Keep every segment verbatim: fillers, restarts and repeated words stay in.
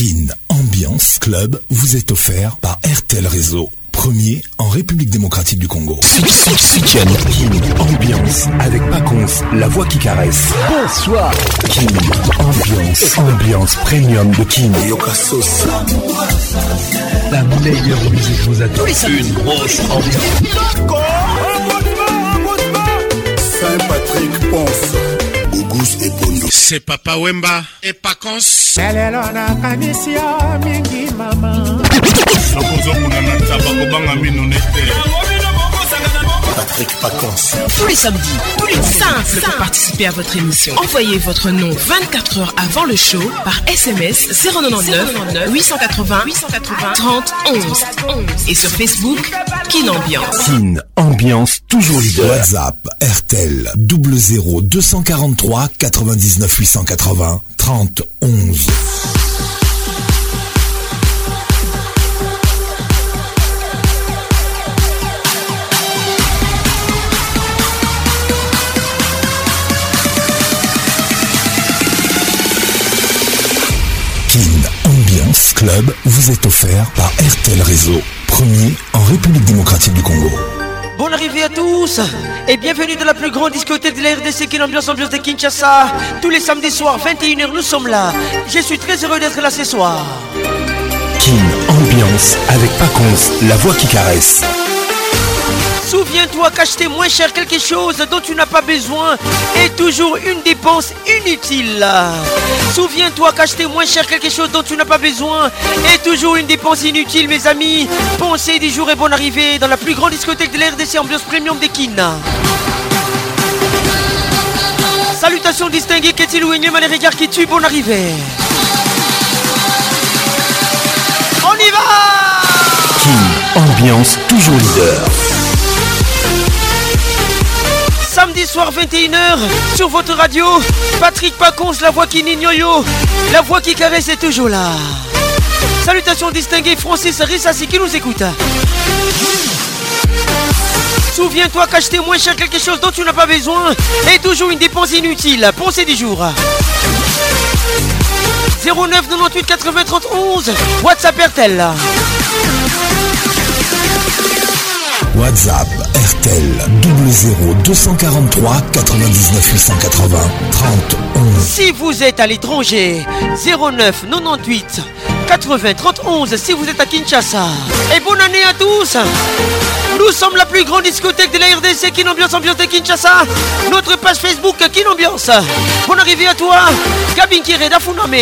Kin Ambiance Club vous est offert par R T L Réseau. Premier en République démocratique du Congo. Kin Ambiance avec Paconce, la voix qui caresse. Bonsoir. Kin Ambiance, ambiance premium de Kin. La meilleure musique vous attend. Une grosse ambiance. Saint-Patrick Ponce. Auguste et Pondo. C'est Papa Wemba et Paconce. Patrick Paconce. Tous les samedis, tous les simples pour participer à votre émission. Envoyez votre nom vingt-quatre heures avant le show par S M S zéro neuf huit cent quatre-vingts trente onze et sur Facebook Kin Ambiance. Kin Ambiance toujours leader. WhatsApp R T L zéro zéro deux cent quarante-trois quatre-vingt-dix-neuf huit cent quatre-vingts trente onze. Ambiance Club vous est offert par R T L Réseau, premier en République démocratique du Congo. Bonne arrivée à tous et bienvenue dans la plus grande discothèque de la R D C, Kin Ambiance, ambiance de Kinshasa. Tous les samedis soirs, vingt et une heures, nous sommes là. Je suis très heureux d'être là ce soir. Kin Ambiance avec Paconce, la voix qui caresse. Souviens-toi qu'acheter moins cher quelque chose dont tu n'as pas besoin est toujours une dépense inutile. Souviens-toi qu'acheter moins cher quelque chose dont tu n'as pas besoin est toujours une dépense inutile, mes amis. Pensez du jour et bonne arrivée dans la plus grande discothèque de la R D C, ambiance premium de Kin. Salutations distinguées, qu'est-il ou énième à les regards qui tuent, bonne arrivée. On y va. Kin Ambiance toujours leader. Samedi soir vingt et une heures sur votre radio, Patrick Paconce, la voix qui n'ignore, la voix qui caresse est toujours là. Salutations distinguées, Francis Rissassi qui nous écoute. Souviens-toi qu'acheter moins cher quelque chose dont tu n'as pas besoin est toujours une dépense inutile. Pensez du jour. zéro neuf quatre-vingt-huit quatre-vingts trente onze, WhatsApp R T L. WhatsApp R T L zéro zéro deux cent quarante-trois quatre-vingt-dix-neuf huit cent quatre-vingts trente onze. Si vous êtes à l'étranger, zéro neuf quatre-vingt-huit quatre-vingts trente onze si vous êtes à Kinshasa. Et bonne année à tous. Nous sommes la plus grande discothèque de la R D C, Kin Ambiance, ambiance de Kinshasa. Notre page Facebook Kin Ambiance. Bonne arrivée à toi, Gabin Kire d'Afuname.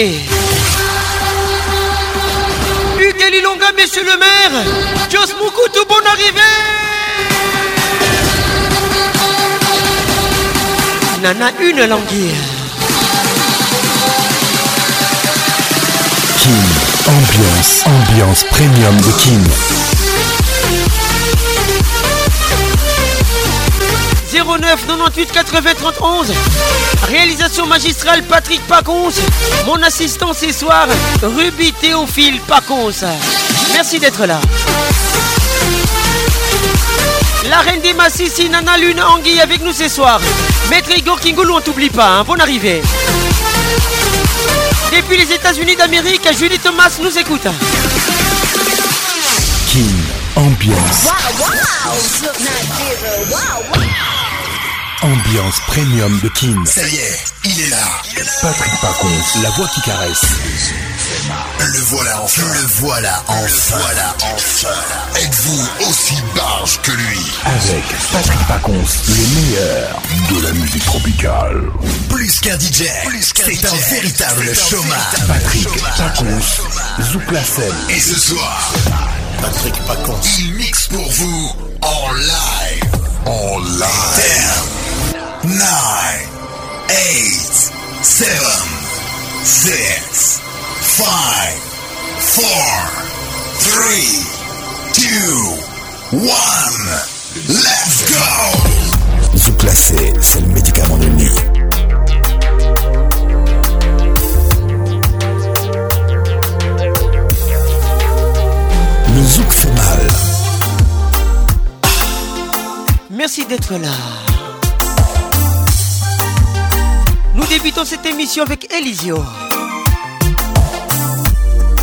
Hugues Lilonga, monsieur le maire. Jos Moukoutou, bonne arrivée. Nana une langue. Kin Ambiance, ambiance premium de Kin. zéro neuf quatre-vingt-huit quatre-vingts trente onze. Réalisation magistrale Patrick Paconce. Mon assistant ce soir, Ruby Théophile Paconce. Merci d'être là. La reine des Massissi, Nana Lune Anguille avec nous ce soir. Maître Igor Kingoulou, on t'oublie pas, hein. Bonne arrivée. Depuis les États-Unis d'Amérique, Julie Thomas nous écoute. Kin Ambiance. Wow, wow. Look, not zero. Wow, wow. Ambiance premium de Kin. Ça y est, il est là. Patrick Paconce, la voix qui caresse. Le voilà enfin. Le voilà enfin. Le voilà enfin. Êtes-vous aussi barge que lui? Avec Patrick Paconce, le meilleur de la musique tropicale. Plus qu'un D J, c'est un véritable showman. Patrick Paconce, Zouk la scène. Et ce soir, Patrick Paconce, il mixe pour vous en live. En live. ten, nine, eight, seven, six, five, four, three, two, one. Let's go. Zouk la scène, c'est le médicament de nuit. Le zouk fait mal. Merci d'être là. Nous débutons cette émission avec Elisio.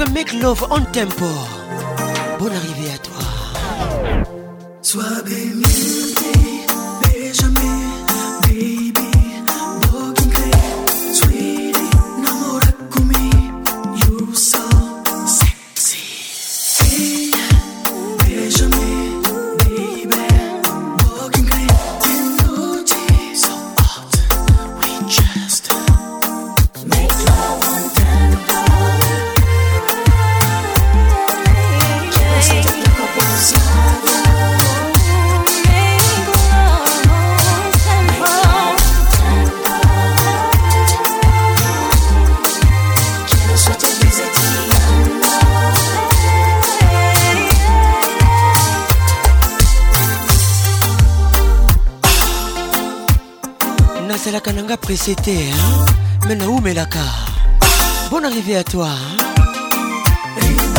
titre Make Love on Tempo. Bonne arrivée à toi. Sois béni, Benjamin, baby, Bogingle, sweetie, Namorakumi, you so sexy. Hey, Benjamin, baby, Bogingle, energy so hot, we just make love on tempo. Just take a couple seconds. C'est la kananga précédée, hein? Maintenant où Melaka? Bonne arrivée à toi, hein?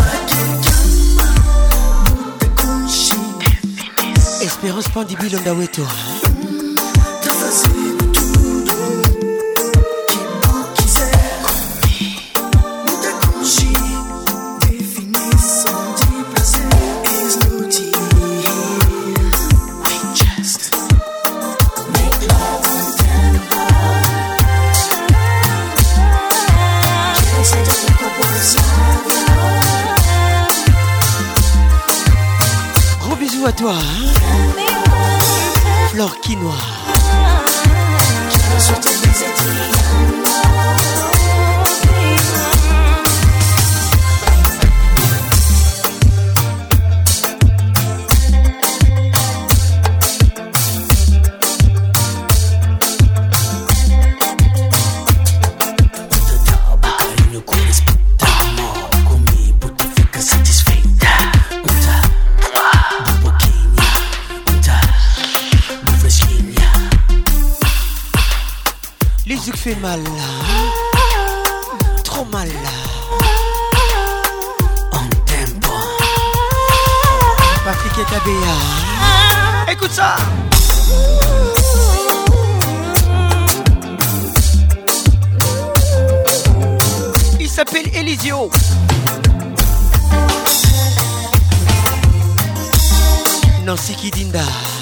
Espérance Pandibile Ondaweto, hein? À toi, hein? Flore Quinoa. Fait mal là, trop mal là. On tempo. Patrick et Tabea. Écoute ça. Il s'appelle Elisio. Nancy Kidinda.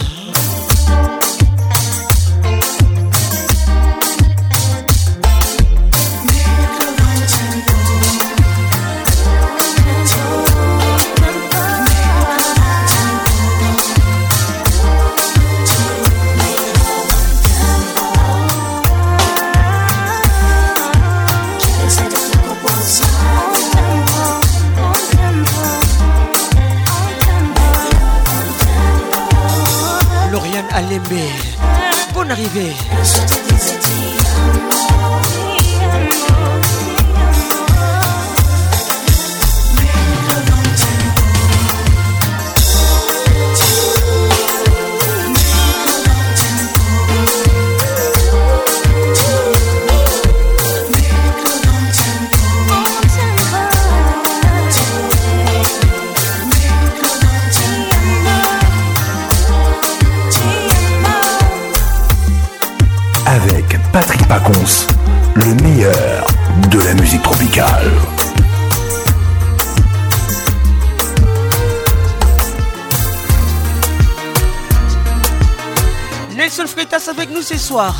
Alembe, bonne arrivée. Avec Patrick Pacons, le meilleur de la musique tropicale. Nelson Freitas avec nous ce soir.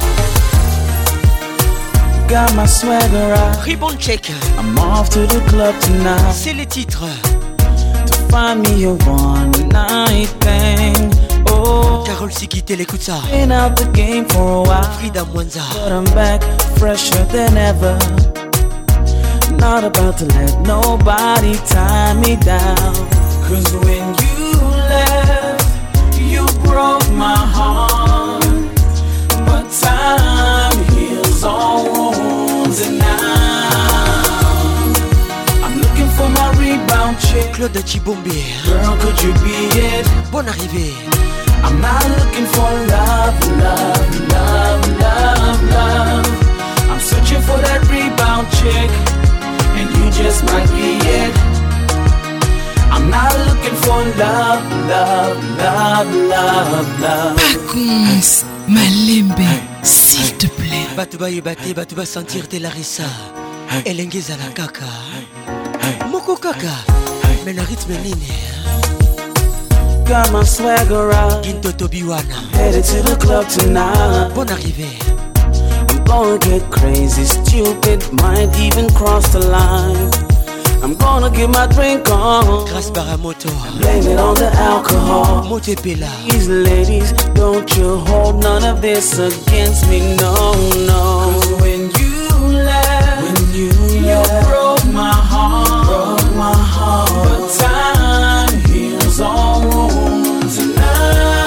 Got my swagger out. Ribbon check. I'm off to the club tonight. C'est les titres. To find me a one night thing. Oh, Carole Sikite, écoute ça. Been out the game for a while. Frida Mwanza. But I'm back, fresher than ever. Not about to let nobody tie me down. Cause when you left, you broke my heart. But time heals all wounds. And now I'm looking for my rebound chick. Claude Chibombe. Girl, could you be it? Bonne arrivée. I'm not looking for love, love, love, love, love. I'm searching for that rebound chick, and you just might be it. I'm not looking for love, love, love, love, love. Pacons, Malembe, s'il te plaît. Batuba yebate, batuba sentir te Larissa. Elengeza la kaka. kaka mais na rythme nini got my swagger out. Ginto Tobiwana Headed to the club tonight. Bonne arrivée. I'm gonna get crazy, stupid, might even cross the line. I'm gonna get my drink on. Grâce Baramoto. Blame it on the alcohol. Motepela. These ladies, don't you hold none of this against me, no, no. 'Cause when you left, when you, you left, broke my heart, broke my heart. But time heals all wounds, and now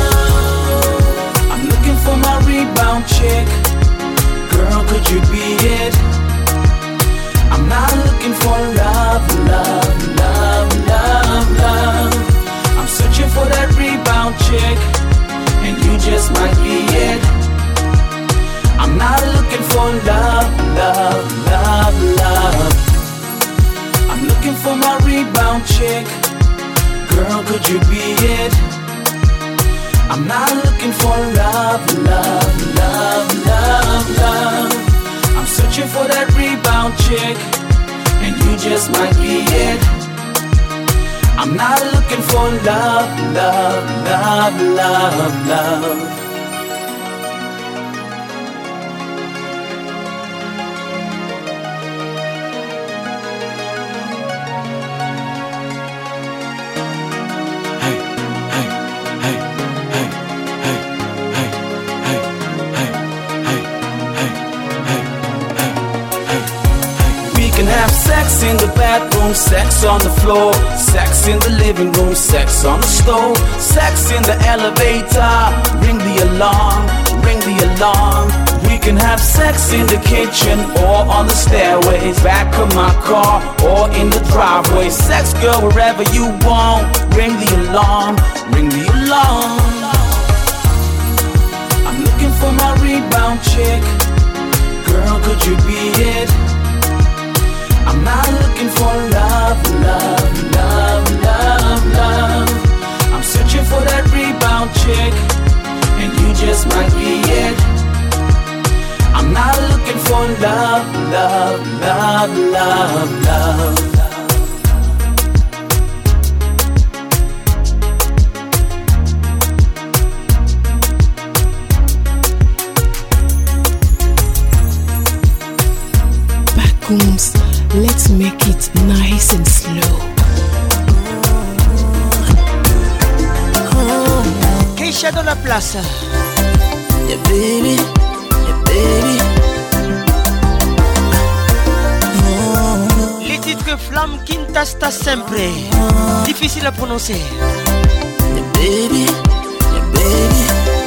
I'm looking for my rebound chick. Girl, could you be it? I'm not looking for love, love, love, love, love. I'm searching for that rebound chick, and you just might be it. I'm not looking for love, love, love, love. I'm looking for my rebound chick. Girl, could you be it? I'm not looking for love, love, love, love, love. I'm searching for that rebound chick, and you just might be it. I'm not looking for love, love, love, love, love. Sex in the bathroom, sex on the floor, sex in the living room, sex on the stove, sex in the elevator. Ring the alarm, ring the alarm. We can have sex in the kitchen or on the stairways, back of my car or in the driveway. Sex, girl, wherever you want. Ring the alarm, ring the alarm. I'm looking for my rebound chick. Girl, could you be it? I'm not looking for love, love, love, love, love. I'm searching for that rebound chick, and you just might be it. I'm not looking for love, love, love, love, love. Bacooms. Let's make it nice and slow. Keisha dans la place. Yeah, baby. Yeah, baby. Les titres Flamme Quintasta Sempre. Difficile à prononcer. Yeah, baby. Yeah, baby.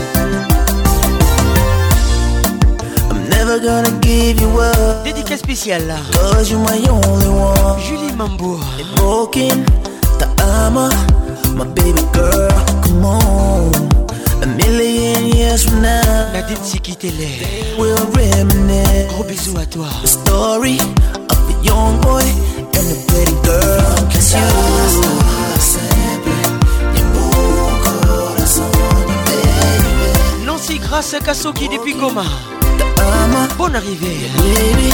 Never gonna give you up. Dédicace spéciale. Cause you're my only one. Julie Mambo. Broken, the armor, my baby girl, come on. A million years from now, Nadine Sikitele. we'll reminisce. Gros bisous à toi. The story of a young boy and a pretty girl. Cause you Nancy Grasse Kasoki depuis Goma. Bonne arrivée. Baby,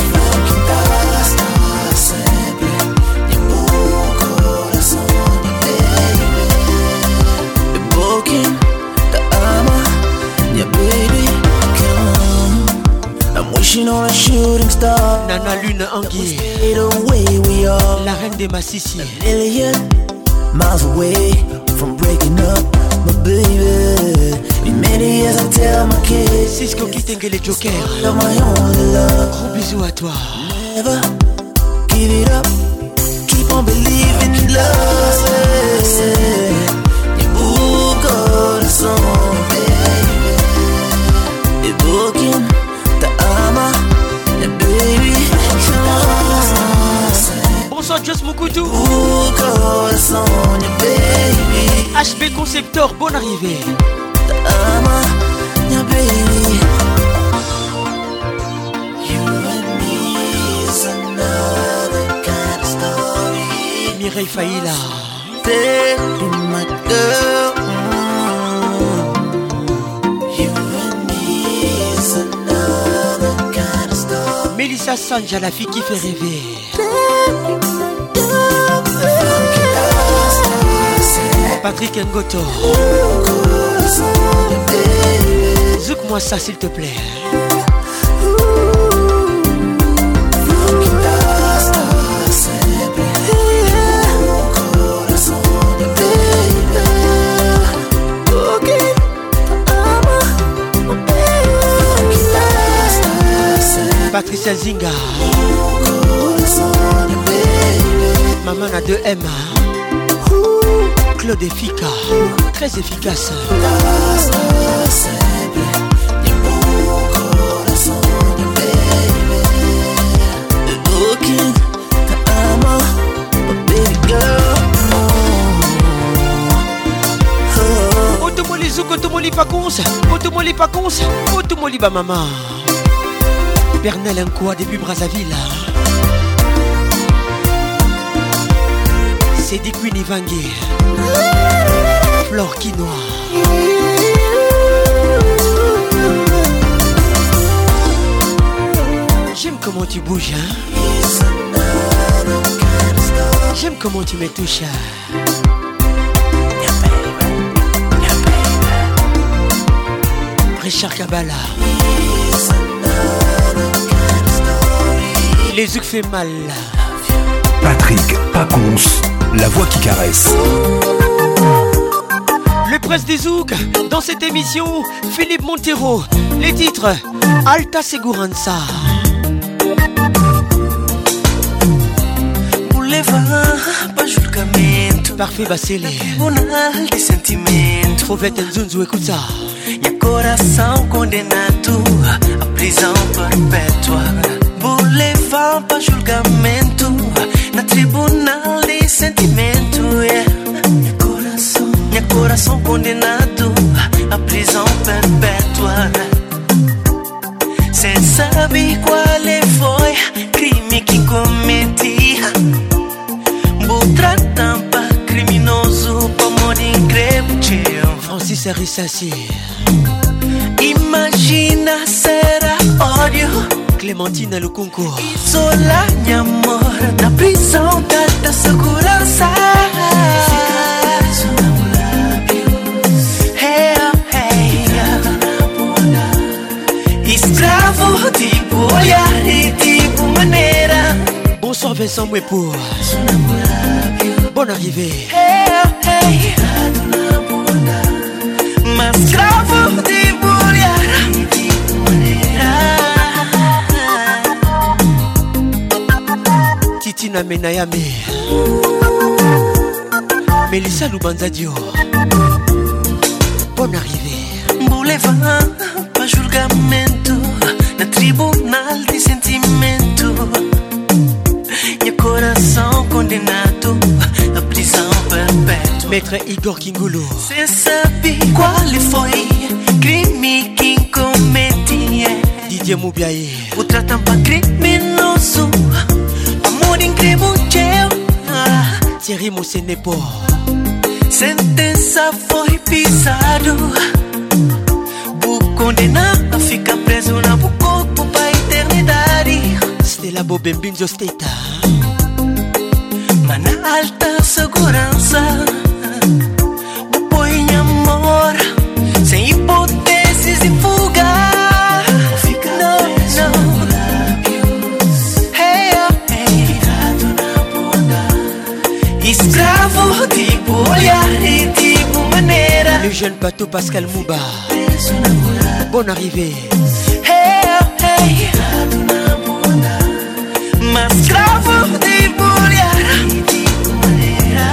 broken, the armor, yeah, baby, come. I'm wishing on a shooting star. Nana Lune Anguille. The way we are, la reine des Massissi. A million miles away from breaking up, my baby. In many years I tell my kids, Cisco Kitengele Joker. You're my only love. Gros bisous à toi. Never give it up. Keep on believing in love. You book all the song, baby. You're broken, the armor, the baby. Bonsoir Joss Moukoutou. Book all the song, your baby. H B Conceptor, bonne arrivée. The armor, your baby. You and me is another kind of story. Mireille Faïla. Baby, my girl. You and me is another kind of story. Mélissa Sanja, la fille qui fait rêver. Baby, my girl. Patrick Ngoto. Zouk-moi ça s'il te plaît. Patricia Zinga. Maman a deux M. Claude Effica. Très efficace. Automoli Zouk, Automoli Pacons. Automoli Pacons. Automoli Bamama. Bernal Nkoua depuis Brazzaville. C'est des Queen Ivangué. Flore Quinoa. J'aime comment tu bouges, hein. J'aime comment tu me touches. Richard Kabbalah. Les Zouk fait mal. Patrick Pacons, la voix qui caresse. Le prince des Zouk, dans cette émission, Philippe Montero. Les titres, Alta Segurança. Parfait Bacele. Trouvette Nzunzu, écoute ça. Meu coração condenado à prisão perpétua. Vou levar para julgamento na tribunal de sentimento. Yeah. Meu coração, meu coração condenado à prisão perpétua. Cê sabe qual foi crime que cometi? Vou tratar para criminoso para morrer incrível. Francis Arissassi. Imagina será ódio. Clementina Lukunku. Isolar minha amor na prisão da segurança. Hey, hey, escravo tipo olhar e tipo maneira. Bonsoir Vincent Mwepo. Bonne arrivée. Hey, hey, mas escravo tipo olhar e tipo maneira. Titina Menayame. Melissa Lubanzadio. Bonne arrivée. Vou levar para julgamento na tribunal de sentimento. Meu coração condenado à prisão perpétua. Maître Igor Kingulu. Cê sabe qual foi crime que cometi? Didier Moubiaye. O tratam pra criminoso, amor incrível. Thierry Moussenepo. Sentença foi pisado. Vou condenar a ficar preso na bu corpo pra eternidade. Stella Bobembinzo Steta. Mas na alta segurança. Põe amor, sem hipóteses de fuga. Não, não. Hey, hey. Escravo, tipo olhar e tipo maneira. Le jeune Pato Pascal Mouba. Bonne arrivée. Hey, hey. Mas escravo, tipo olhar e tipo maneira.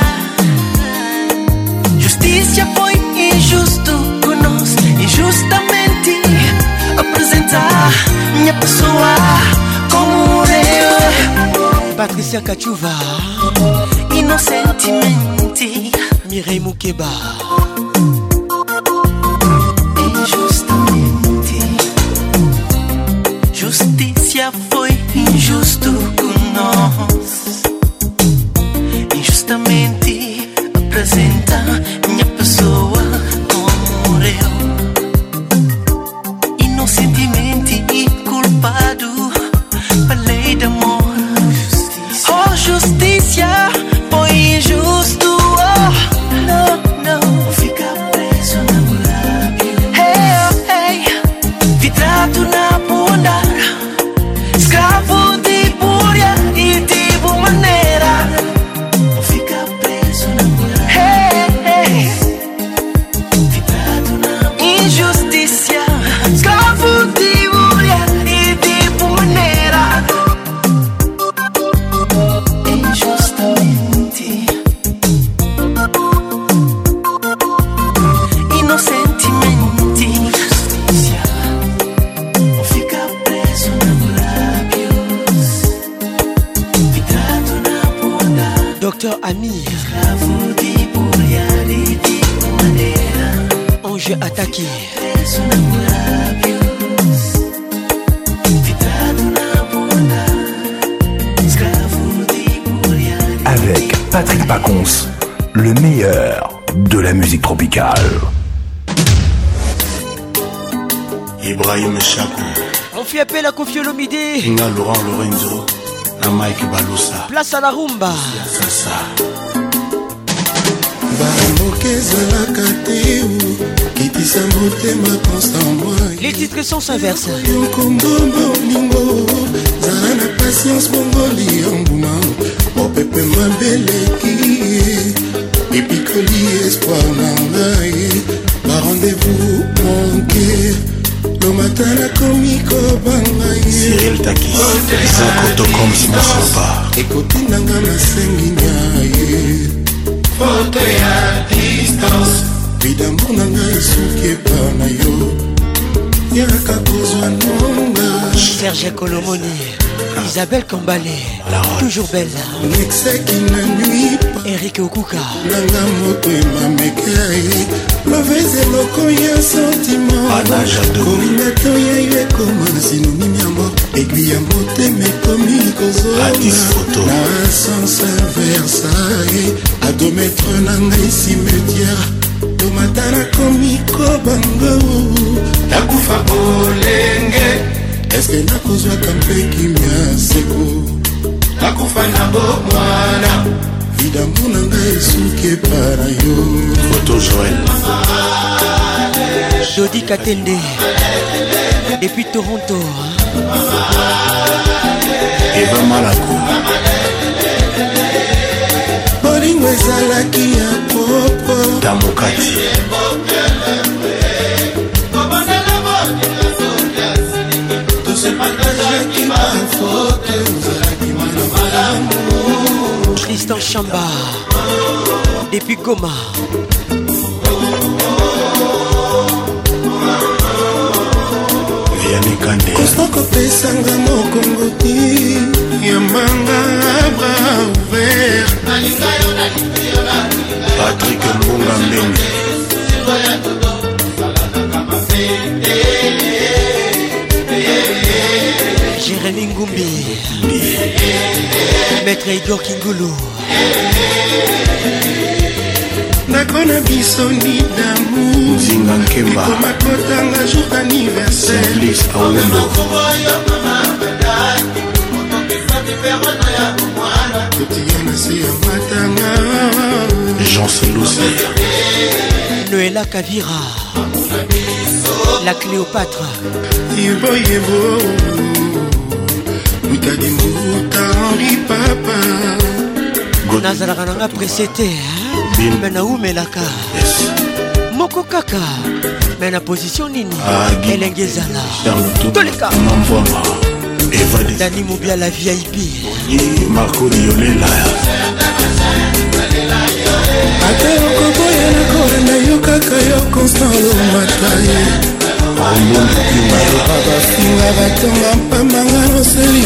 Justiça foi injusto conosco, injustamente apresentar minha pessoa como eu. Patricia Kachuva. Inocentemente. Mireille Moukeba. Injustamente. Justiça foi injusto conosco, injustamente apresenta minha pessoa como eu. Inocentemente culpado pela lei de amor. Oh, justiça foi injusto. Oh, não. Docteur Ami. Ange attaqué. Avec Patrick Pacons, le meilleur de la musique tropicale. Ibrahim Chakou. On fait appel à Kofi Olomide. Inga Laurent Lorenzo. Na Mike Balusa. Place à la rumba. Sasa. Les titres sont s'inversent. Cyril Takis. Zakoto comme si Photo ya distance vida mbona ngai suki pana yo yaka kozwa nonga Serge Colomoni, Isabelle Kambale, toujours belle. Eric Okuka. Nanga moto emamekai loveze loko ya sentiment kominato ya yo ekoma sinonime ya mort aiguille ya motema ekomi kozona na sens inverse à deux mètres na ngai cimetière tomata nakomi kobango nakufa bolenge eske nakozwaka mpe kimia seko nakufa na bomwana vidambu na ngai esuki epara yo Photo Joël Jody Katende depuis Toronto. Eva Malako bolingo ezalaki ya popo Tamokati Tristan Chamba depuis Goma. Vianney Kande Constant kopesanga mokongo ti yambanga bras ouvert Patrick Mbunga Mbengi Jérémy Ngumbi, Maître Igor Kingulu. nakona biso ni damu Zinga Nkemba komakotanga jour d'anniversaire Simplice Awendo kotiana se ya matanga Jean Selousi Noëlla Kavira, la Cléopâtre. yebo yebo mutadi muta Henri Papa nazalaka nanga presete me naumelaka moko kaka me na position nini elenge ezala toleka Dani Mobia la V I P Marco Diolela ate okoboya nakolanda yo kaka yo Constant Lomataye bafinga batonga mpambanga noseli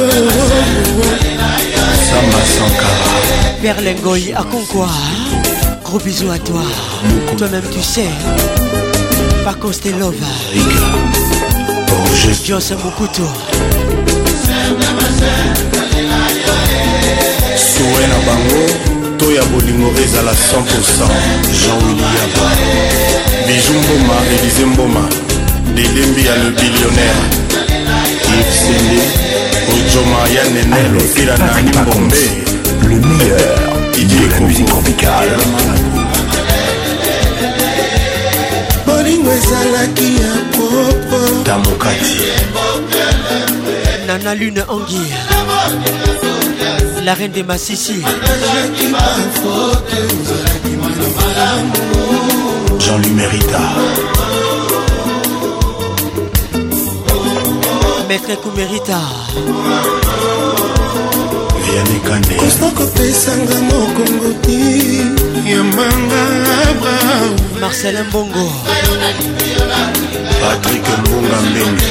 Samba Sankara Perle Ngoyi à Concours. Gros bisous à toi. Toi-même tu sais. Par contre c'était love. Joss Mokuto. Soué na bango Toya bolingo ezala cent pour cent Jean-Willy Yaba Bijou Mboma, Élysée Mboma Delembi ya le billionnaire Yves Sende Ojoma ya Nenel Fila na Nimbombe le meilleur de la musique tropicale. bolingo ezalaki ya popo Tamokati Nana Lune Anguille, la reine des Massissi. Jean-Louis Mérita Maître Koumerita Vianney Kande Constant kopesanga mokongo ti yambanga bras Marcel Mbongo Patrick Mbunga Mbengi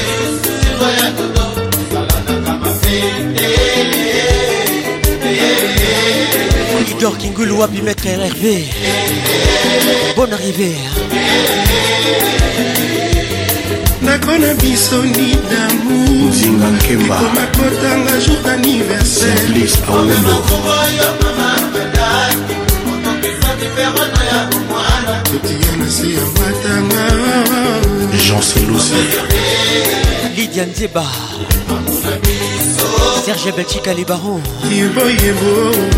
Igor Kingulu Wapi Maître R R V. Bonne arrivée. nakona biso ni damu Zinga Nkemba komakotanga jour d'anniversaire Simplice Awendo kotiana se ya matanga Jean Selousi Lydia Nzeba Serge Belchika les barons yebo yebo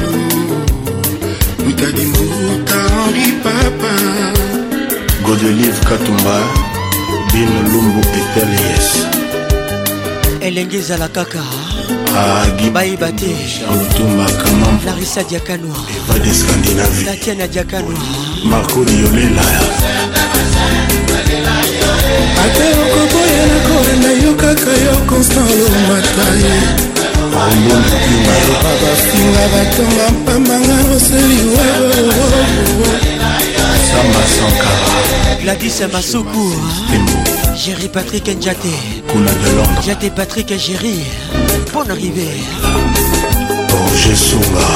Moutali Mouta Henri Papa Godelive Katumba Bin Lumbu Etelies Elengeza la kaka Agi Baïbate Charles Toumba Kamam Larissa Diakanoa Eva de Scandinavie Tatiana Diakanoa Marco Diolela ate okoboya na korenda yo kaka yo Constant Lomataye baloba bafinga batonga mpambanga roseli Samba Sankara Gladys Masuku Jerry Patrick Njate Kuna de Londres Njate Patrick Jerry Bonne arrivée Roger Sunga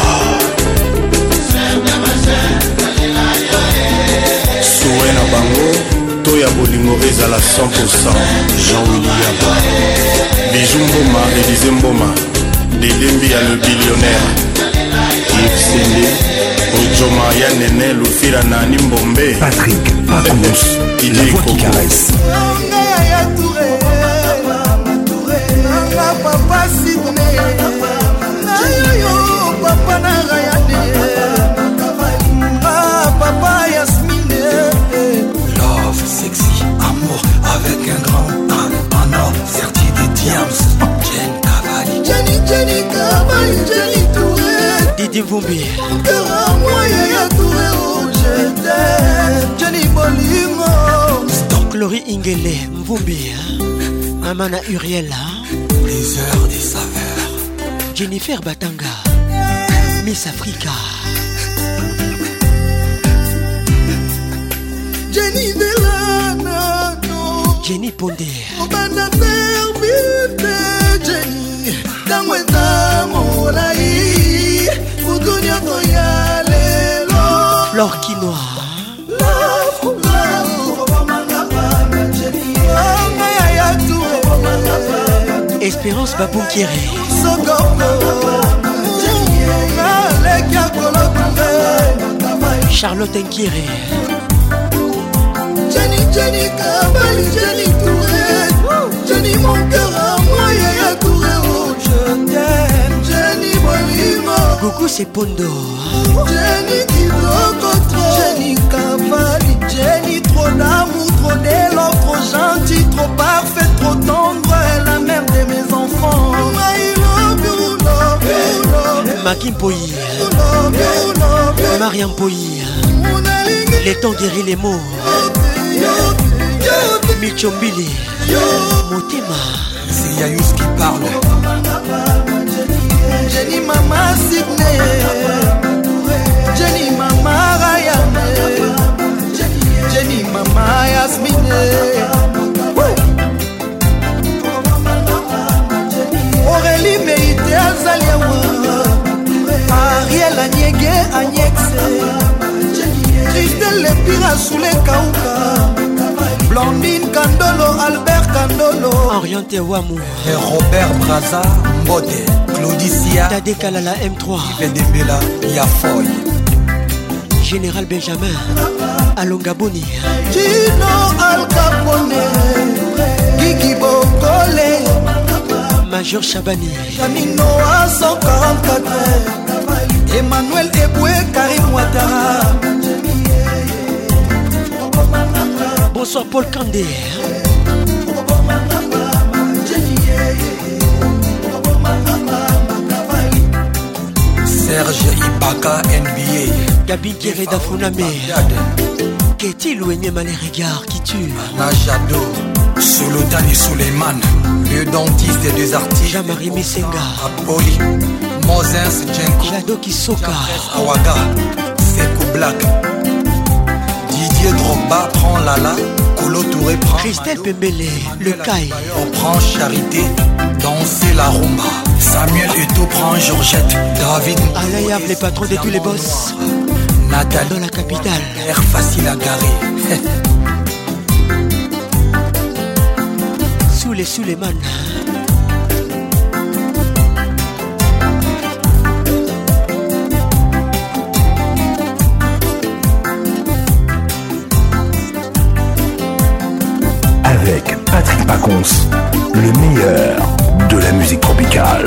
Souena Bango Toya Bolingo ezala cent pour cent Jean-William Bijou Mboma Élysée Mboma Delembi ya le billionnaire Yves Sende Ojoma ya Nene Lufira Nani Mbombe Patrick Pacons, la voix qui caresse. papa Sidney nayoyo papa Narayane papa Yasmine Love, sexy, amour avec un grand A en or, serti des diams Jen Cavalli Jenny, Jenny Cavalli, Jenny Touré Didi Vumbi cœur à moi, Yaya Touré, oh je t'aime Jenny Bolimo Chloé Ingele Mvumbi Amana Uriel Les heures des saveurs Jennifer Batanga Miss Africa Jenny Delana Jenny Pondé Obanda Terbite Jenny Tangweza Molai Udunya Toyalelo Flore Quinoa Love, love Jenny Yaya Touré Espérance Baboukiri Charlotte Nkiri Jenny, Jenny Cavalli, Jenny Touré Jenny mon cœur à moi, Yaya Touré, oh je t'aime Jenny Bolimo Gougou c'est Pondo Jenny Kitoko trop Jenny Cavalli, Jenny trop d'amour, trop d'élan, trop gentil, trop parfait, trop tendre, elle la mère de mes enfants. I love you, love you, love you. Makim Poyi Love you, love you. Mariam Poyi Les temps guérit les mots Michombili Motema C'est Yayous qui parle Jenny Mama Sidney Jenny Mama Rayane Jenny Mama Yasmine Aurélie Meïté Azaliawa Ariel Agnègue Agnèxe Christelle Lepira Soule Kauka Blandine Kandolo Albert Kandolo Orienté Wamou Et Robert Braza Mbode Claudicia Tade Kalala M trois Vedembela Yafoy Général Benjamin Alonga Boni Gino Al Capone Gigi Bokole Major Chabani Janino à cent quarante-quatre Emmanuel Eboué Karim Ouattara Bonsoir Paul Kandé Serge Ibaka N B A Gabi Kereda Funame Qu'est-il ou les regards qui tuent Najado Sultani Suleiman Le dentiste des deux artistes Jean-Marie Missenga Apoli Moses Djenko Jado Kisoka Awaga Sekou Black Didier Drogba prend Lala Colo Touré prend Christelle Pembele, le Kai. On prend Charité, danser la rumba. Samuel Eto prend Georgette, David Alain les patrons de tous les boss. Nathalie dans la capitale. Air facile à garer. Sous les sous les man. Avec Patrick Pacons, le meilleur de la musique tropicale.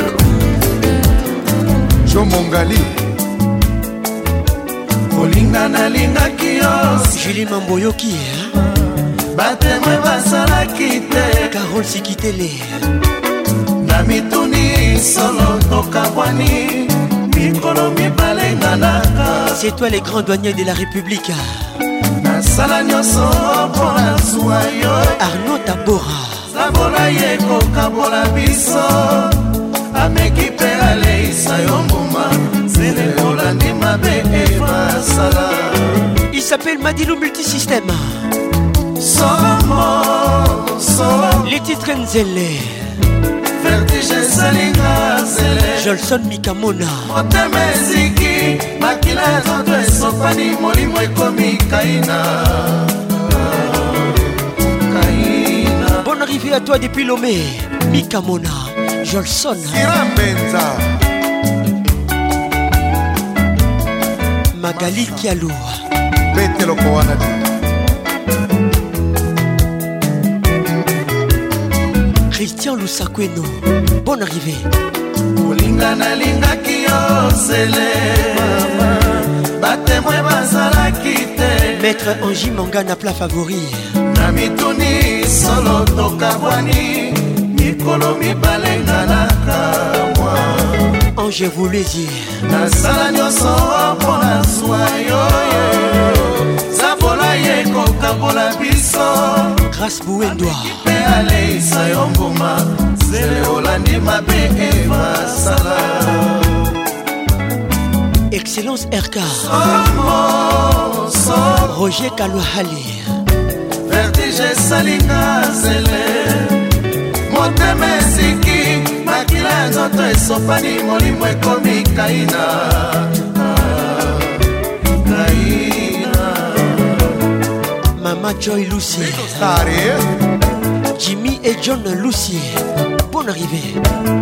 Joe Mongali Olinga na linga kios Julie Mamboyoki Batemwe basalaki te Carole Sikitele Na mituni solo tokabwani Mikolo mibale nganaka. C'est toi les grands douaniers de la République. Nasala nyoso pona zuwa yo Arnaud Tabora Sabola ye kokabola biso Ameki pe aleisa yo mbuma Zele olandi mabe eva sala. Il s'appelle Madilou Multisystème. Somo, somo Les titres Nzele Vertige salinga zele Jolson Mikamona Motemeziki Makila zoto esopani molimo ekomi kaina Kaina. Bonne arrivée à toi depuis Lomé. Mikamona Jolson Sirambenza Magali Kialou Bete loko wana di Christian Lusakweno. Bonne arrivée. Olinga na linga kiosele mama Batemwe bazalaki te Maître Angie Mangana plat favori. Na mituni solo tokabwani Mikolo mibale nganaka mwa Ange Voulezi Nasala nyoso pona zwa yoyo Zabola ye kokabola biso Grâce Bouendoa Pe aleisa yo mbuma Zele olandi mabe eva sala. Excellence R K Somo, somo Roger Kalouhali Vertige salinga zele Motemeziki Makila nzoto esopani molimo ekomi kaina Kaina. Mama Joy Lucy Jimmy et John Lucy. Bonne arrivée.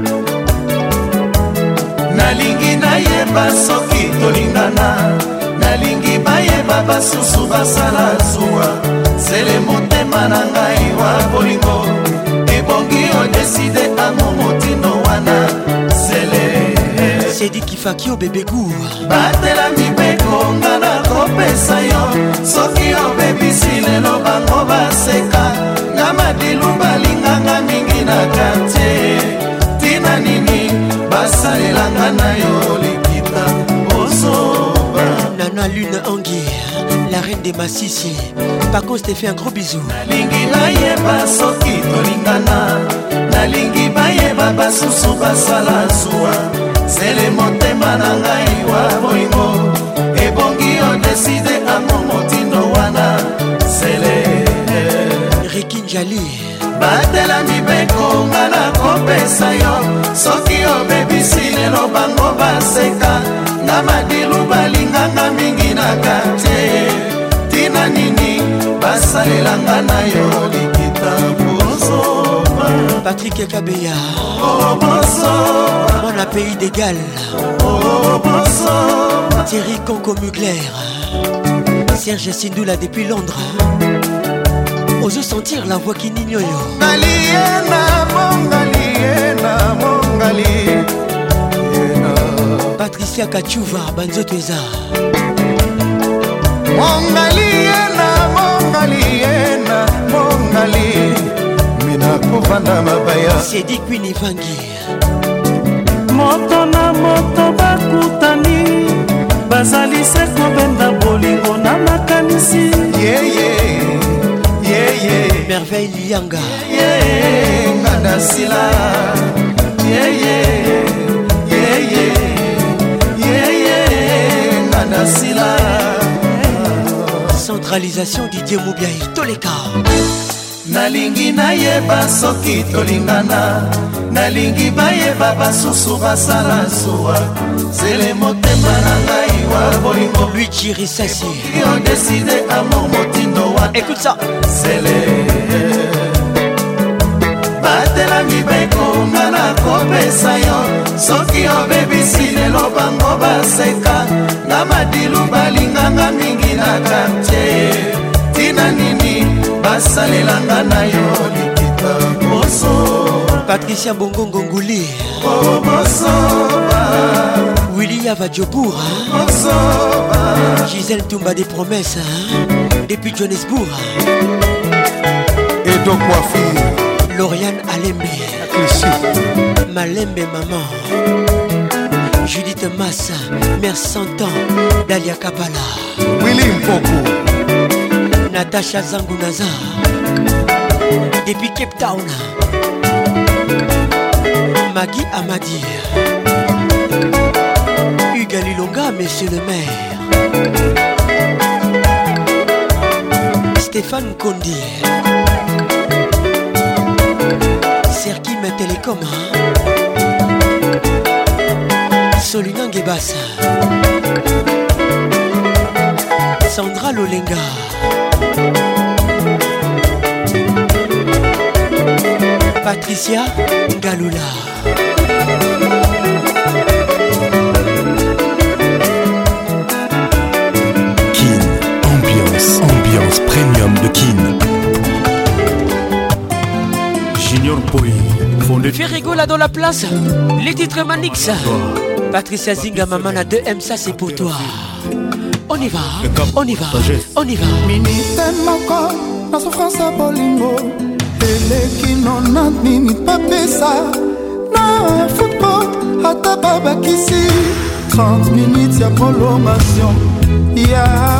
Nalingi nayeba soki tolingana Nalingi bayeba basusu basala zuwa Sele motema na ngai wa bolingo Ebongi odeside amo motino wana Sele Sedi Kifaki au bébé goût Batela mibeko ngana kopesa yo Soki obebisi lelo bango baseka Ngama dilu balinganga mingi na kate Tina nini basalelanga na yo likita Osoba Nana Lune Anguille, la reine des Massissi. Par contre, je t'ai fait un gros bisou. Nalingi nayeba soki tolingana Nalingi bayeba basusu basala zuwa Sele motema na ngai wa bolingo Ebongi odeside ango motindo wana Sele Ricky Njali Batela mibeko ngana kopesa yo Soki obebisi lelo bango baseka Ngama dilu balinganga mingi na kate Tina nini basalelanga na yo likita bozoba Patrick Kabeya Oh bozoba Mon pays d'égal Oh bozoba Thierry Conco Mugler Serge Sindoula depuis Londres. Ose sentir la voix qui n'ignore. Ngaliena mongaliena mongali Patricia Kachuva Banzoteza Mongaliena mongaliena mongali Mina kovanda mabaya Sedi Queen Vangi Moto na moto bakutani Bazali se kobenda bolingo na makanisi Yeah yeah Yeah yeah Merveille Lianga Yeah ngada sila Yeah yeah Yeah yeah Yeah yeah ngada sila Décentralisation Didier Moubiaï, Toleka. Nalingi nayeba soki tolingana, nalingi bayeba basusu basala suwa, sele motema na ngai wa bolingo. Luigi Rissassi, on décide amour motindo wa. Écoute ça. Sele batela mibeko ngana kopesa yo, soki obebisi lelo bango baseka, na madilu balinganga mingi na quartier. Tina nini basalelanga na yo likita moso. Patricia Bongo Ngonguli, oh mosoba. Willy Yavadjobour, mosoba. Gisèle Toumba des promesses, hein? Depuis Johannesburg. Et donc Wafi, Lauriane Alembe, Malembe maman, Judith Massa, Mère Santan, Dalia Kabala, Willy Mpoko, Natacha Zangunaza, depuis Cape Town, Maggie Amadi, Hugues Lilonga, Monsieur le maire, Stéphane Kondi, Serki Télécom, Solina Ngebassa, Sandra Lolenga, Patricia Galula, Kin, ambiance, ambiance premium de Kin. Junior Poi, fondé. Ferrigo là dans la place, les titres Manix, Patricia Zinga Mamana deux M, ça c'est pour toi. On y va, on y va, on y va. Minute moko, na souffrance à bolingo. Eleki nona nini papesa. Na football, ata babakisi. trente minutes ya prolongation. Ya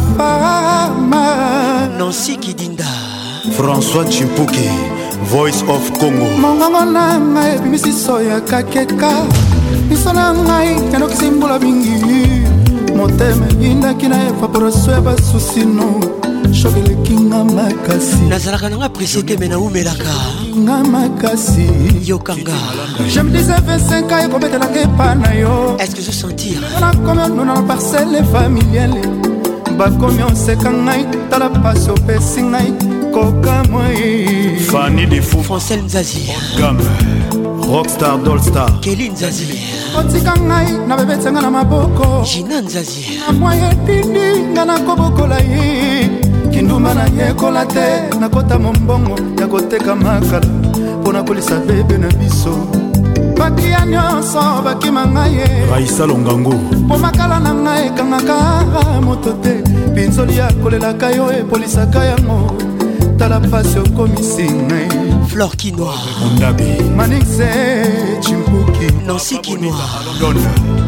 Parama. Nancy Kidinda. François Chimpuki, Voice of Congo. Mongongo na ngai bimisi soya kakeka. Miso na ngai kanokisi mbula mingi. Motema yindaki na evaporation ya basusino. Shogeleki nga makasi. Nazalaka nanga presete mena umelaka. Nga makasi. Yokanga. Je me disais vingt-cinq ans ekobetelaka epa na yo. Est-ce que je sentir? Nakomi onuna na parcelle familiale. Bakomi oseka ngai tala pasi opesi ngai koka moi. Fanny de Fou, Francel Nzazi, Gam, Rockstar Dolstar, Kelly Nzazi, otika ngai na bebetisa nga na maboko. Gina Nzazi, na mwaye dindi nga nakobokola ye. Kinduma na yekola te nakota mombongo ya koteka makala mpo na kolisa bebe na biso. Bakia nyonso bakima ngai ye Raissa Longango, mpo makala na ngai ekangaka moto te. Pinzoli ya kolelaka yo epolisaka yango. Tala pasi okomisi ngai. Flore Kinoa, Ondabi, Manixe Chimpuki, Nancy Kinoa, London,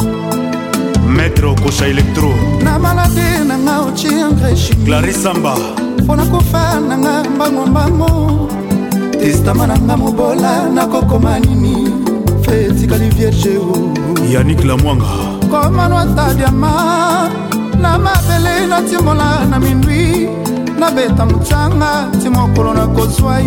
Maître Kocha Electro, na malade na nga ochi engrais chimique. Clarisse Samba, Pona kofa na nga mbango mbango. Testama na nga mobola na kokoma nini. Fetikali vierge o Yannick Lamwanga, komano ata diama. Na mabele na timola na minui. Na beta mchanga timokolo na kozwa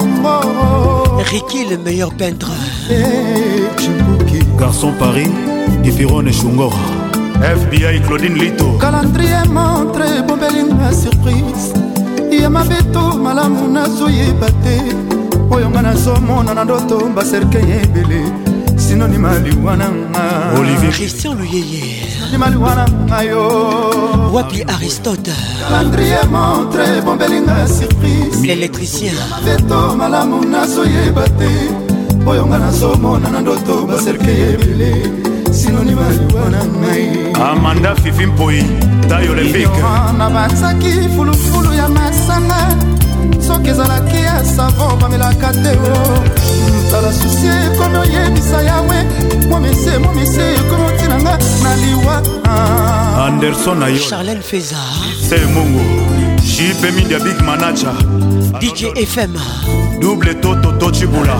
yo. Ricky le meilleur peintre, Eh Chimpuki, Garçon Paris, Gifirone Shungora, F B I Claudine Lito, calendrier montre bombelinga surprise. Ya mabeto malamu nazoyeba te. Oyo nga nazomona na ndoto baserke ebele. Sinonima liwana nga Olivier Christian Luyeye, Sinonima liwana nga yo. Wapi Aristote, Calendrier montre bombelinga surprise. l'électricien, Mabeto malamu nazoyeba te. Oyo nga nazomona na ndoto baserke ebele. Sinonima liwana nga. Amanda Fifi Mpoi, Taille Olympique, na batsaki fulufulu ya masanga. Soki ezalaki ya savon bamelaka te o. Tala susi ekomi oyebisa yawe. Momese momese ekomi otinanga na liwa. Anderson Ayo, Charlène Feza, C'est Mungu, J P Media Big Manacha, D J F M, Double Toto Tochibula,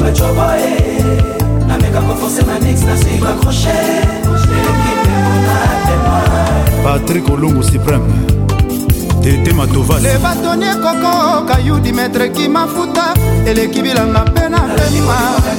Na meka kwa force manix na si va crochet. Patrick Olungu Supreme Tete Matovas Le bâtonnier Coco Kayudi maître qui mafuta eleki bilanga pena pema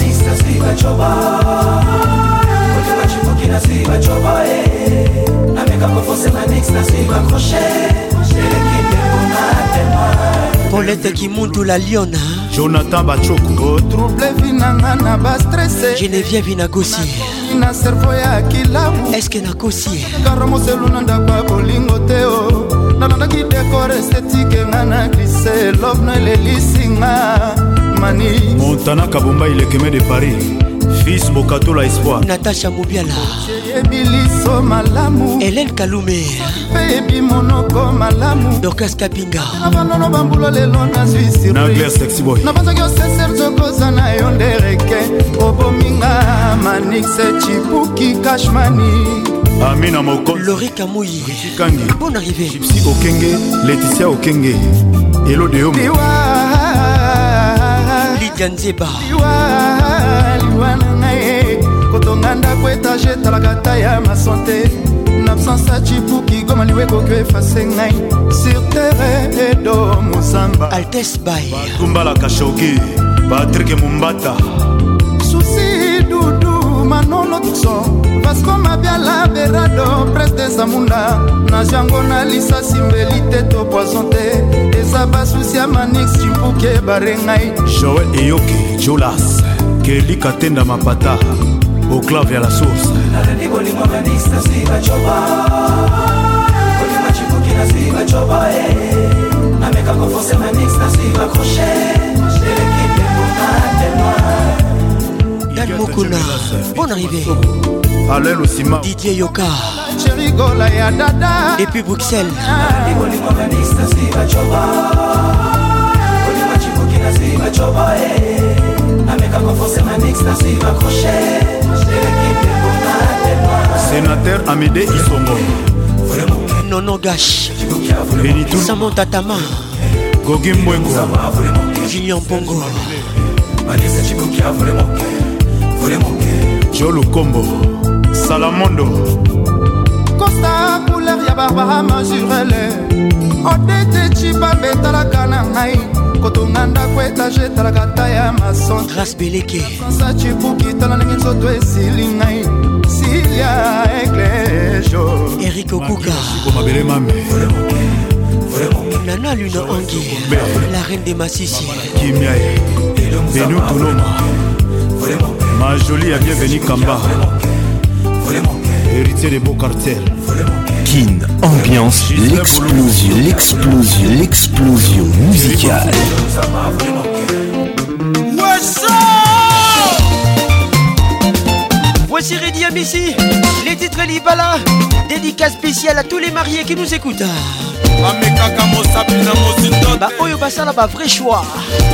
Paulette Kimundu la Liona Jonathan Bachoko trouble vinanga na ba stressé Geneviève Inagosi na cerveau ya kilabu est-ce que Nagosi Karomo seluna ndakwa bolingo teo nalandaki décor esthétique ngana glissé love no lelisinga mani Montana Kabumba Ilekeme de Paris Fils Bokato la Espoir Natacha Moubiala Ebiliso malamu Hélène Kalume Baby monoko malamu Dorcas Kapinga Abanono bambulo lelo na Suisse Nagler Sexy Boy Nabanza kyo seser zokoza na yondereke Obominga Manixe Chipuki Kashmani Amina Moko Laurie Kamouyi Kangi Bonne arrivée Gypsy Okenge Laetitia Okenge Hello Deomo Liwa Lydia Nzeba Liwa Liwa nangaye Kotonganda kwetaje talakata ya ma santé N'absence à Chipuki Goma liwe kokyo efase ngai Sur terre edo Mozamba Altesse Bay Tumbala Kashogi Patrick Mumbata Souci Doudou Manolo Tuxon Vasco Mabiala Berado Preste Zamunda Najango na lisa simbelite to poisonte Ezaba souci ya Manix Chipuki barengai Joël Eyoki Jolas Kelly Katenda Mapata au clavier à la source. Dan Mokuna, bonne arrivée. Alain Osima Didier Yoka Cherigola ya dada depuis Bruxelles. Sénateur Amédée Isongo Nono Gash Benitou Samantha Tama Gogi Mwengo Julien Pongo Jolo Kombo Salamondo Costa couleur ya Barbara Majurele Odete chipa betalaka na ngai Kotonganda kwetaje talakata ya mason Grâce Beleke Sansa Chipuki tala ndenge nzoto esili ngai Silia Eklejo Eric Okuka Komabele Mame Nana Luna Angi la reine des Massissi Kimiaye Benou Touloma Ma jolie a bienvenue Kamba Héritier des beaux cartels Kin, ambiance, l'explosion, l'explosion, l'explosion musicale. Voici Reddy Amissi, les titres Libala, dédicace spéciale à tous les mariés qui nous écoutent. Bah Oyo Basala, bah vrai choix.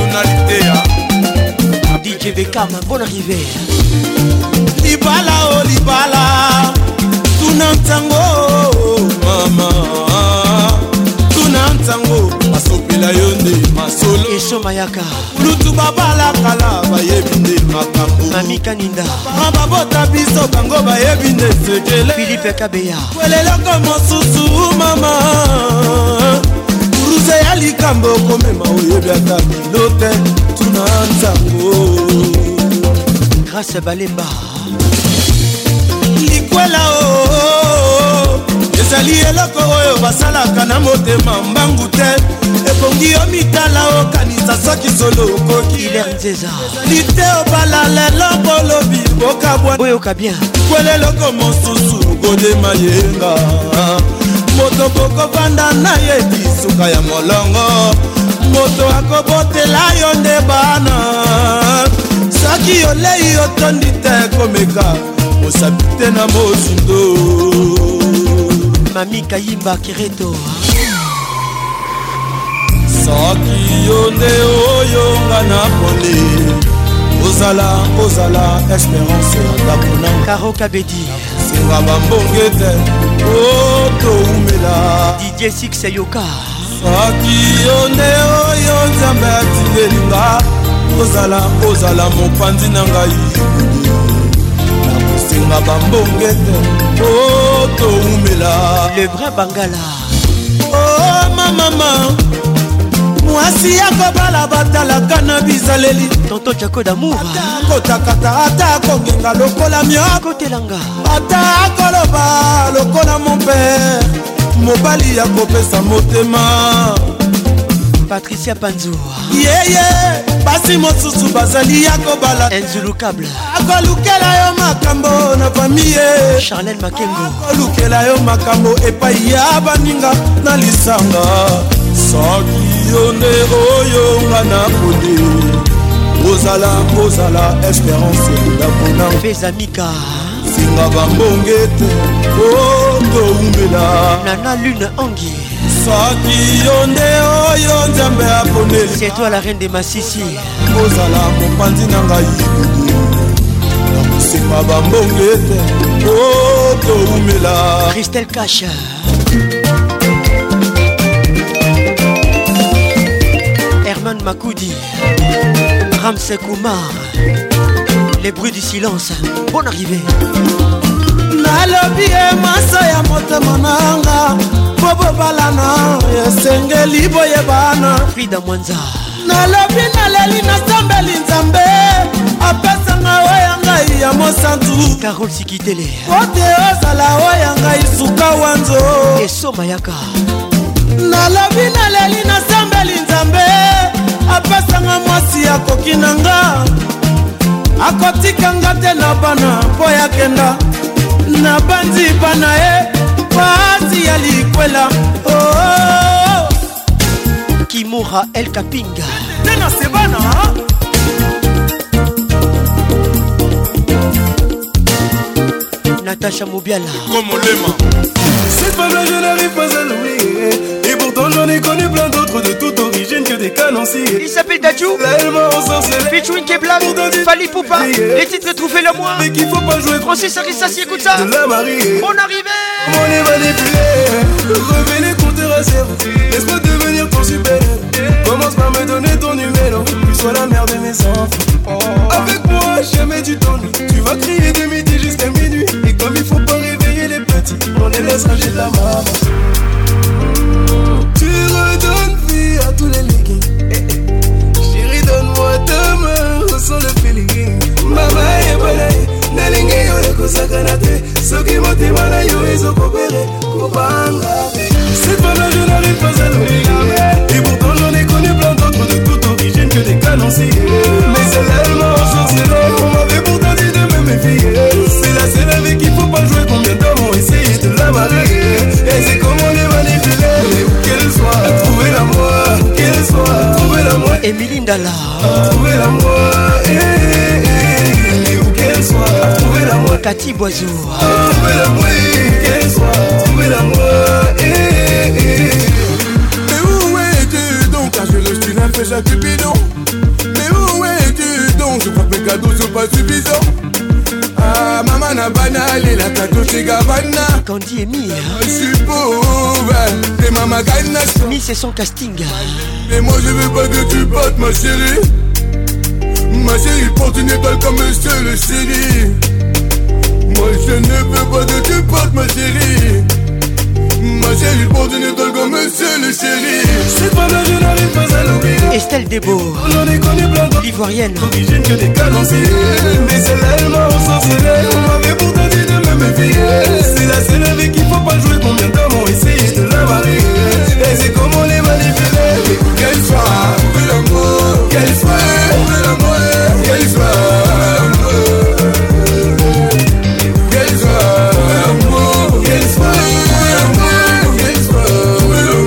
D J Beckham, bonne arrivée. Libala, oh Libala, tunantango, mama. Tunantango, masopila yonde, masolo. Eso Mayaka. Lutu babala kala, bayebinde makambo. Mami Kaninda. Mababota biso bango bayebinde sekele. Philippe Kabeya. Welelo komo susu, mama. Uruze ya likambo komema oyebi ata milote. Tunantango. Grâce Balemba. Likwela o ezali eloko oyo basalaka na motema mbangu te ebongi yo mitala okanisa soki solo okoki lite obala lelo bolobi bokabwa boyoka bien kwela eloko mosusu kodema yenga moto bokovanda na ye bisuka ya molongo moto akobotela yo nde bana soki olei otondi te komeka osapite na mosindo Mami Kayimba Kireto soki yo nde oyo nga na pole ozala ozala espérance ya ndako Karo Kabedi singa bambonge te otoumela Didier Six Yoka soki yo nde oyo nzambe atindelinga ozala ozala mopanzi na ngai singa bambongete o toumela le vrai bangala oh mama mwasi yakobala batalaka na bizaleli tonto jako d'amour kotakata ata kongenga lokola mioko telanga ata koloba lokola mon père mobali ya kopesa motema Patricia Panzo yeye yeah, basi mosusu bazali ya kobala Enzulukable akolukela yo makambo na famille Charlène Makengo akolukela yo makambo epai ya baninga na lisanga soki yo nde oyo nga na poni ozala kozala espérance ndapona Fezamika singa bambongete o toumela Nana Lune Angi soki yo nde oyo nzambe aponeli c'est toi la reine de Massissi kozala mopanzi na ngai nakosenga bambongete o toumela Christelle Cash Herman Makoudi Ramsey Koumar les bruits du silence bonne arrivée nalobi e masa ya motema nanga po bobalana esengeli boyebana Frida Mwanza nalobi naleli nasambeli nzambe apesanga oya ngai ya mosantu Carole Sikitele ote ozala oya ngai suka wanzo esoma yaka nalobi naleli nasambeli nzambe apesanga mwasi akoki nanga akotikanga te na bana mpo yakenda na banzi bana e pasi ya likwela oh, oh, oh. Kimura El Kapinga tena sebana Natacha Mobiala cette femme-là je n'arrive pas à l'oublier et pourtant j'en ai connu plein d'autres de toute origine que des canonciers. Il s'appelle Dadju featuring Keblan Fali Poupa les titres trouvés le mois mais qu'il faut pas jouer Francis Arissassi écoute ça de la mariée on arrivait on est manipulé revenez compter à zéro laisse-moi devenir ton super commence par me donner ton numéro tu sois la mère de mes enfants avec moi jamais tu t'ennuies tu vas crier de midi jusqu'à minuit et comme il faut pas réveiller les petits on les laisse ranger de la maman tu redonnes vie à tous les leggings eh, eh. Chérie donne-moi ta main ressens le feeling mama et balaye nalingi yo lekosaka te soki motema na yo ezokopere kopanga cette femme-là je n'arrive pas à l'oublier et pourtant j'en ai connu plein d'autres de toute origine que des canonciers mais celle-là elle m'a ensorcelé on m'avait pourtant dit de me méfier c'est la seule avec qui faut pas jouer combien d'hommes ont essayé de la marier et c'est comment les manipuler mais où qu'elle soit trouver l'amour qu'elle soit trouver l'amour Émilie Ndala trouver l'amour eh, eh, eh, où qu'elle soit trouver l'amour Cathy Boiseau trouver l'amour qu'elle soit trouver l'amour eh, eh. Mais où es-tu donc car je le suis un péché cupidon mais où es-tu donc je crois que mes cadeaux sont pas suffisants ah maman n'a banali la cadeau chez Gavana Candy et Mia je suis pauvre t'es maman Gana Mi c'est son casting mais moi je veux pas que tu battes ma chérie ma chérie porte une étoile comme monsieur le chéri moi je ne veux pas que tu battes ma chérie ma chérie porte une étoile comme monsieur le chéri cette femme-là je n'arrive pas à l'oublier Estelle Debo j'en ai connu plein d'autres l'Ivoirienne d'origine que des canonciers mais celle-là elle m'a ensorcelé on m'avait pourtant dit de me méfier c'est la seule avec qui faut pas jouer combien d'hommes ont essayé de la marier et c'est comment les manipuler mais qu'elle soit trouver l'amour qu'elle soit trouver l'amour qu'elle soit qu'elle soit l'amour qu'elle soit qu'elle soit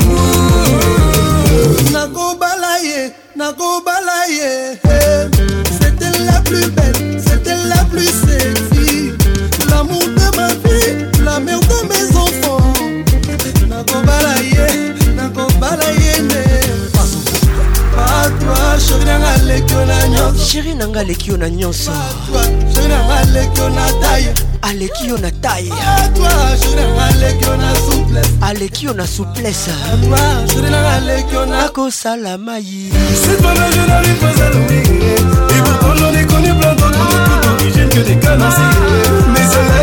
Nago balaye, Nago balaye, c'était la plus belle, c'était la plus sexy, l'amour de ma vie, la mère de mes enfants. Nago balaye, Nago balaye, pas toi, chérie nanga lekio na nyonso, chérie nanga lekio na nyonso, toi, chérie nanga lekio na taille, alekio na taille, toi, chérie nanga lekio na souplesse, alekio na souplesse, toi, chérie nanga lekio na kosala mayi. Cette femme-là je n'arrive pas à l'oublier et pourtant j'en ai connu plein d'autres de toute origine que des canonciers mais celle-là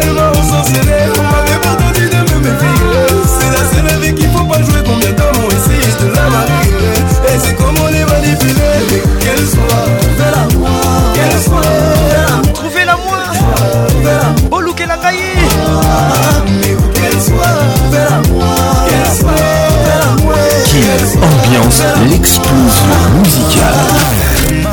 défilé. Qu'elle soit, trouvez-la moi. Qu'elle soit, trouvez-la moi. Bolou qu'elle a gaillé. Mais où qu'elle soit, trouvez-la moi. Qu'elle soit, trouvez-la moi. Kin Ambiance, l'explosion musicale.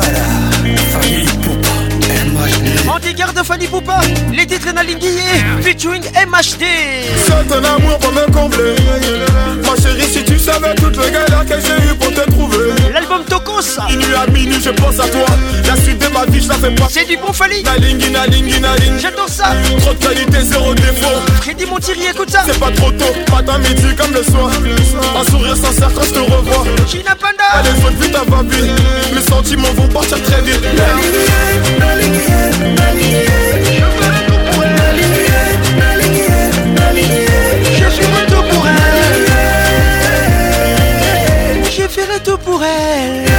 Anti-garde Fanny Poupa, les titres Nalinguier, featuring M H D. C'est un amour pour me combler. Ma chérie, si tu savais toutes les galères que j'ai eu pour te trouver. L'album Tokos. Minuit à minuit, je pense à toi. La suite de ma vie, je la fais pas. C'est du bon Fali. Nalingi, nalingi, nalingi. J'adore ça. Trop de qualité, zéro défaut. Freddy Montieri, écoute ça. C'est pas trop tôt, matin, midi, comme le soir. Un sourire sincère quand je te revois. Gina Panda. Allez, faut vite à ma vie. Mes sentiments vont partir très vite. Je ferai tout pour elle. Je ferai tout pour elle.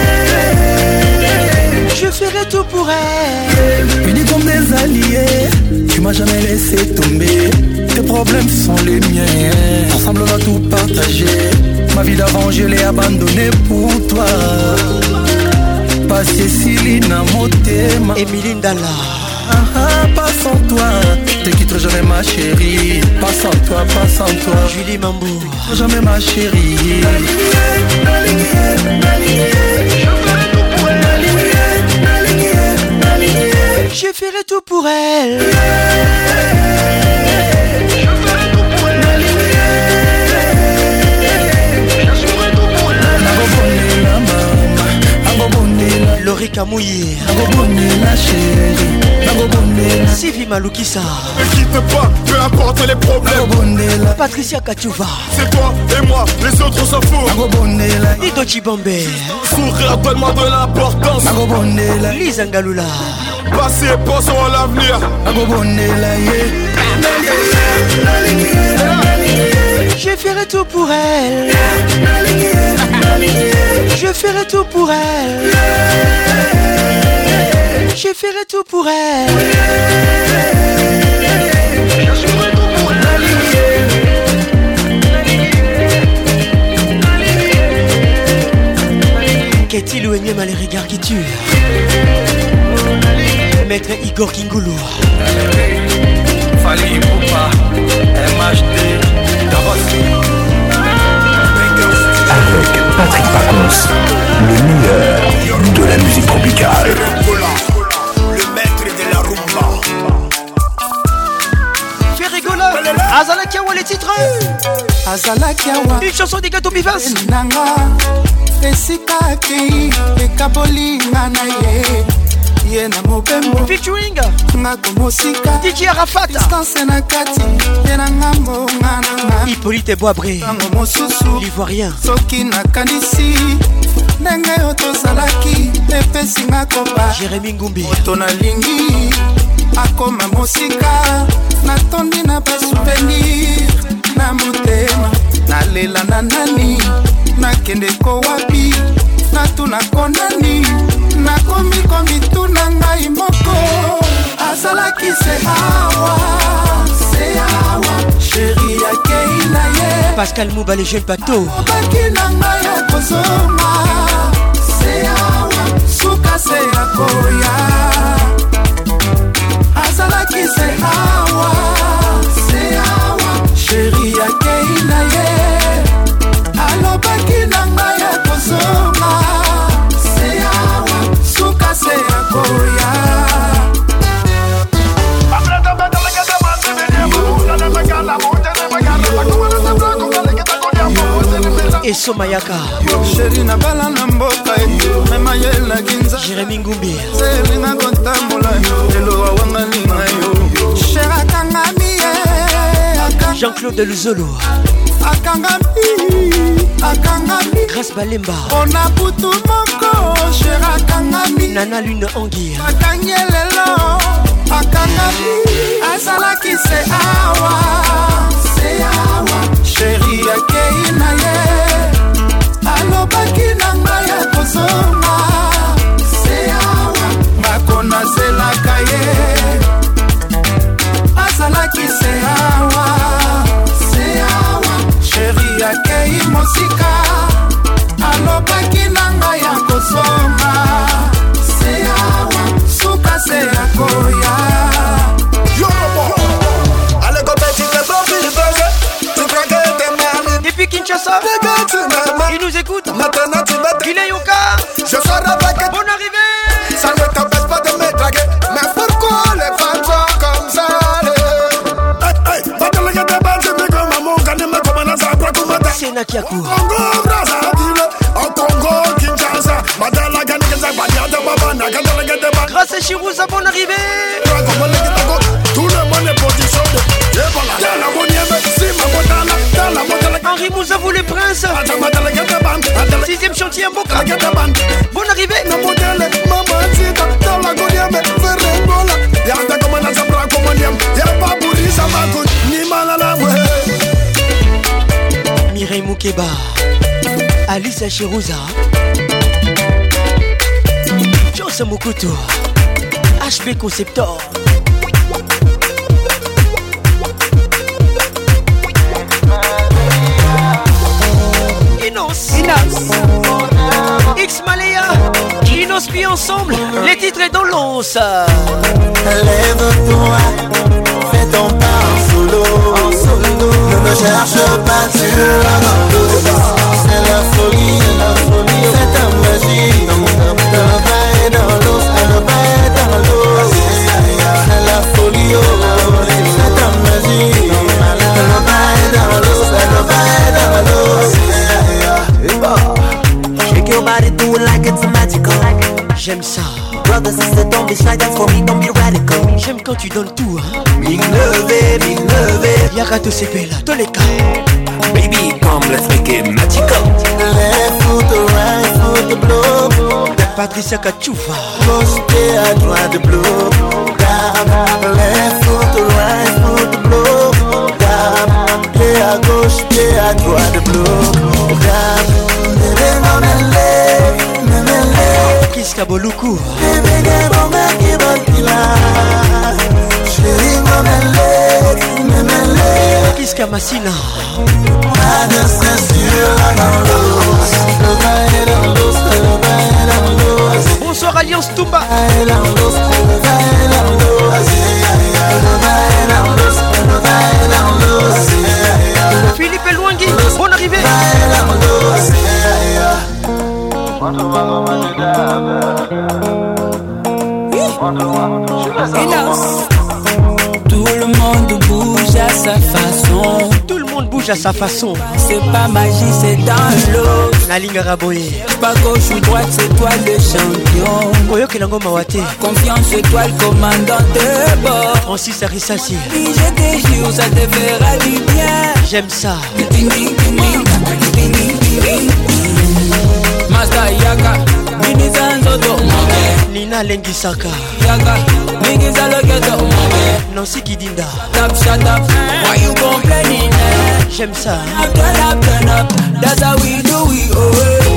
Je ferai tout pour elle. Unis comme des alliés, tu m'as jamais laissé tomber. Tes problèmes sont les miens. Ensemble on va tout partager. Ma vie d'avant je l'ai abandonnée pour toi. Pas Céciline Motema. Emilie Ndala. Ah, ah, pas sans toi, te quitterai jamais ma chérie. Pas sans toi, pas sans toi. Julie Mambo. Jamais ma chérie. Je ferai tout pour elle. Laurie Kamouye. Sylvie Maloukissa. Ne quitte pas, peu importe les problèmes. Patricia Kachouva. C'est toi et moi, les autres s'en foutent. Nido Chibombe. Sourire, donne-moi de l'importance. Lisa Ngaloula. Passez et pensons à l'avenir. Je ferai tout pour elle. Je ferai tout pour elle. Je ferai tout pour elle. Qu'est-il ou énième à les regards qui tuent? Maître Igor Kingoulou. Fali Poupa, M H D, Davos. Avec Patrick Pacons, le meilleur de la musique tropicale. Le maître de la rumba. Ferregola, Azala Kiawa les titres. Azala Kiawa. Une chanson des gâteaux Bivas. Nanga, Esika Kei, Ekaboli Nanaye. Yena mopembo featuring ngako mosika D J Arafat distance na kati yena ngambo ngana Hippolyte Boabré ngambo mosusu l'ivoirien soki nakandisi ndenge yo tozalaki epesi ngako ba Jérémy Ngumbi moto nalingi akoma mosika natondi na basouvenir na motema nalela na nani nakende ko wapi natuna konani nakomi komi tuna ngai moko azalaki se awa se awa chéri ya keina ye Pascal Mouba les jeunes bateaux obaki na ngai ya kozonga se awa suka se ya koya azalaki se awa se awa chéri ya keina ye alobaki na ngai ya kozonga se akoya et Somayaka Chéri na bala na mboka mema yela ginza Jérémy Ngumbi Selinga kontambola elo awanga linga yo Chera kangami Jean-Claude Luzolo akangami akangami Grâce Balemba on a butu moko Chera kangami Nana Lune Anguille akanyelelo akangami azalaki se awa se awa chéri ya keina ye alobaki na ngai ya kozonga se awa makona zelaka ye azalaki se awa se awa chéri ya kei mosika alobaki na ngai ya kozonga Je serai avec. Bonne arrivée. Ça ne t'empêche pas de me draguer. Mais pourquoi les femmes sont comme ça? Hey, hey, va te lever de base, mais comme maman, quand il me commande ça, après tout matin. C'est Nakiakou. Congo, Brazzaville, au Congo, Kinshasa. Madala, Gani, Kinshasa, Badiade, Babana, Gandala, Gadeba. Grâce à Chirouza, bonne arrivée. Tout le monde est positionné. Et voilà, dans la bonne si ma botala, dans la botala. Henri Moussa, vous les princes. Sixième chantier, en Boca. Bonne arrivée. Na modèle, maman, tita, dans la gonième, Ferrengola. Y'a ta commande à sa bras, commandiem. Y'a pas pourri, ça va coûter, ni mal à la ouais. Mireille Moukeba, Alice Chirouza, Joss Mokuto, H P Conceptor. Inos, Inos, X Malaya, Inos puis ensemble, les titres et dans l'once. Lève-toi, fais ton pas en solo, en solo. Ne me cherche pas sur la bande. C'est la folie, la folie, c'est ta magie. Le vin est dans l'eau, le vin est dans l'eau. C'est la folie, c'est ta magie. Le vin est dans l'eau, le vin est dans l'eau. Shake your body, do it like it's magical. J'aime ça. Brother, sister, don't be shy, that's for me, don't be radical. J'aime quand tu donnes tout, hein. Big levé, big levé. Yagato Sepela, tous les cas. Baby, come, let's make it magical. Left foot to right foot to blow. Patricia Kachoufa. Gauche, pied à droite de blow. Left foot to right foot to blow. Pied à gauche, pied à droite de blow. Kiska Boluku. Kiska Massina. Bonsoir Alliance Toumba. Philippe Elouangui, bonne arrivée. Tout le monde bouge à sa façon. Tout le monde bouge à sa façon. C'est pas magie, c'est dans l'eau. La ligne Raboye. Pas gauche ou droite, c'est toi le champion. Koyo Kelango Mawate. Confiance, c'est toi le commandant de bord. Francis Arissassi. Si je te jure, ça te fera du bien. J'aime ça. Master Yaka, Minizanzoto, Nina Lengisaka, Yaka, Mingizalogeto, Nancy Kidinda. Tap, shut up, why you complaining? J'aime ça. Turn up, turn up, that's how we do it, oh.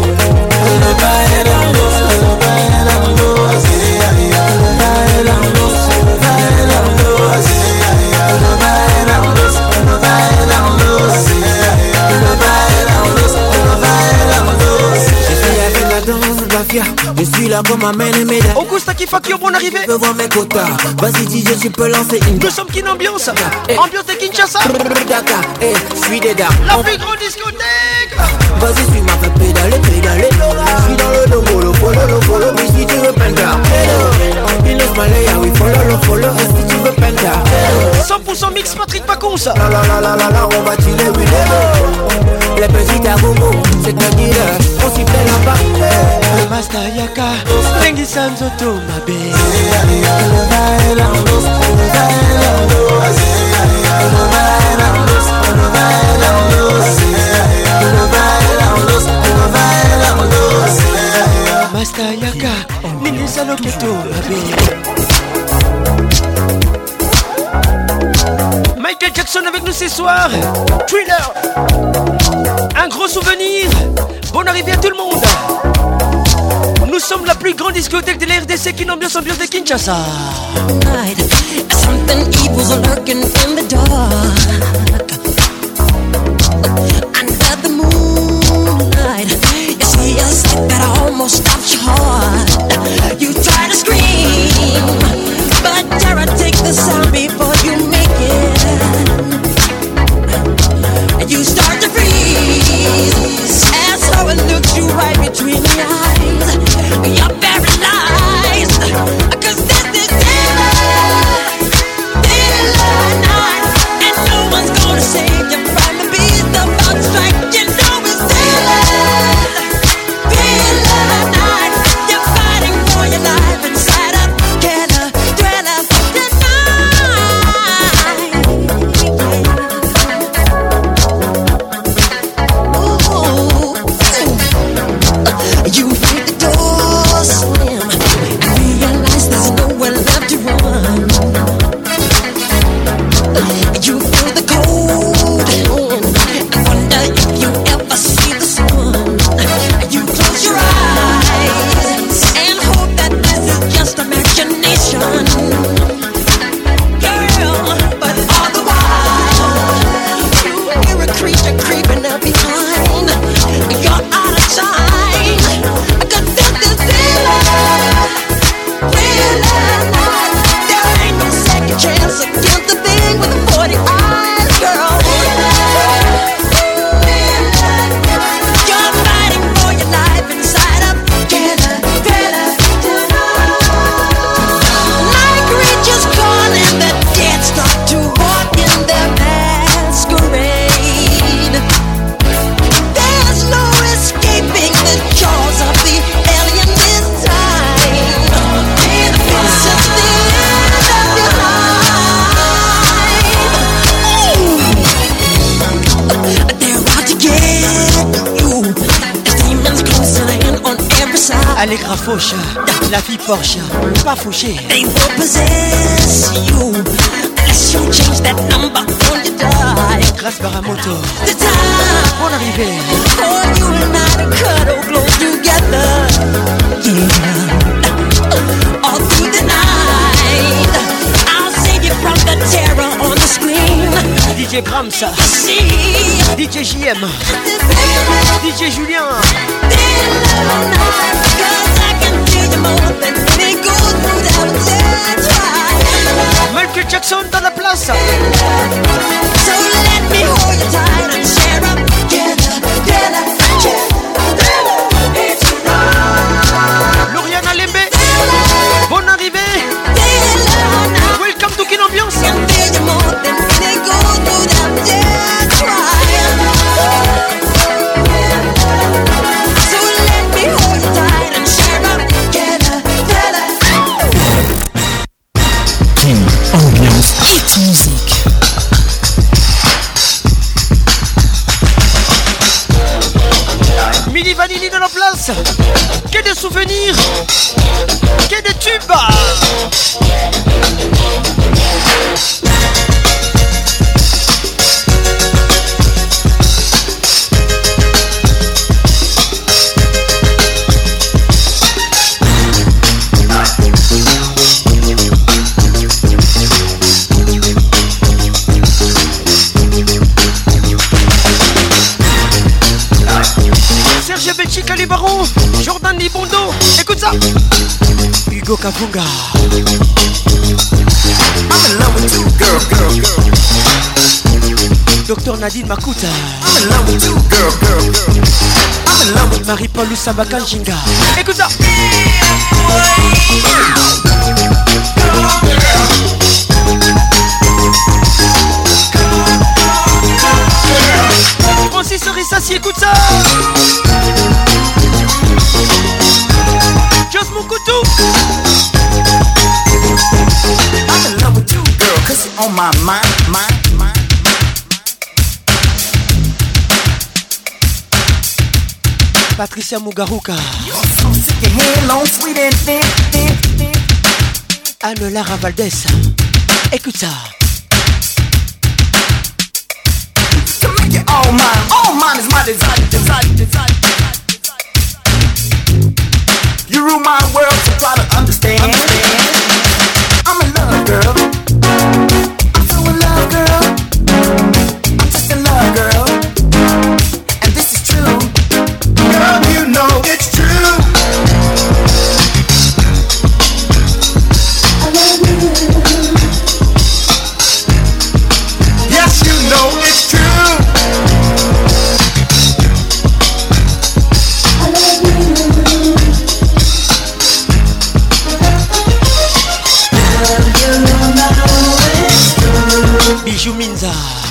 Je suis là comme un ménéméda. Augusta Kifakio, bonne arrivée. Je veux voir mes quotas. Vas-y D J, tu peux lancer une. Nous sommes qu'une ambiance. Ambiance de Kinshasa. Dakar, eh, je suis des dards. La plus grande discothèque. Vas-y, suis-moi, fais pédaler, pédaler. Je suis dans le dos, follow, follow, follow. Mais si tu veux penda, il laisse Malaya, oui, follow, follow. Et si tu veux penda, cent pour cent mix Patrick Pacons. La la la la la la, on va chiller, oui, les petits à gogo, c'est un dealer. On s'y plaît là-bas. Master Yaka, Tengi Sanzoto, ma bé. Master Yaka, Nini Saloketo, ma bé. Michael Jackson avec nous ce soir. Thriller. Un gros souvenir. Bonne arrivée à tout le monde. Nous sommes la plus grande discothèque de la R D C qui ambiance ambiance de Kinshasa. Something evil's lurking in the dark. Under the moonlight, you see a sight that almost stops your heart. You try to scream, but terror takes the sound before you make it. And you start to freeze as someone looks you right between the eyes. Allegra Fauche, la vie Porsche, pas fauché. They will possess you unless you change that number on your die. Grâce Baramoto. The time. Bonne arrivée. For you and I to cuddle close together. Yeah. All through the night. I'll save you from the terror on the screen. D J Brahms. D J J M. D J Julien. Michael Jackson dans la place. So let me hold you tight and share up together, together, together. Lauriana Lembe. Bonne arrivée. Welcome to Kin Ambiance. Ambiance hit music. Mini Vanilli dans la place. Que des souvenirs. Que des tubes. Serge Belchi, Calibaron, Jordan Libondo, écoute ça. Hugo Kafunga. I'm in love with you, girl, girl, girl. Docteur Nadine Makuta. I'm in love with you, girl, girl, girl. I'm in love with Marie-Paul Lusamba Kanjinga. Écoute ça. Francis Rissassi, écoute ça. Just Moukoutou. I'm in love with you, girl, cause you're on my mind, mind, mind. Patricia Mugaruka. You're so sick and head long, sweet and thin, thin, thin. Anne Lara Valdez. Écoute ça. To make it all mine, all mine is my desire, desire, desire, desire. You rule my world, so try to understand. understand. I'm in love, girl. I'm so in love, girl. I'm just in love, girl. And this is true. Girl, you know it's true. I love you. Yes, you know it's true. I love you. Bijou Minza.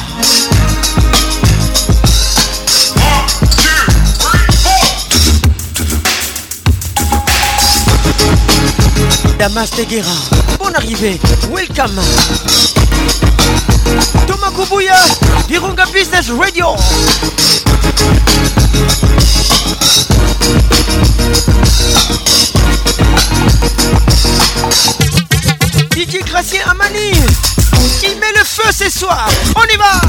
Damas Teguera. Bonne arrivée. Welcome. Thomas Koubouya. Virunga Business Radio. D J Gracier Amani. Il met le feu ce soir. On y va.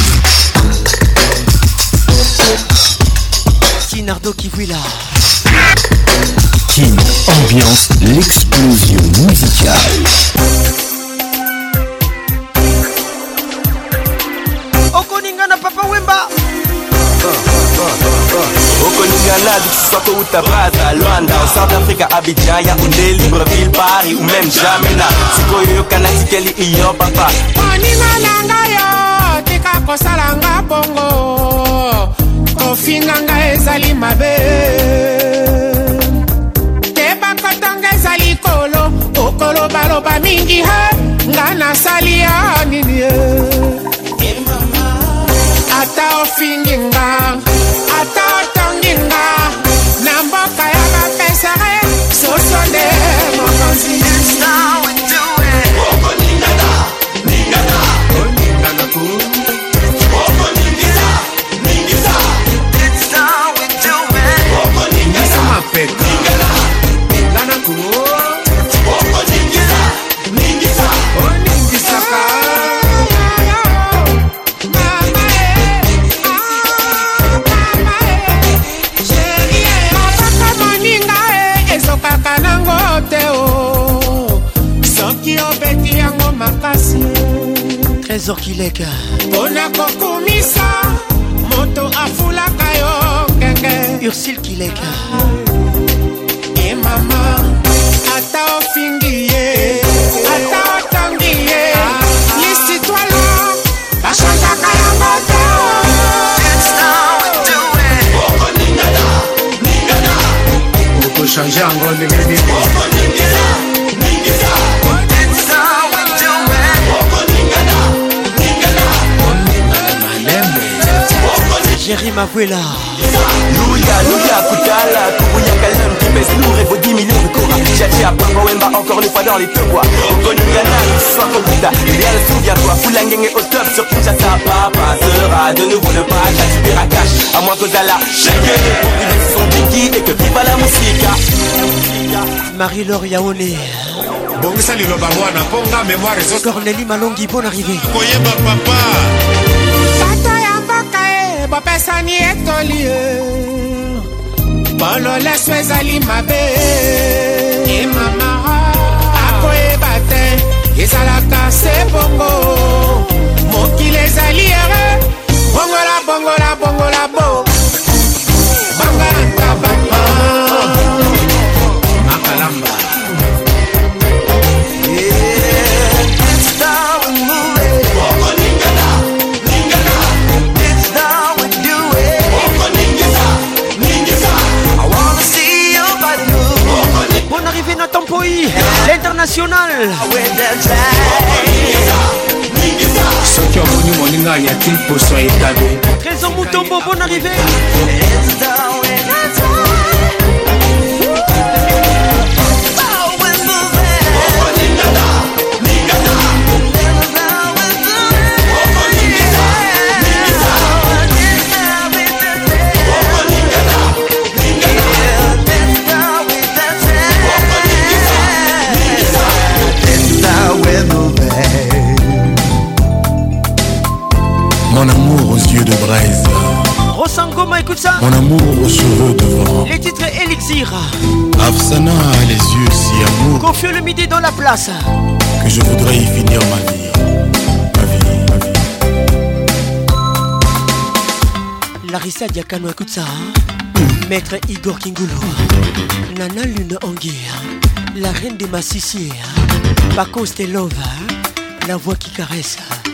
Sinardo Kivuila. Kin Ambiance, l'explosion musicale. Okoningana Papa Wemba. Okoningana du Soto Utabraza, Luanda, au South Africa, Abidjan, Yaoundé, Libreville, Paris ou même Jamena. Sikoyo Kanatikeli iyo papa. Oninga yo, tika kosalanga bongo. Kofinanga ezali mabe. Teba kotonga ezali kolo, okolo baloba mingi he, ngana salia nini ye. Ata ofinginga, ata otonginga, na mboka ya bapesare, sosonde mokonzi. It's now we do it. Oko ningana, ningana, ningana ku. Oko ningisa, ningisa. It's now we do it. Oko ningana, ningana. Trésor Kileka Pona kokumisa moto afulaka yo kenge Ursule Kileka E mama ata ofingiye ata otangiye Lisi toi là bachangaka ya moto That's how we do it Oko ningana ningana Oko changer en ndenge nini Oko ningana ningana That's how we do it Oko ningana ningana Jerry Mavuela Louya, Louya, Koutala, Kourouya, Kalem, Kipes, Nour et vos dix millions de Cora Tchatchi à Papa Wemba, encore une fois dans les deux bois Okonigana, soit Kobuta, Réal, souviens-toi, Foulangeng est au top sur Kinshasa Papa sera de nouveau le pack, à du Piracash à moins qu'Ozala, Shake pour une son Tiki et que viva la musica Marie-Laure Yaoné Bongisa Liloba Mwana, Ponga, mémoire et autres Cornélie Malongi, bonne arrivée Koyeba papa Tata ya mbaka e, bapesani etoli e Bolo leso ezali mabe E mama akoyeba te ezalaka se bongo Mokili ezali ere Bongola, bongola, bongola, bo Bangala ntabaka Makalamba Bonne arrivée Nathan Poi, l'international. Soki omoni moninga ya tin poso etabe Trésor Moutombo, bonne arrivée. Mon amour aux yeux de braise, Rosangoma, écoute ça. mon amour aux cheveux de vent. Les titres Elixir. Afsana a les yeux si amour Confieux le midi dans la place. que je voudrais y finir ma vie. Ma vie, ma vie. Larissa Diakano, écoute ça. Hein? Maître Igor Kingoulou. Nana Lune Anguille. La reine des massissiers. Paco Stelova. La voix qui caresse.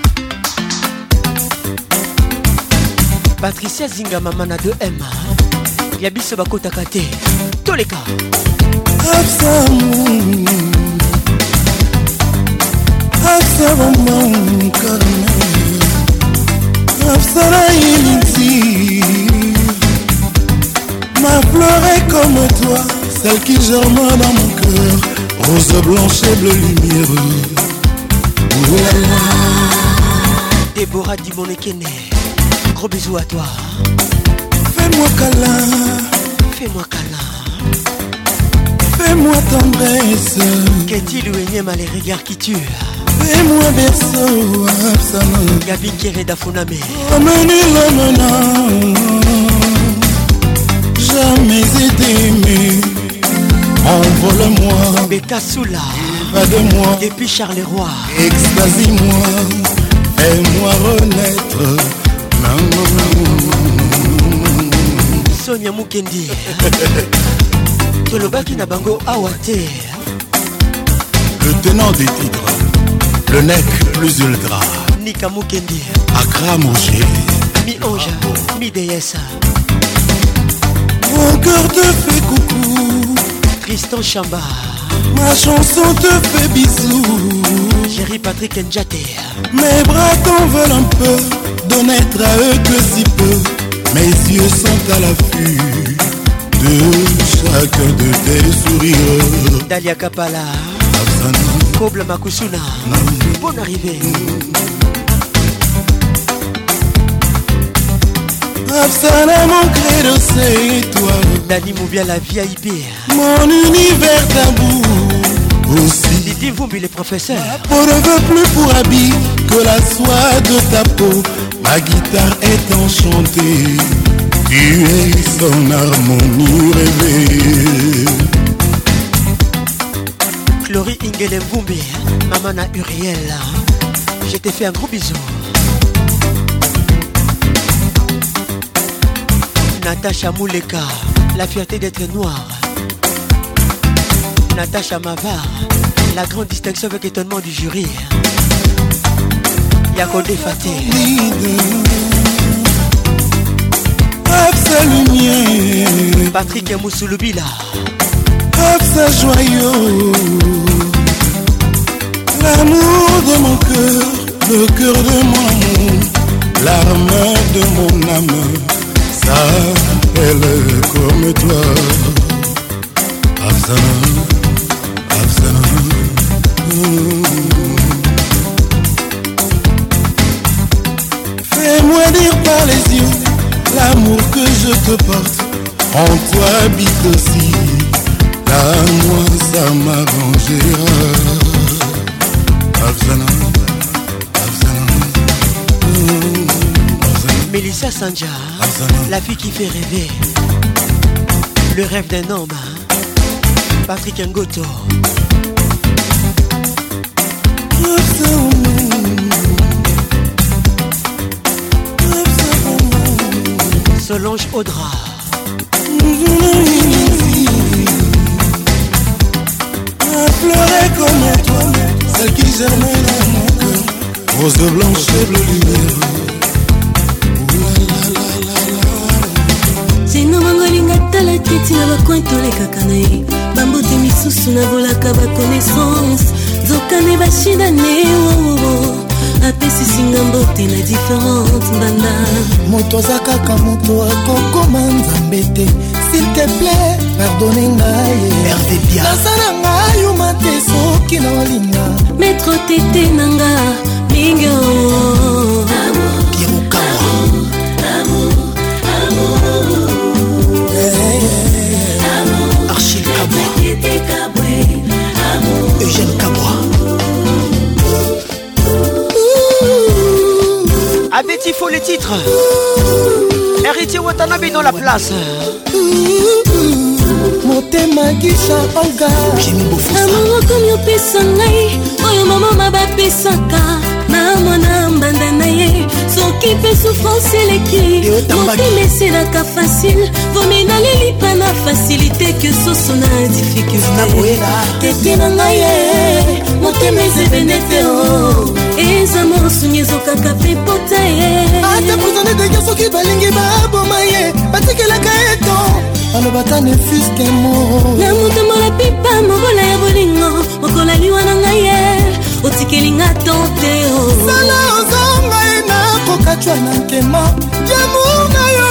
Patricia Zinga Mamana de M. Yabiso Bako Takate. Tous les cas. Absamu Absamu Karma Absara Ilinti Ma fleur est comme toi, celle qui germe dans mon cœur, rose blanche et bleu lumière. Déborah Dimonekene. Gros bisous à toi. Fais-moi câlin, fais-moi câlin, fais-moi tendresse. Qu'est-il ou énième à les regards qui tuent? Fais-moi berceau, Absana. Gabi Kereda Funame. Ameni l'homme, jamais été aimé. Envole-moi, Beta Soula. va de moi. Depuis Charleroi. Extasie-moi, fais-moi renaître. Sonia Mukendi. Tolobaki na bango awate. Le tenant des tigres, le nec plus ultra. Nika Mukendi. Accra Mouché. Mi-ange, mi-déesse. Mon cœur te fait coucou. Tristan Chamba. Ma chanson te fait bisous. Jerry Patrick Njate. Mes bras t'en veulent un peu, de n'être à eux que si peu. Mes yeux sont à l'affût de chacun de tes sourires. Dalia Kapala. Koble Makusuna. Bonne arrivée. Absana, mon credo, c'est toi. Dani Moubia, la V I P. Mon univers tabou aussi. Didi Vumbi, les professeurs. Ma peau ne veut plus pour habit que la soie de ta peau. Ma guitare est enchantée. Tu es son harmonie rêvée. Chloé Ingele Vumbi. Mamana Uriel. Je t'ai fait un gros bisou. Natacha Mouleka, la fierté d'être noire. Natacha Mavar, la grande distinction avec étonnement du jury. Yakodé Faté. Absa lumière, Patrick Moussoulubila. Absa joyeux, l'amour de mon cœur, le cœur de mon amour, l'arme de mon âme, ça elle est comme toi. Absa, Absa, fais-moi dire par les yeux l'amour que je te porte, en toi habite aussi. Là, moi, ça m'arrangera. Afzana, Afzana, Afzana. Mélissa Sanja, la fille qui fait rêver. Le rêve d'un homme. Patrick Ngoto. Solange Audra. À pleurer comme toi, celle qui germait dans mon cœur, rose de blanche et bleu lumière. Sino mangolinga tala keti na bakwentolekaka na ye bambote misusu na volaka baconnaissance zokane bashida ne wowowo apesisinga mbote na différente mbanda moto aza kaka moto akokoma nzambe te s'il te plaît pardonne ngai nasala ngai yuma te soki na olinga metro tete nanga mingi Archil Kabwa, Eugène Kabwa. Avec il faut les titres. Héritier Watanabe dans la place. Motema gisha olga amour comme yopesa ngai oyo mama mabapesaka na mwana mbanda na ye soki mpe souffrance eleki motema eselaka facile vomina lelipa na facilité ke soso na difficulté tete na ngai ye motema ezebene te o eza mosuni ezokaka mpe pota ye ata prisonne dege soki balingi baboma ye batikelaka eto alobata ne fuske mo na motombola pipa mobola ya bolingo okola liwa na ngai ye otikelinga tante o sala ozonga ye nakokatwa na nkema yamour na yo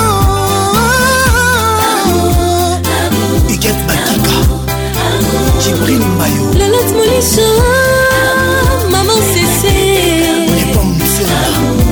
iget bakika jibril mayo lelot molisho maman sese lepom musela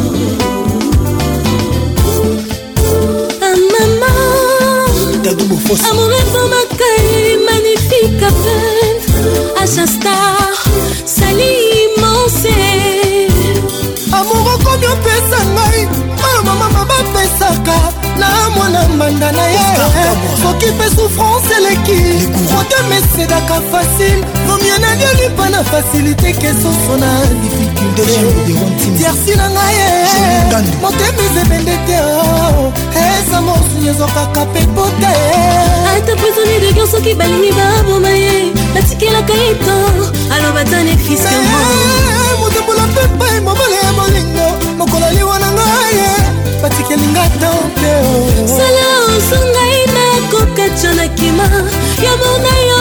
amoureux pour ma caille magnifique à peine Achastar sali immense amoureux comme yopesa ngai oyo mama mabapesaka na mwana mbanda na ye soki mpe souffrance eleki krote mesedaka facile vomie na liolipa na facilité ke soso na difficulté tiersi na ngai ye motema ezebende te eza mosuni ezokaka mpe pota ata prisonnier de guerre soki balingi baboma ye batikelaka eto aloba tane fiskemo motembola pepai mobole ya molingo mokolo liwa na ngai ye batikelinga tante sala osongai nakokatya na kima ya mona yo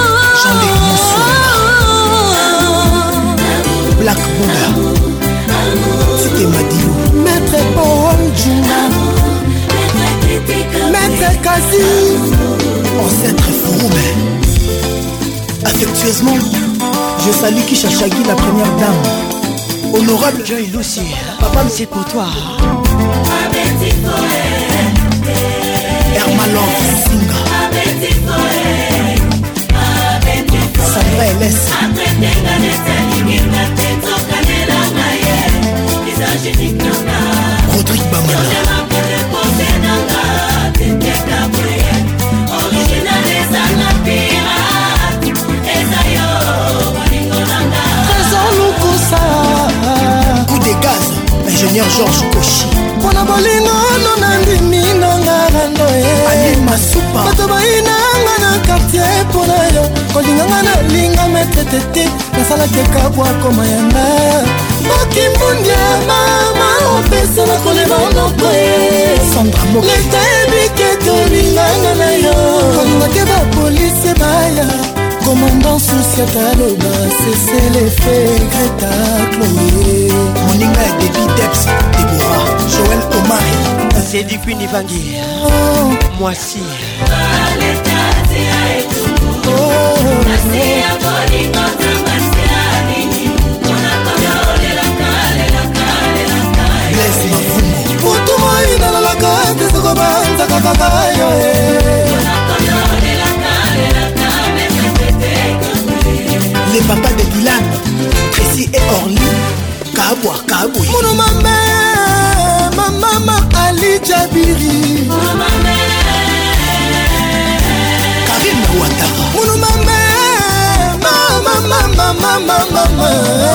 Black Buddha Tite Madiou Maître Paul Juna Maître Kazi Ancêtre Fouroumé. Affectueusement je salue Kisha Shagi, la première dame. Honorable Joy Lucy, papa c'est pour toi. Hermalon Singa Sandra L S Rodrigue Bamana Trésor Lukusa Georges Koshi mpona bolingono nandimi nanga rando masupa bato bayinanga na quartier mpona yo kolinganga nalinga metetete nasalaki ekabwa komayanga mokimbundi ya mama opesa na kolema noko ye leta ebike tolinganga na yo kolinga te bapolisi baya commandant souciata aloba sese lefe greta chloé moninga ya debi dex debora joel omari c'est du Pinivangi moi si mutu moi nalalaka tesoko banzaka kaka yo les papas de Dylan, Tracy et Orly, Kabwa, Kabou. Mon maman, ma maman Ali Jabiri. Mon maman, Karim Ouattara. Mon maman, ma maman, ma maman, ma maman.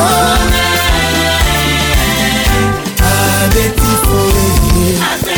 Abeti Foé.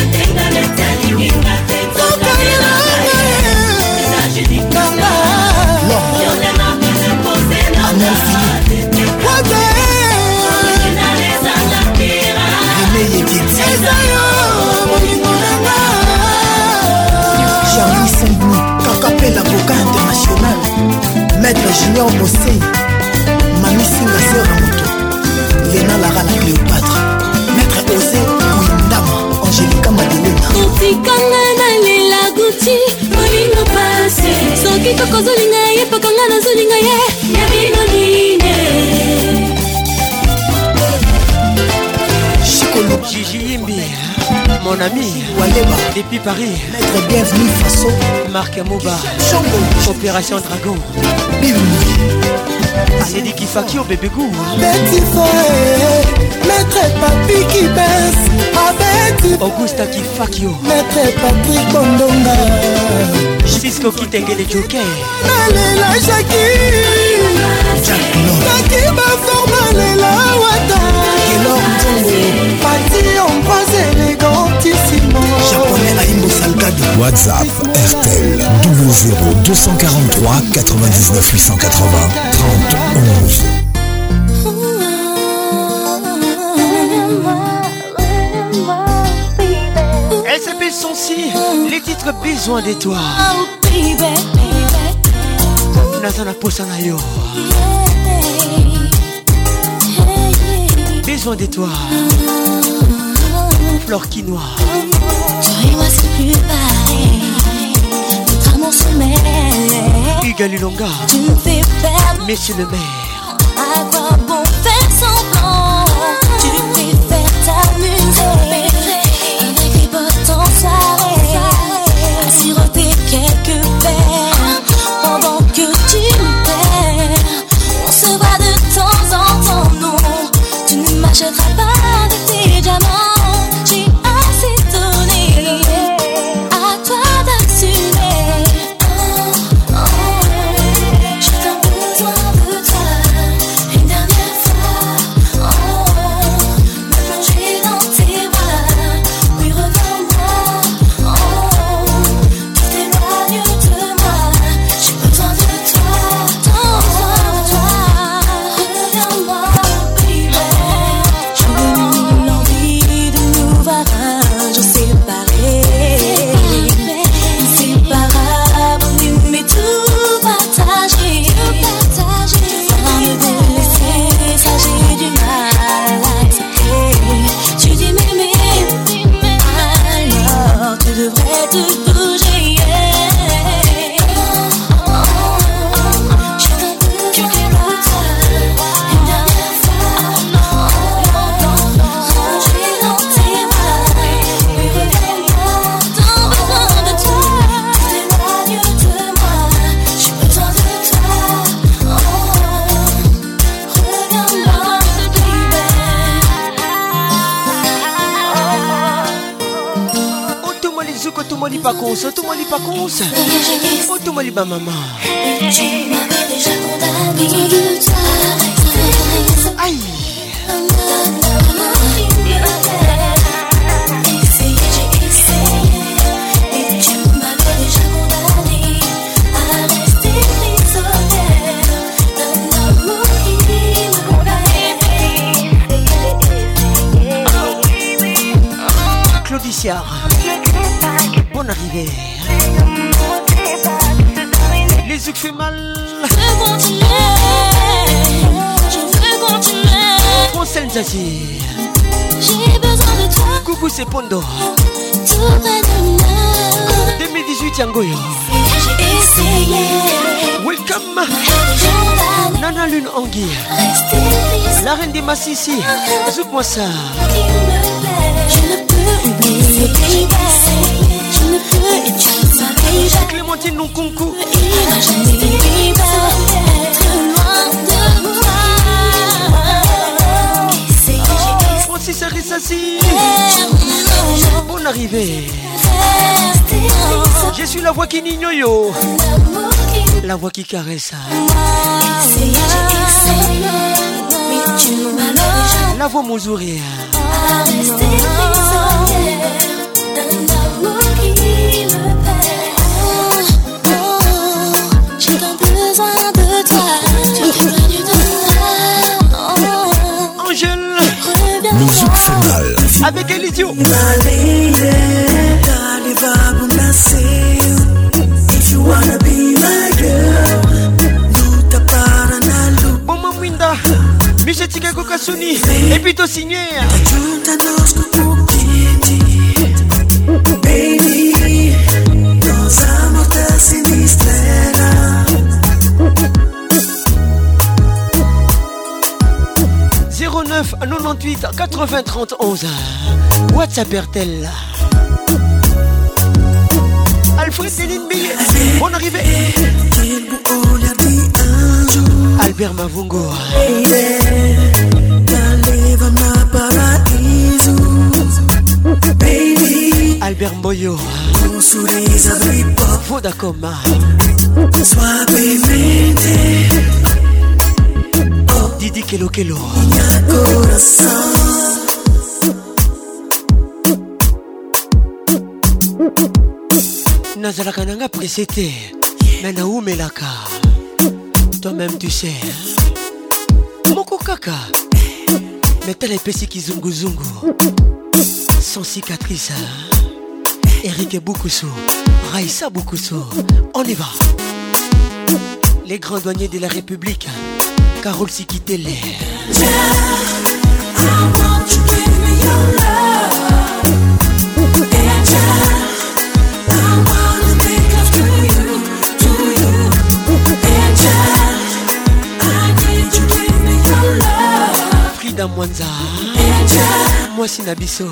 Charlie Saint-Denis, Kakapé l'avocat international, Maître Junior Bossé, Mami Singa Sera Moto, Léna Lara la Cléopâtre, Maître Osé Kouindama, Angélica Madelena. Otikanga na lela guti, molingo pase, soki toko zolinga ye, pakanga na zolinga ye, yabino nine. Gigi Yimbi, mon ami, Waleba, depuis Paris, Maître Bienvenu Faso, Marc Amouba, Opération Dragon, c'est dit qu'il fait au bébé goût. Betty Foé, Maître Papi qui baisse, avec Augusta qui fakio, Maître Patrick Bondonga, Cisco qui tengue les jokers, Nalela Jackie, Jackie Baforma Lela Wata, Kelor Nzongo, Pati Ambroise élégantissimo, Japonais Aimbo Salgado. WhatsApp R T L double zéro deux cent quarante-trois quatre-vingt-dix-neuf huit cent quatre-vingts trente onze. Elle s'appelle Sonsi, les titres Besoin de toi. Nazana Posanayo. Besoin de toi. Fleur quinoa. Toi et moi c'est plus pareil. Notre amour se mêle. Hugues Lulonga. Tu me fais perdre. Monsieur le maire. À quoi bon faire semblant? Tu préfères t'amuser. Un écrit en soirée. À siroter quelques verres. Pendant que tu me perds. On se voit de temps en temps, non. Tu ne m'achèteras pas de tes diamants. J'ai assez donné. À toi d'assumer. Oh, oh. J'ai tant besoin de toi. Une dernière fois. Oh, me plonger dans tes bras. Oui, reviens-moi. Oh, tu t'éloignes de moi. J'ai besoin de toi. Tant besoin de toi. Reviens-moi, baby. J'ai l'envie de nous voir un jour séparés. Inséparables, mais tout partagé. Tu vas me délaisser, ça j'ai du mal à accepter. Tu dis m'aimer, alors tu devrais te bouger. J'ai tant besoin de toi. Une dernière fois. Ranger dans tes bras. Oui, reviens-moi. Tant besoin de toi. Tu t'éloignes de moi. J'ai besoin de toi. Oh, reviens-moi, Oh, tout le monde est zouk, tout le monde est pas con, tout le monde est pas con. Oh, tout le monde est pas maman. tu m'avais déjà condamné. Aïe. Siar. Bonne arrivée. Les yeux fait mal. Je veux continuer. Je veux continuer. Conseil Zazie. J'ai besoin de toi. Coucou c'est Pondo. Tout près de moi. deux mille dix-huit Yangoyo. J'ai essayé. Welcome. Nana Lune Angui. La reine des Massissi. Zouk-moi ça. Je ne peux oublier. Je ne peux utiliser. Clémentine Nkunku. Imaginer être loin de moi. Francis Arissassi. Bonne arrivée. Je suis la voix qui nignoyo. La voix qui caresse. La voix Mouzouri. J'ai tant besoin de toi. Tu es venu de moi. Angèle. Le zouk fait mal. Avec Elidio. If you wanna be my girl, luta para na luta. Boma Mwinda, Michetika Kokasuni, et puis to signé. Junta dos kukukinti, baby, nos amor te sinistrera. zéro neuf quatre-vingt-dix-huit quatre-vingts trente onze. WhatsApp RTL. Alfred Delinbi, bonne arrivée. Albert Mavungo. Albert Mboyo. Vodacom. Didi Kelo Kelo. Nazalaka nanga précédé, mais na oumelaka. Toi-même tu sais. Moko kaka. Mais tel épécie qui zungu zungu. Sans cicatrice. Eric Boukoussou. Raïssa Boukoussou. On y va. Les grands douaniers de la République. Carole Sikitele. Frida Mwanza. Moi c'est Nabiso.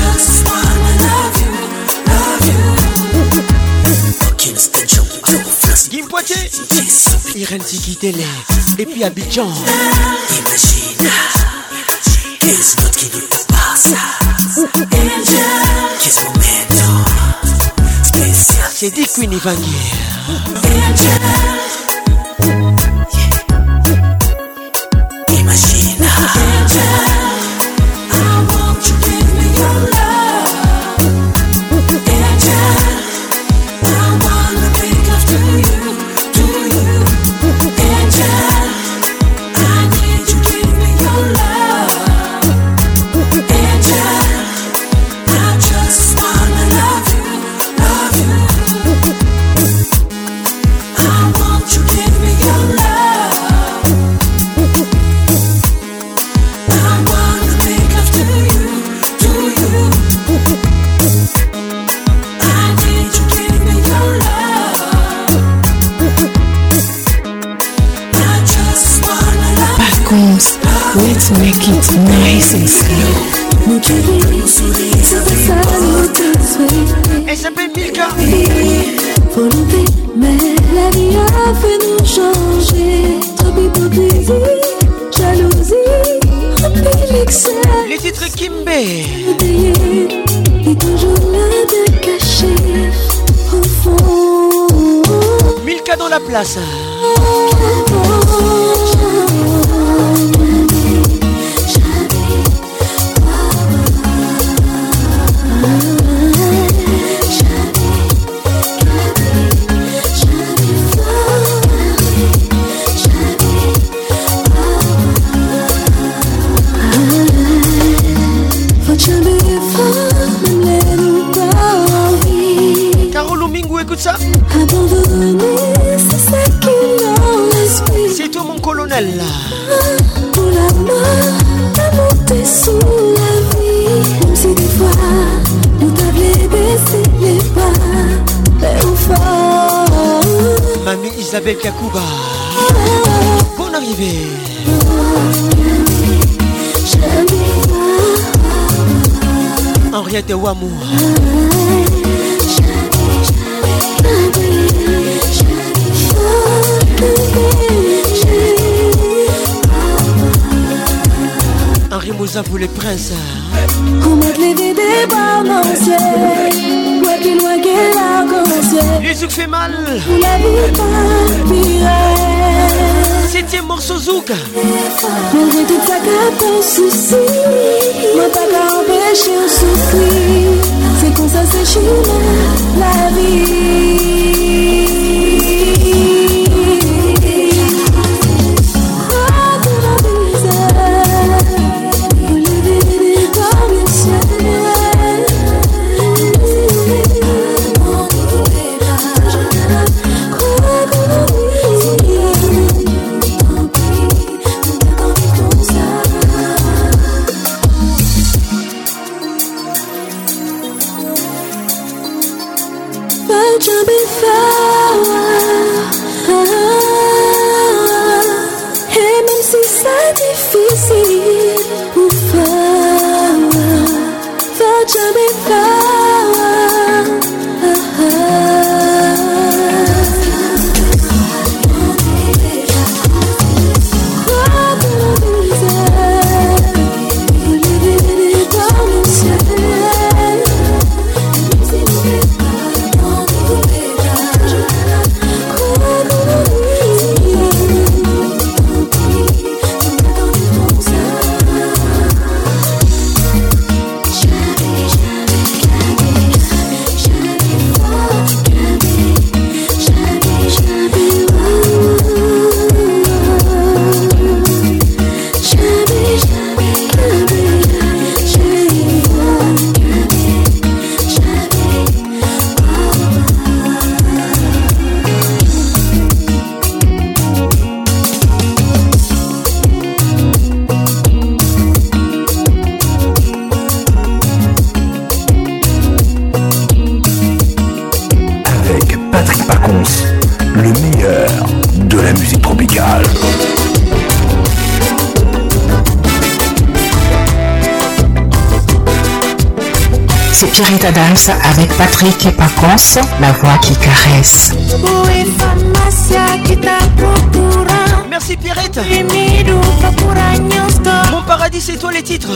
Guim Poitiers. Irène Sikitele. Et puis Abidjan. Imagine, qu'est-ce qui nous passe? Qu'est-ce momento spécial? C'est dit Queen Ivangi. Imagine, I want you to give me your love. Angel, I wanna make love to you, to you. Angel, I need you to give me your love. Angel, I just wanna love you, love you. I want you to give me your love. I wanna make love to you, to you. I need you to give me your love. I just wanna love you. Pacons, let's make it nice and slow. Elle s'appelle Milka. Volonté, mais la vie a fait nous changer. Trop d'hypocrisie, jalousie, remplis l'excès. Les titres Kimbe. Et toujours là de cacher au fond. Milka dans la place. Faut jamais faire même les nous. colonel. Pour la mort, l'amour t'es sous la vie. Même si des fois, nous t'avions baissé les bras. Mais au fond, Mamie Isabelle Kakouba, bonne arrivée. Henriette Ouamou. Henri Moussa pour les princes. Comment te lever des barres dans le ciel. Ouais, plus loin que l'arc-en-ciel. Les zouk fait mal. La vie pas septième morceau zouk. Malgré tout ça qu'à ton souci, moi pas qu'à empêcher de souffrir. C'est comme ça c'est chemin la vie. Et même si c'est difficile pour faire, faut jamais faire. C'est Pierrette Adams avec Patrick et Paconce, la voix qui caresse. Merci Pierrette. Mon paradis c'est toi les titres.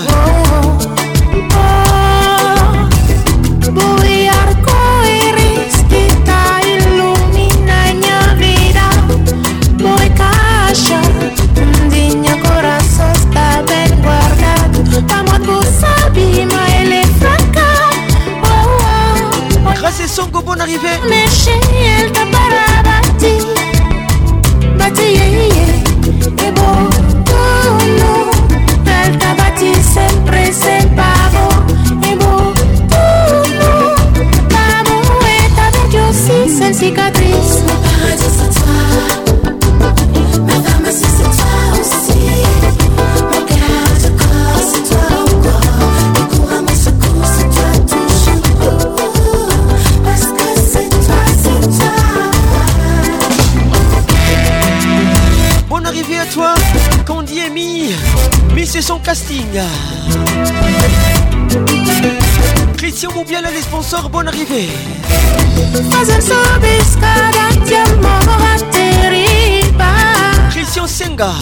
Grâce à Songo, bonne arrivée. Sempre sem pavo e bom tudo vamos eta de aussi sem cicatriz. Paradis c'est toi, ma femme si c'est toi aussi. Mon cœur de corps c'est toi encore. Et cours à mon secours c'est toi toujours. Parce que c'est toi, c'est toi. Bonne arrivée à toi, Candy et Mi. Mi c'est son casting. Christian Moubiala les sponsors, bonne arrivée. Christian Senga.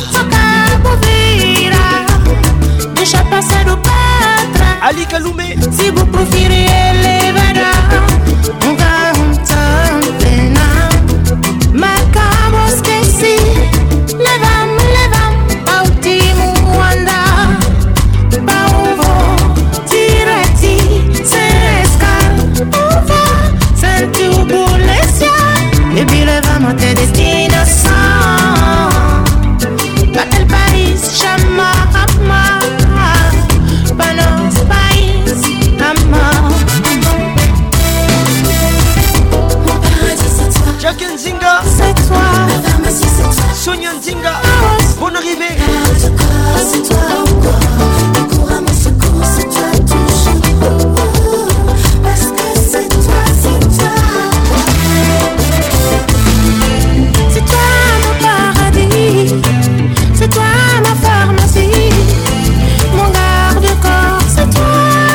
Ali Kaloumé. Si vous préférez elevar, on va un pena. Marcamos que si levam, levam, pautimo anda. Pauvo, tirati, sem escar, uva, sem turbulência. E puis levamos até destinação. Aquele país chama amar. Para nosso país amar. Jack Nzinga. C'est toi. Sonia Nzinga. arrivé. C'est toi ou quoi? Le cours à mon secours, c'est toi toujours. Parce que c'est toi, c'est toi. C'est toi mon paradis. C'est toi ma pharmacie. Mon garde-corps, c'est toi.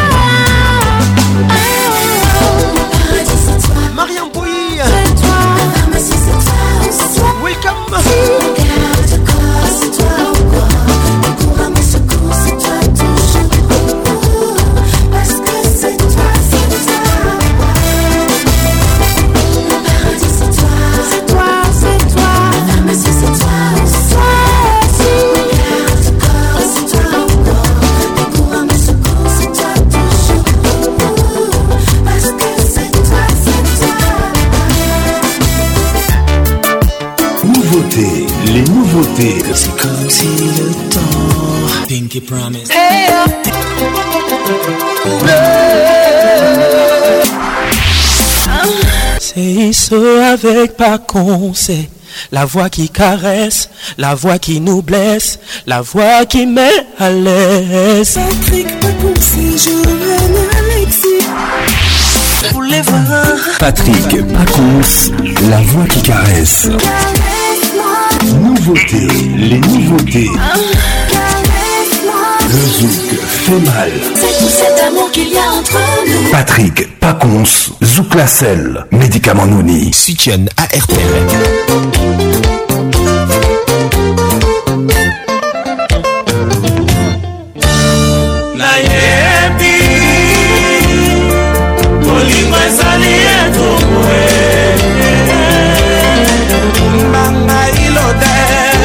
Oh, mon paradis, c'est toi. Mariam Bouy. C'est toi. Ma pharmacie, c'est toi. C'est toi. Welcome. Mon garde-corps, c'est toi ou quoi? Le cours à mon secours, c'est toi toujours. Parce que c'est toi, c'est toi. Mon paradis, c'est toi. C'est toi, c'est toi. Ma pharmacie, c'est toi. C'est toi aussi. Mon garde-corps, c'est toi ou quoi? Le cours à mon secours, c'est toi toujours. Parce que c'est toi, c'est toi. Nouveautés, les nouveautés. C'est comme si le temps Pinky Promise. Hey, C'est ce avec Pacon, c'est la voix qui caresse, la voix qui nous blesse, la voix qui met à l'aise. Patrick Pacon, c'est Joanne Alexis. Pour les voir. Patrick Pacons, la voix qui caresse. Nouveautés, les nouveautés. Le zouk fait mal. C'est tout cet amour qu'il y a entre nous. Patrick Pacons, Zouk la selle, médicament Nouni. Soutien à R T L. Nayebi Bolingo ezali etumwe Mbanga ilode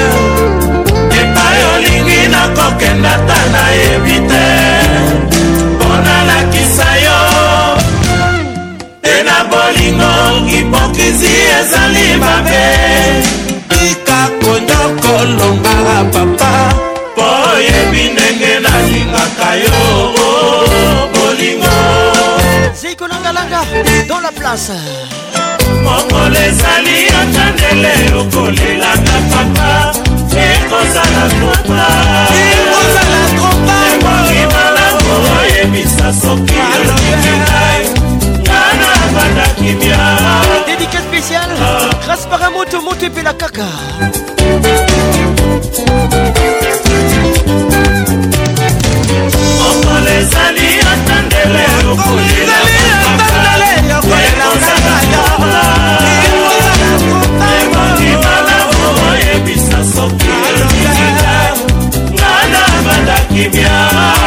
Epai olingi nakokenda ta nayebi te Mpona lakisa yo Tena bolingo hipokrizi ezali mabe Tika konyokolonga papa Oyebi ndenge nalingaka yo bolingo Ziko Langa Langa dans la place. mokolo ezali atandele okolelaka papa ekozala tropa ekozala tropa emori malamu oyebisa soki olobiki ngai ngana bandaki bia. Dédicace spéciale grâce Paramoto Montepe la Kaka. mokolo ezali atandele okolelaka papa ekozala tropa emori malamu oyebisa soki olobiki ngai ngana bandaki bia.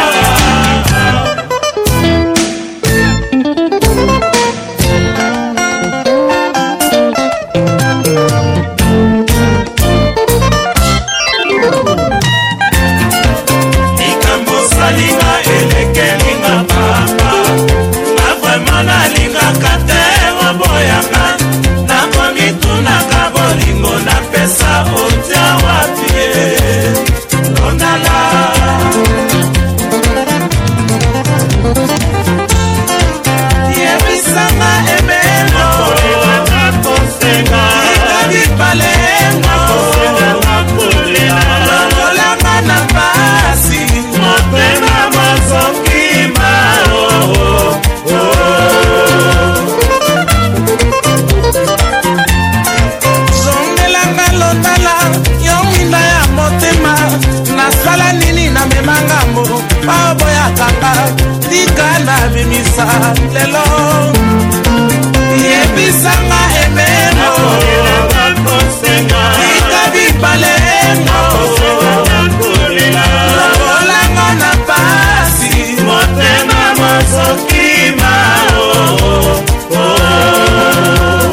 Salinga elekelinga papa na vraiment nalingaka te oboyanga nakomitunaka bolingo napesa otya wapi ondala yebisanga emeno kolelanga kosenga ikabipalenga kosenga kolela lolanga na pasi motema masokima oh, oh, oh. zongelanga lotala yo mwinda ya motema nasala nini na memangambo baboyakanga tika na bimisa lelo yebisanga emeno tika bipalengo olanga na pasi motema masokima oh, oh.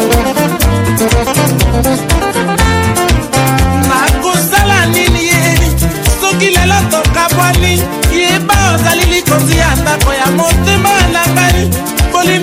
nakosala nini ye soki lelo tokabwani yeba ozali likonzi ya ndako ya motema na ngai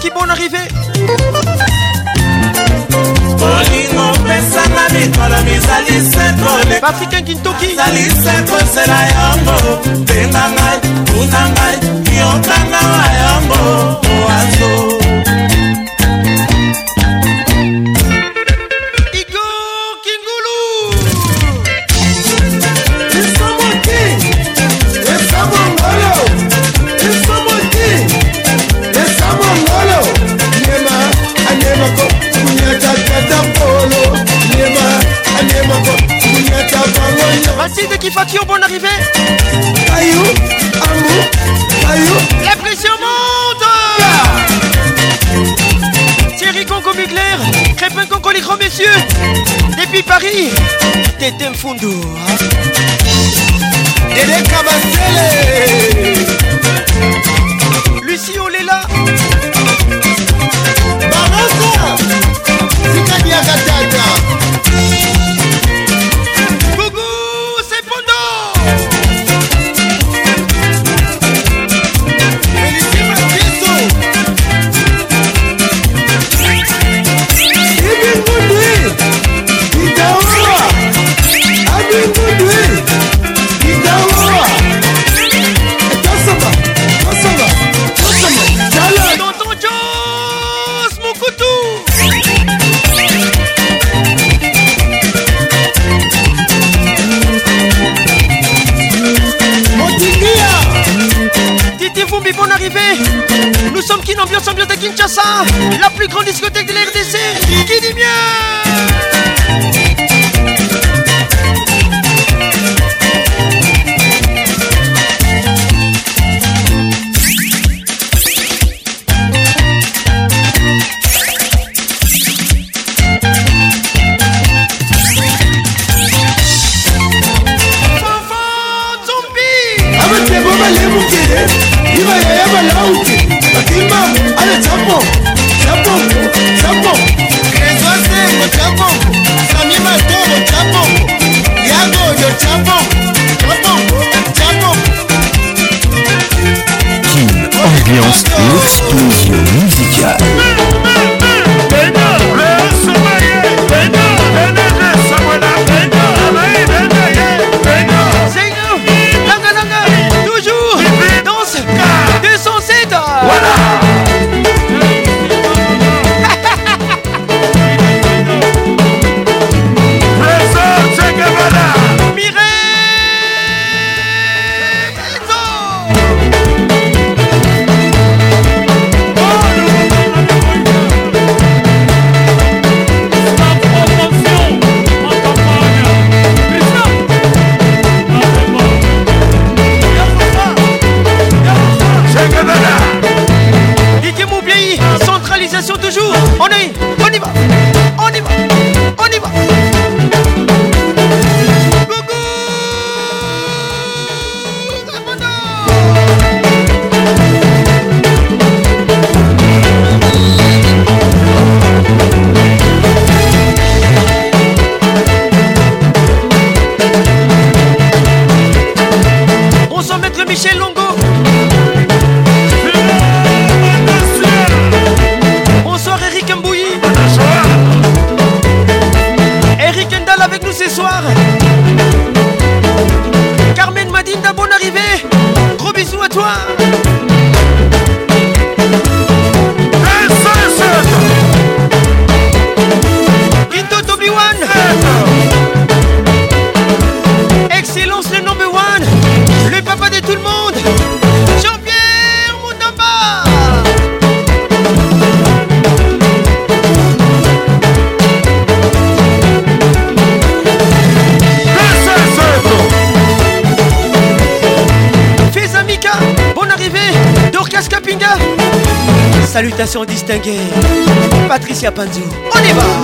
Jackie, bonne arrivée. Patrick Nkintoki saliseko yango benga ngai tuna ngai yokanga wa yango oazo Igor Kingulu Esamoti Esamongolo Esamoti Esamongolo Nema anema ko kunyata kata polo Nema anema ko Mathilde Kifakio, bonne arrivée. Ayou, Amou, Ayou. La pression monte. Yeah. Thierry Conco Mugler, Crépin Conco les grands messieurs. Depuis Paris, Tété Mfundu. Dédé Kabasele. Lucie Olela. Barasa. Sikadia Gatata. Bonne arrivée. Nous sommes Kin Ambiance, ambiance de Kinshasa, la plus grande discothèque de la R D C. Qui dit bien? Ambiance, l'explosion musicale. Toujours danse deux cent sept. Voilà. Toujours, on y, on y va, on y va, on y va. Coucou. Bonsoir maître Michel Longo. Avec nous ce soir, Carmen Madinda, bonne arrivée. Gros bisous à toi. Quinto Toby-Wan. Excellence le number one, le papa de tout le monde, Jean-Pierre Moutamba. Bonne arrivée, Dorcas Kapinga. Salutations distinguées, Patricia Panzo. On y va.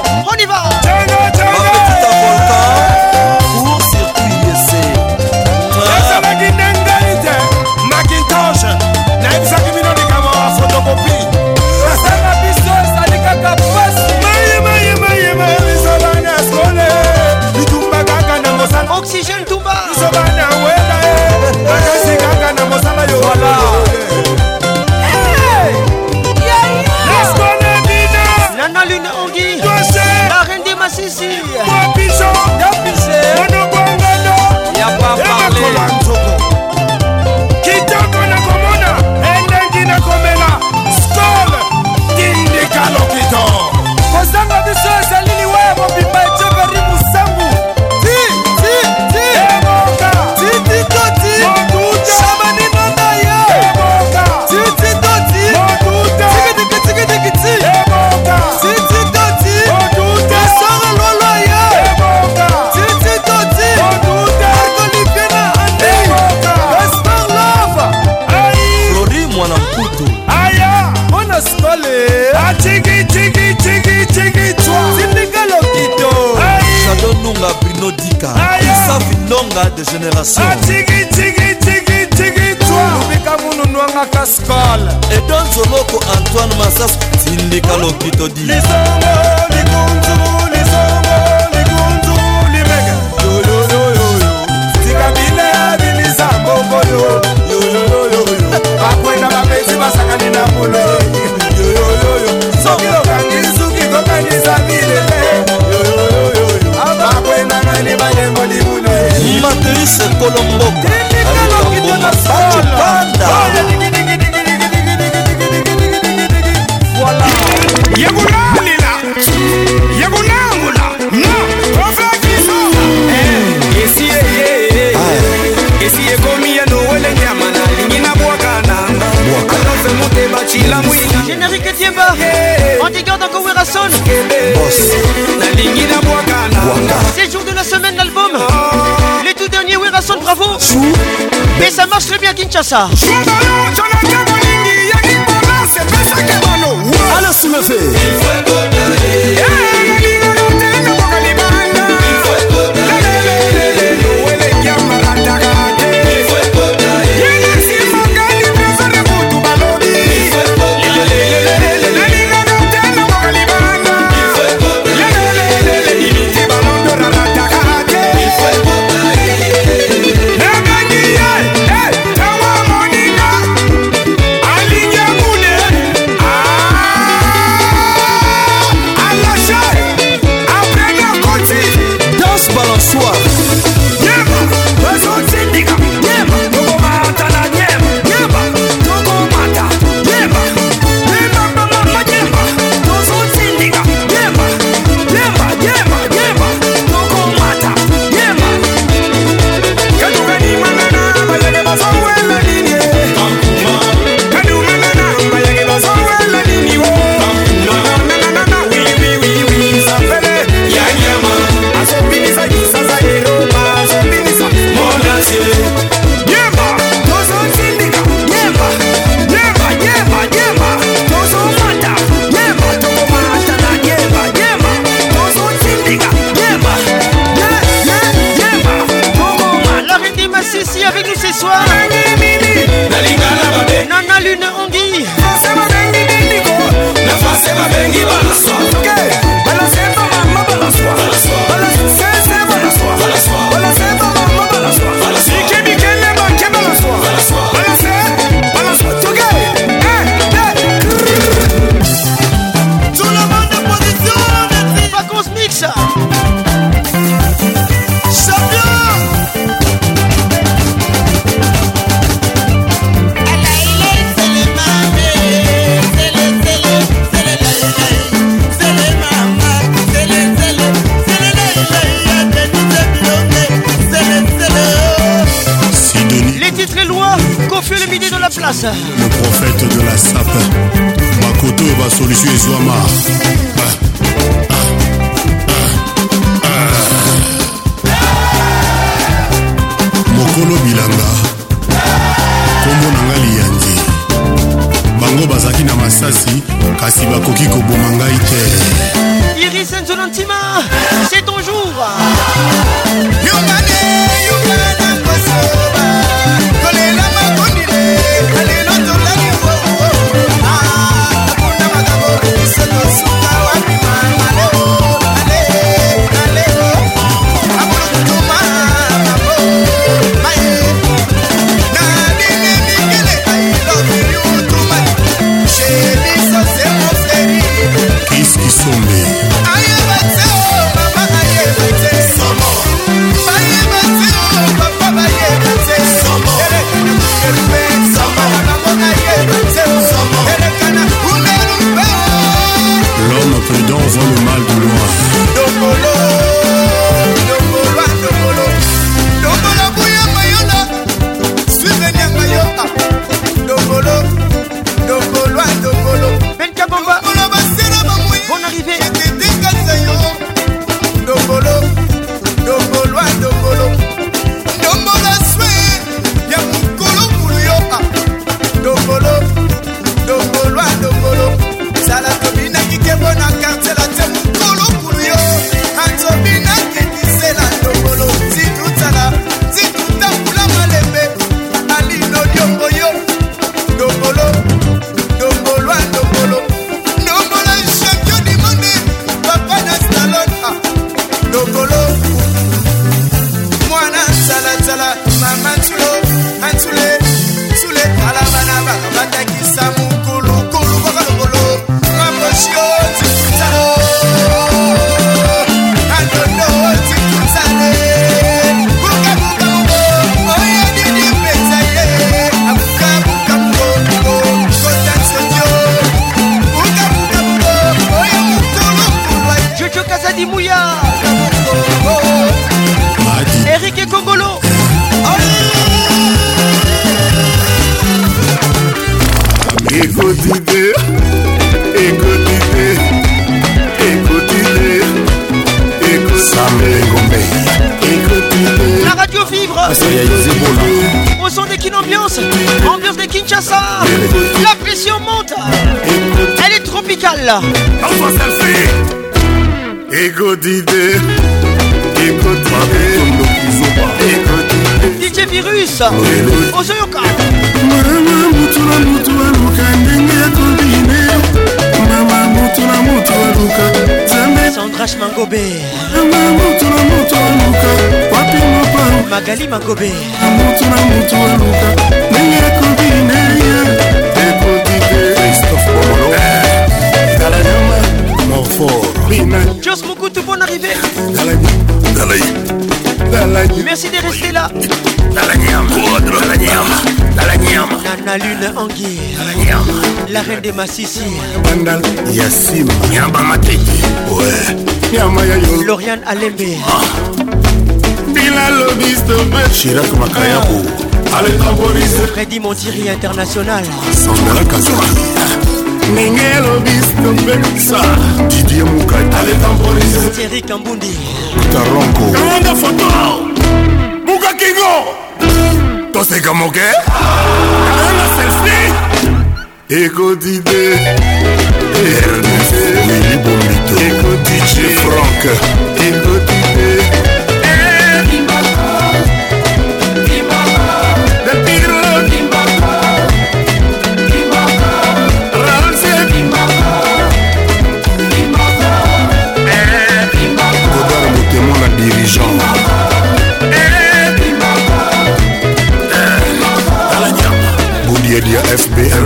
On y va. Ma petite volcan pour circuit essai. Macintosh, naebisaki bino likambo ya photocopie. Sasanga biso ezali kaka pasi. Mayema biso bana skole. Bitumba kaka na mosala. Oxygène Tumba. Biso bana wela e. Bakasi kaka na mosala yo wala. Nana Lune Ongi, la reine des Massissi. Y'a pas parlé. Kitoko na komona, endengi na komela. Skol, dindi kalokito. Kosanga biso esalili webo bipa echeveri musambu. Ti, ti, ti. Eboka. Ti, ti, toti. Moduta. Shabani nanda ya. Eboka. Ti, ti, toti. Moduta. Tiki, tiki, tiki, tiki, ti. Eboka. Ti, ti, toti. Moduta. Esora lolo ya. Eboka. Ti, ti, toti. Moduta. Argolipena ande. Eboka. Gaspar Love. Aïe. Flori mwana mputu. Aya. Mona skole. A chigi, chigi, chigi, chigi, chwa. Sindika lokito. Aïe. Shadow Nunga Bruno Dika. Aya. Safi Longa de génération. A chigi, chigi, chigi, chigi, chwa. Lubika munu nwanga kaskole. Et Don Zoloko Antoine Massas. Sindika lokito di. Lisongo, likunzu, lisongo, likunzu, limega. Yo, yo, yo, yo, yo. Sikabile abilisa mbongo yo. Yo, yo, yo, yo, yo. Bakwenda bapesi basakani na mulo. Yo, yo, yo, yo. Sokilo kangisu kikokanisa bilele. Yo, yo, yo, yo, yo. Bakwenda ngani banyengo limulo. Matrice Colomboka. Alikambo masaje panda. Voilà. Yagunamula. Yagunamula. No. Profekiso. Eh. Esi eh. Esi ekomi ya no wele nyama na lingina bwakana. Bwakana fe mute bachila mwina. Générique Tiemba. On dégarde encore Werason. Boss. Na lingina bwakana. C'est le jour de la semaine d'album. Les tout derniers Werason, bravo. Et ça marche très bien Kinshasa. Allez soulever. place. Le prophète de la sape Makoto va solution Ezwama. Mokolo bilanga kombo nanga liyanzi bango bazaki na masasi kasi bakoki koboma ngai te. Iris Nzola Nantima, c'est ton jour. Qu'est-ce qui sont l'homme prudent voit le mal de loin. Ben Kabamba, bonne arrivée. Eric et Congolo. Écoutez, écoutez, écoutez, écoutez. La radio vibre. Au son des Kin Ambiance, ambiance de Kinshasa. La pression monte. Elle est tropicale. Écoutez, écoutez, D J Virus. Ozoyoka. Mama mutula mutula luka ndenge ya kombine. Mama mutula mutula luka Zambe Sandrash Mangobe. Mama mutula mutula luka Wapi mopa Magali Mangobe. Mutula mutula luka ndenge ya kombine. Écoutez Christophe Bomolo Galanyama Morfort Jos Mokutu, bonne arrivée. Merci de rester là. Nana Lune Angui, la reine des Massissi. Bandal Yassim Nyamba Matete. Ouais. Nyama ya yo. Lauriane Alembe. Bila Lobisto Chirac Makayabo. Allez temporiser. Freddy Montiri International. Sandra Kazaki. Ningelo Bisto Bensa. Didier Moukai. Allez temporiser. Thierry Kambundi. Taronko. Kamanda photo. Muka Kingo. Tose Kamoke. Kamanda selfie. Écoutez. Ernest Willy Bombito. Écoutez Franck. Écoutez. Dirigeant Boudia F B M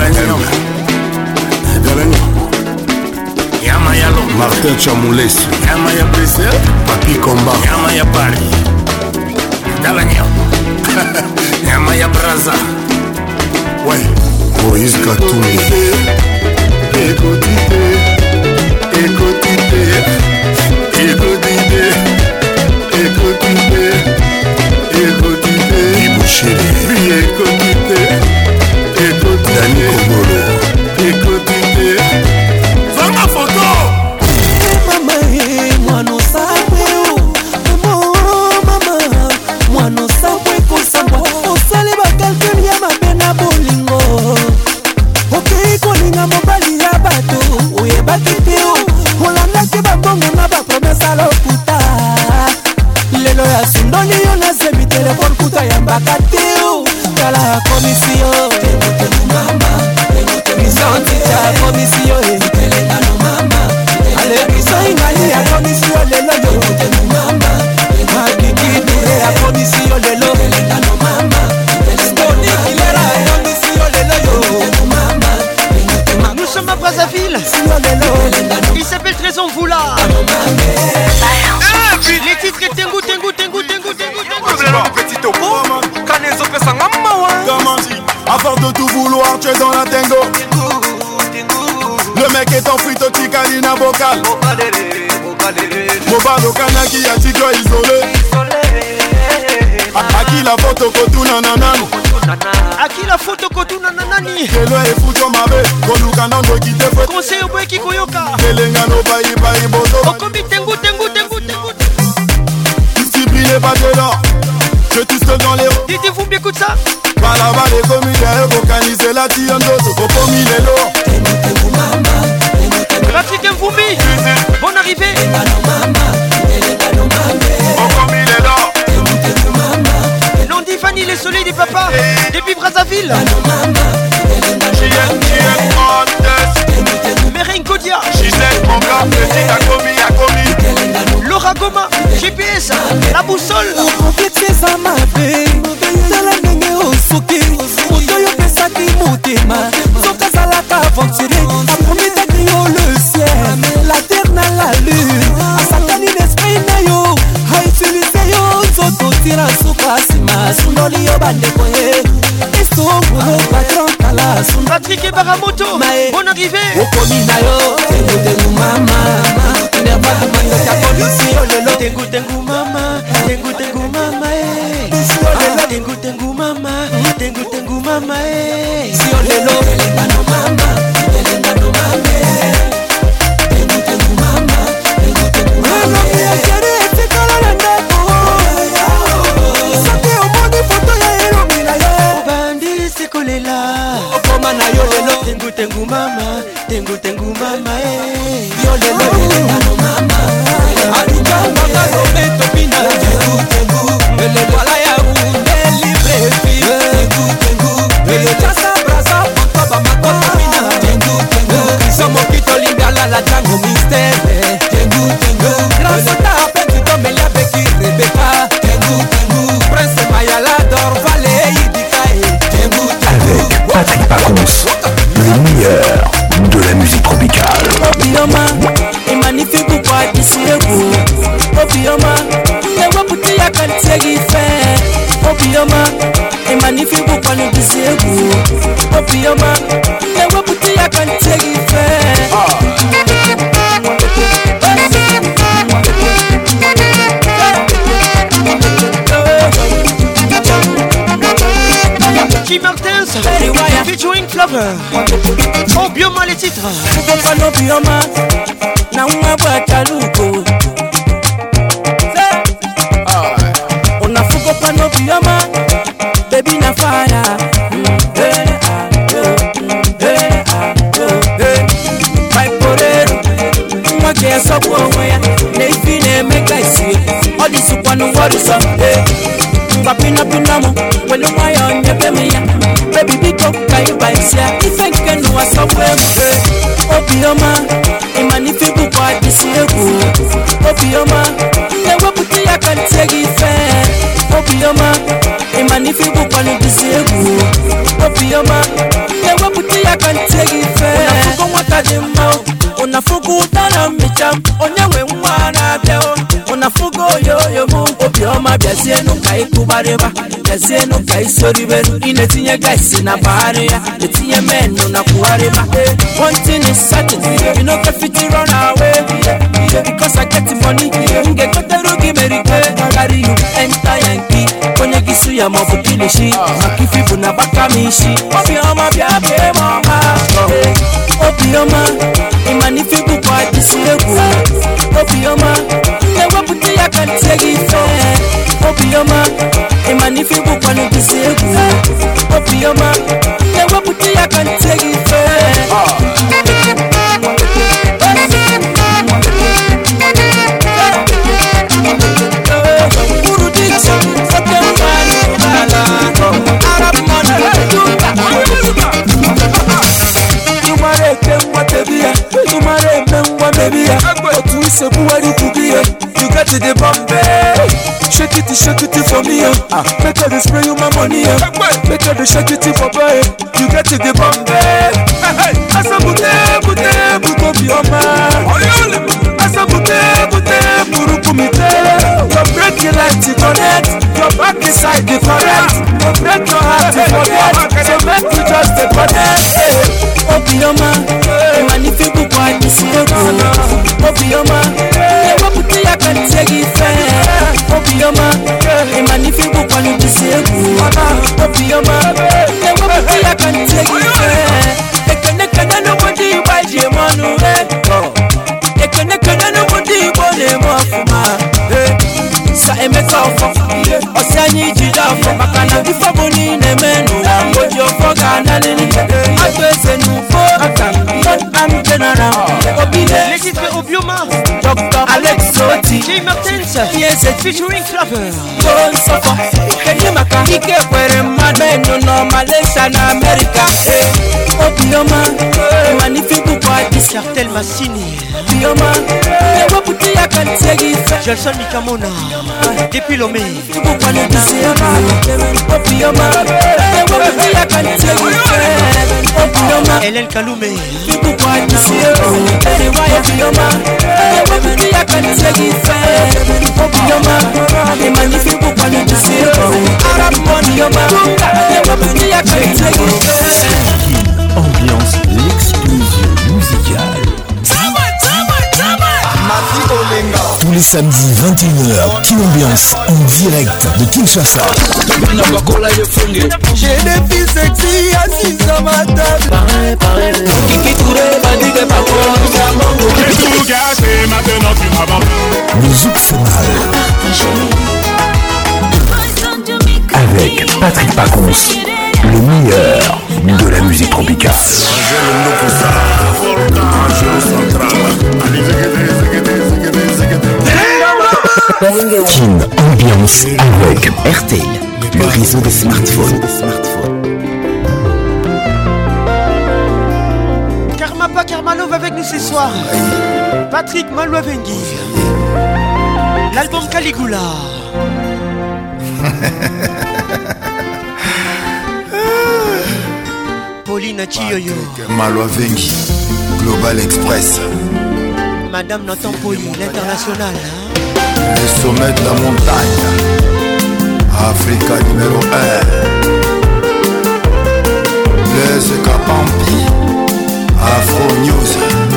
Martin Chamoules Yamaya Bessel Papi Combat Yamaya Paris Dalanyam Yamaya Braza Ouais Moïse Katoumi Écoutez Écoutez Écoutez Écoutez, écoutez, Ibouchéri, écoutez, écoutez, Dani Kongolo, écoutez, fais ma photo. Maman, moi non sabwe, maman, moi non sabwe kosamba, osale bakalke ya mabena bolingo, okei kolinga mobali ya bato, oyebaki te o, olanda ke babongo osala okuta lelo ya sundoli yo nazebi telefone kuta ya mbaka teo tala ya komisio misantita ya komisio ale biso ingali ya komisio lelo yo makikidure ya komisio lelo stonikilera ya komisio lelo yo. Nous sommes à Brazzaville. Il s'appelle Trésor Mvoula. Les titres Tengu, Tengu, Tengu, Tengu, Tengu, À force de tout vouloir, tu es dans la tango. Le mec est en frite au Ticalina vocal. Mobalo Kanaki a tigre isolé. A qui la photo kotu nananani? A qui la photo kotu nananani? Kelo e fujo mabe, kolu kanando kite fwe. Conseil au boy qui koyoka. Kelenga no bayi bayi bozo. Okomi tengu tengu tengu tengu. Discipliné pas de l'or. Je tue seul dans les hauts. Dites-vous bien écoute ça. Balaba les comédiens, vocaliser la tiandozo. Okomi les lots. Patrick Mvumi. Bonne arrivée. Okomi les lots. Nandi Fanny les soleils des papas. Depuis Brazzaville. Merin Kodia. Gisèle Monga, petit Akomi Akomi. Laura Goma, G P S, la boussole. Oketesa mabe, tala ndenge osoki, moto yo pesaki motema, soka salaka aventurier, aprometaki yo le ciel, la terre na la lune, asakani l'esprit na yo, a utilisé yo, nzoto tira suka sima, sundoli yo bandeko ye, esongolo patron kala, Patrick et Baramoto, bonne arrivée. Okomi na yo, tengu tengu mama, nerva de manga ta polisi yo lelo, tengu tengu mama, tengu tengu mama eh. Tengu tengu mama, tengu tengu mama eh. Si yo lelo, telengano mama, telengano mama, tengu tengu mama, tengu tengu mama. Ya chere etikala na ndako, soki omoni foto ya elo mila yo. Obandi sekolela, okoma na yo lelo, tengu tengu mama, tengu tengu mama eh. Yo lelo, telengano mama, alika mama no beto pina, tengu tengu, ele wala ya unde libre fi, tengu tengu, ele chasa brasa foto ba makoto pina, tengu tengu, somo kito lingala la tango mistere, tengu tengu, grâce ta peine to melia beki Rebecca, tengu tengu, prince Mayala dor vale idikae, tengu tengu. Avec Patrick Pacons, le meilleur de la musique tropicale. Obioma, est magnifique ou pas d'ici le bout. Obioma, les wapoutis à Kantiegi fait. Obioma, est magnifique ou pas nous d'ici le bout. Obioma, les wapoutis à Kantiegi fait. Kim Martins, featuring Flavor. Obioma les titres. Obioma, Obioma, na umabwa taluko. Ona fuko pano Obioma, baby na fire. My porero, mwake ya sopo onweya, neifine meka isi. Odi supanu wori so, papina pinamo, wenu mwaya onyepe miya. Baby biko kaiba isia, ifenke nuwa sopo Obioma, imanifiku kwa disi egu. Obioma, newe puti ya kantegi fe. Obioma, imanifiku kwa disi egu. Obioma, newe puti ya kantegi fe. Unafuko mwataji mao, unafuko utana micham, onyewe mwana beo. Unafuko yoyo mu, Obioma biasienu kai kubareba, biasienu kai soriberu. Inetinye gaisi na bahari ya, netinye menu na kuwareba. One thing is certain, you know can fit it run away. Because I get the money, get got the rookie America. Carry you enter Yankee, kwenye kisu ya mabu kilishi. Makifibu na baka mishi, Obioma biabe mama. Obioma, imanifibu kwa disi egu. Obioma, newe puti ya kantegi fe. Obioma, imanifibu kwa disi egu. Obioma, newe puti ya kantegi fe. so who are you to be? You got to the Bombay. Shake it, shake it for me. Ah, make her spray you my money. Make her shake it for boy. You got to the Bombay. Asa bute, bute, bute bioma. Asa bute, bute, buru kumite. Your break you like to connect. Your back inside the correct. Your break your heart to forget. So make you just the connect. Obioma, magnifique boy, this is Obioma, never put the I can take it fair. Obioma, magnifique boy, this is Obioma, never put the I can take it fair. They can't get nobody by the money. They can't get nobody by the money. Sa emeka ofo Osianyi jida ofo Makana bifo boni nemenu Mojo ofo gana nini Atwese nufo Not am general Obile Les titres Obioma Doctor Alex Soti Jay Martins Yes featuring Claver Gon Sofo Kenny Maka Ike kwere madenu no Malaysia na America Obioma Magnifique boy Cartel Massini Obioma Never put the I can take it Gelson Mikamona Depuis Lomé Hélène Kaloumé Ambiance, l'explosion musicale. Tous les samedis vingt et une heures, Kin Ambiance en direct de Kinshasa. J'ai des filles sexy assises à ma table. Pareil, pareil. Kiki Touré m'a dit que pas Le zouk fait mal. Avec Patrick Pacons, le meilleur de la musique tropicale. Kin Ambiance avec R T L, le réseau des smartphones. Karma pas Karmalov avec nous ce soir. Patrick Malouavengi. L'album Caligula. Pauline Chioyo. Malouavengi, Global Express. Madame Nathan Poyi, l'international. Hein? Le sommet de la montagne. Africa numéro un. Les Kapampi. Afro News.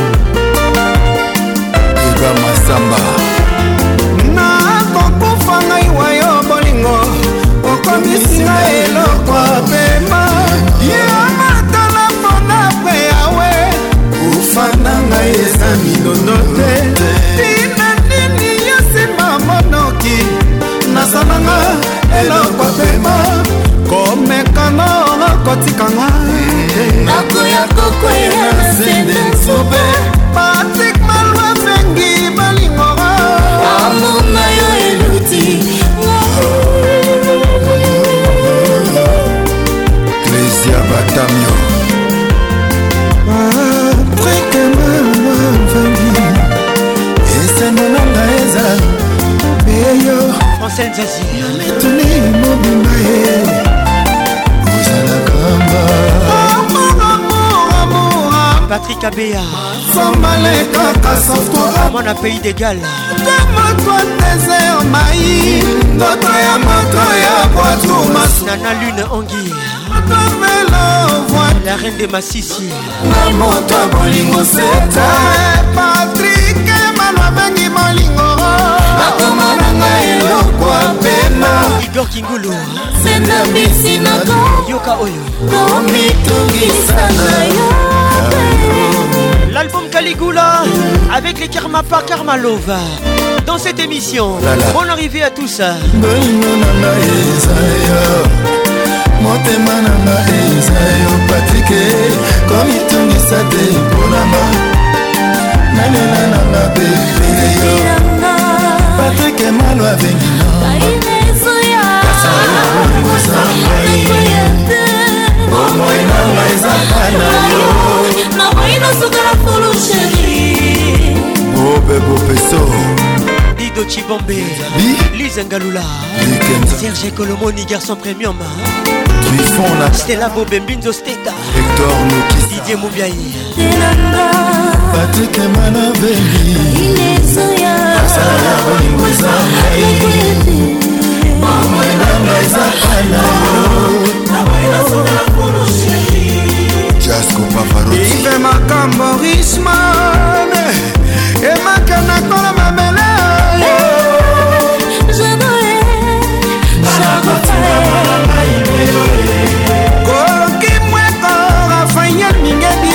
Iba Masamba. Na kokufa ngai wayo bolingo. Okomisinga eloko apema. Yamatala mpona pe yawe. Ufana ngai eza milondo te. Tina nini yasimba monoki. Nasananga eloko apema. Komekano kotikanga. Nakoya kokwela sende sobe. Patrick Malouavengi balingora. Amuna yo eluti. Clésia Batamio. Patrick Malouavengi. Ese monanga eza. Beyo. Francine Zazie. Yametuni mobimba ye. Patrick Abea. Mon a pays d'égal. Nana Lune Angui. La reine de Massissi. Patrick Malouavengi molingo. Igor Kingulu. Yoka Oyo. L'album Caligula avec les Karmapa Karmalova. Dans cette émission, bonne arrivée à tous. Motema nanga eza yo Patrick komitungisa te mponanga nalela nanga bebele yo Patrick Malouavengi omoi nanga eza kana yo naboyi nasukala fulu sheri obebo peso Chibombe, Lise Ngalula, Serge Colomoni, garçon premium, Stella Bobé, Binzo Steta, Hector Nokis, Didier Moubiaï, Patrick Manaveli, Jasco Pavarotti, Ive Makambo Richman, Emakana Kola Mamela. Koki mweko Rafael Mingedi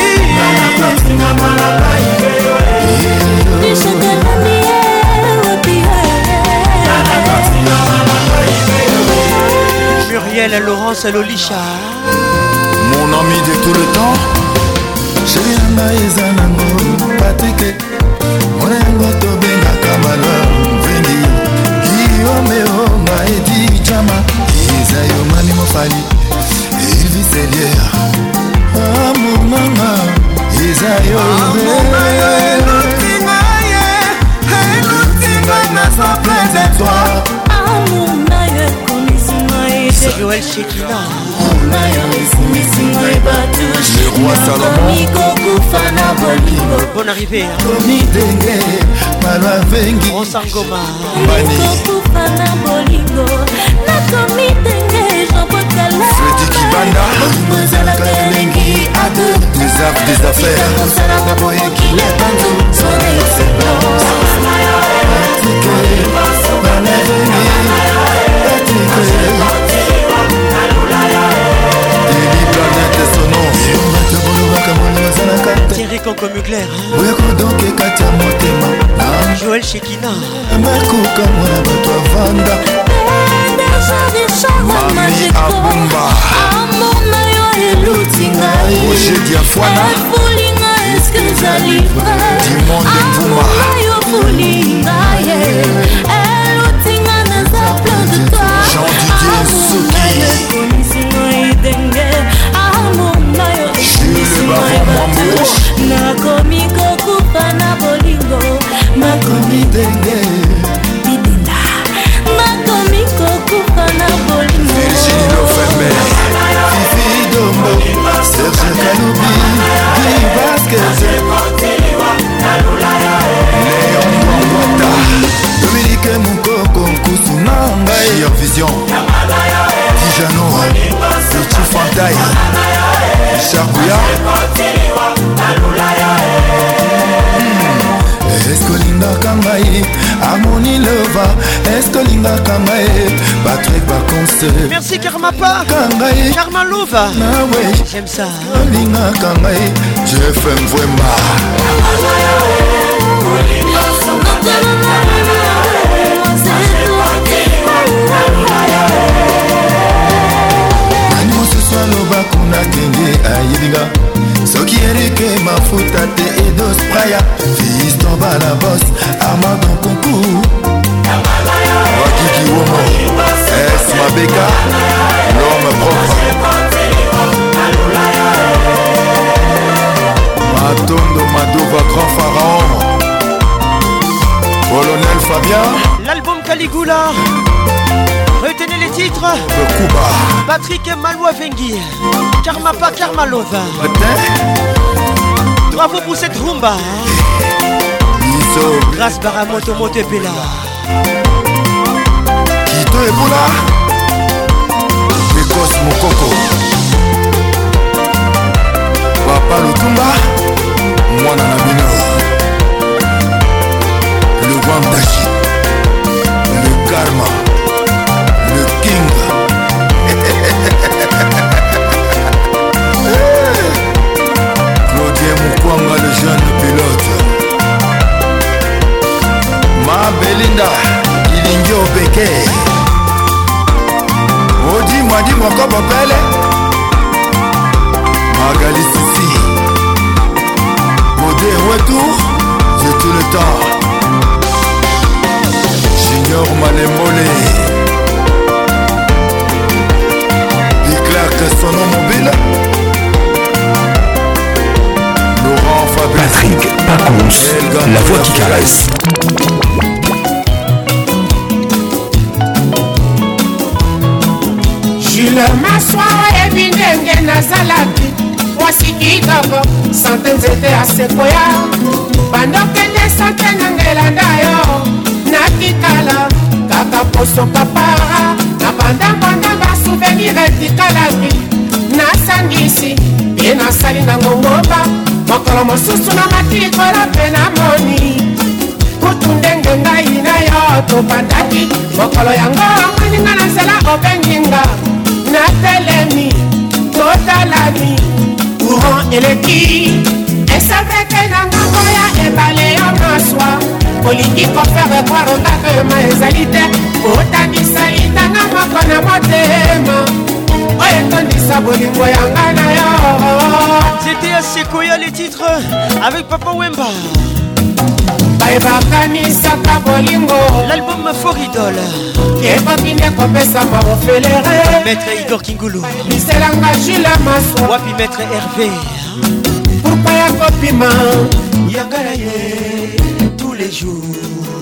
Muriel Laurence Lolisha, mon ami de tout le temps, Chéana Ezanango, Patrick, Morengo Tobenga Kamala, Vendi, Guillaume Oma Edi Chama, Isayo Mani Mofali, Elvis Elier, Amour Mama, Isayo Elutinga, Elutinga, n'a pas plein de toi. Joël Chekina, le roi Salomon, bonne arrivée, hein? Ronsangoma, Freddy Kibanda, des arts des affaires. Thierry Conco Mugler, Joël Chekina, Mami Abumba, Roger Diafwana, Dimon Dembouma, Jean-Didier Souki, Jules Baron Mwambo, nakomi kokufa na bolingo nakomi denge nakomi kokufa na bolingo Virginie Lofembe, Fifi Dombo, Serge Kaloubi, Guy Vasquez, Léon Mwambota, Dominique Moukoko Nkusuna Ngai, Vision, Dijano, Sechi Fantaï, Richard Bouya. Escolinga Kangaï, Harmonie Leva, Escolinga Kangaï, Patrick Baconce. Merci Karmapa, Kangaï, Karma Lova. J'aime ça. Escolinga Kangaï, J F M Vwemba. Nani ce soir loba kuna kenge ayibiga. Soki erike mafuta te edos praya. Fils tomba la bosse, Armand concours. Wakiki Womo, S Mabeka, l'homme propre. Matondo Madova, grand pharaon. Colonel Fabien. L'album Caligula. Retenez les titres. Kuba. Patrick Maloua Vengi. Karmapa Karmalova. Bravo pour cette rumba. Grâce Baramoto Motepela. Kito Ebola. Pekos Mokoko. Papa Lutumba. Mwana Nabino. Le Wandashi. Le Karma. Le King. Claudien Mukwanga, le jeune pilote. Ma Belinda, Ilingio Beke. Odi Mwadi Mwako Popele. Magali Sissi. Modé retour, j'ai tout le temps. Junior Malemolé. Clark Sono Mobile. Laurent Fabrice. Patrick Pacons, la voix qui caresse. maswa oyebi ndenge nazalaki mwasi kitoko sante nzete ya sekoya bandokende sante nangelanda yo natikala kaka poso papara na bandambandamba souvenir etikalaki nasangisi ye nasali nango ngomba mokolo mosusu na matikola mpe na moni kutu ndenge ngai na yo tobandaki mokolo yango amaninga na nzela obenginga natelemi totalani courant eleki esaveke na ngango ya ebale yo maswa olingi kofere kwaro ngakema ezali te otangisa litanga moko na motema oyo etondisa bolingo yanga na yo. C'était à Sequoia les titres avec Papa Wemba. bayebakanisaka bolingo l'album Foridol ekoki nde kopesama bofelere Maître Igor Kingulu biselanga Jules Maswa wapi Maître Hervé pourpa ya kopima yangala ye tous les jours.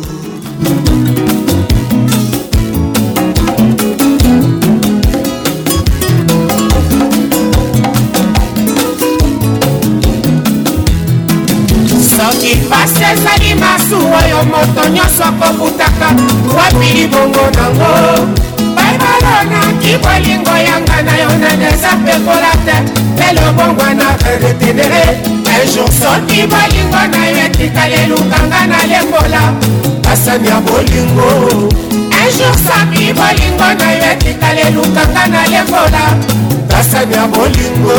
soki pasi ezali masu oyo moto nyonso akobutaka wapi libongo nango baybalonaki bolingo yanga na yo naneza pekola te elobongwa na retenere ejour soki bolingo na yo etikali elukanga na lembola basani ya bolingo ejour soki bolingo na yo etikali elukanga na lembola basani ya bolingo.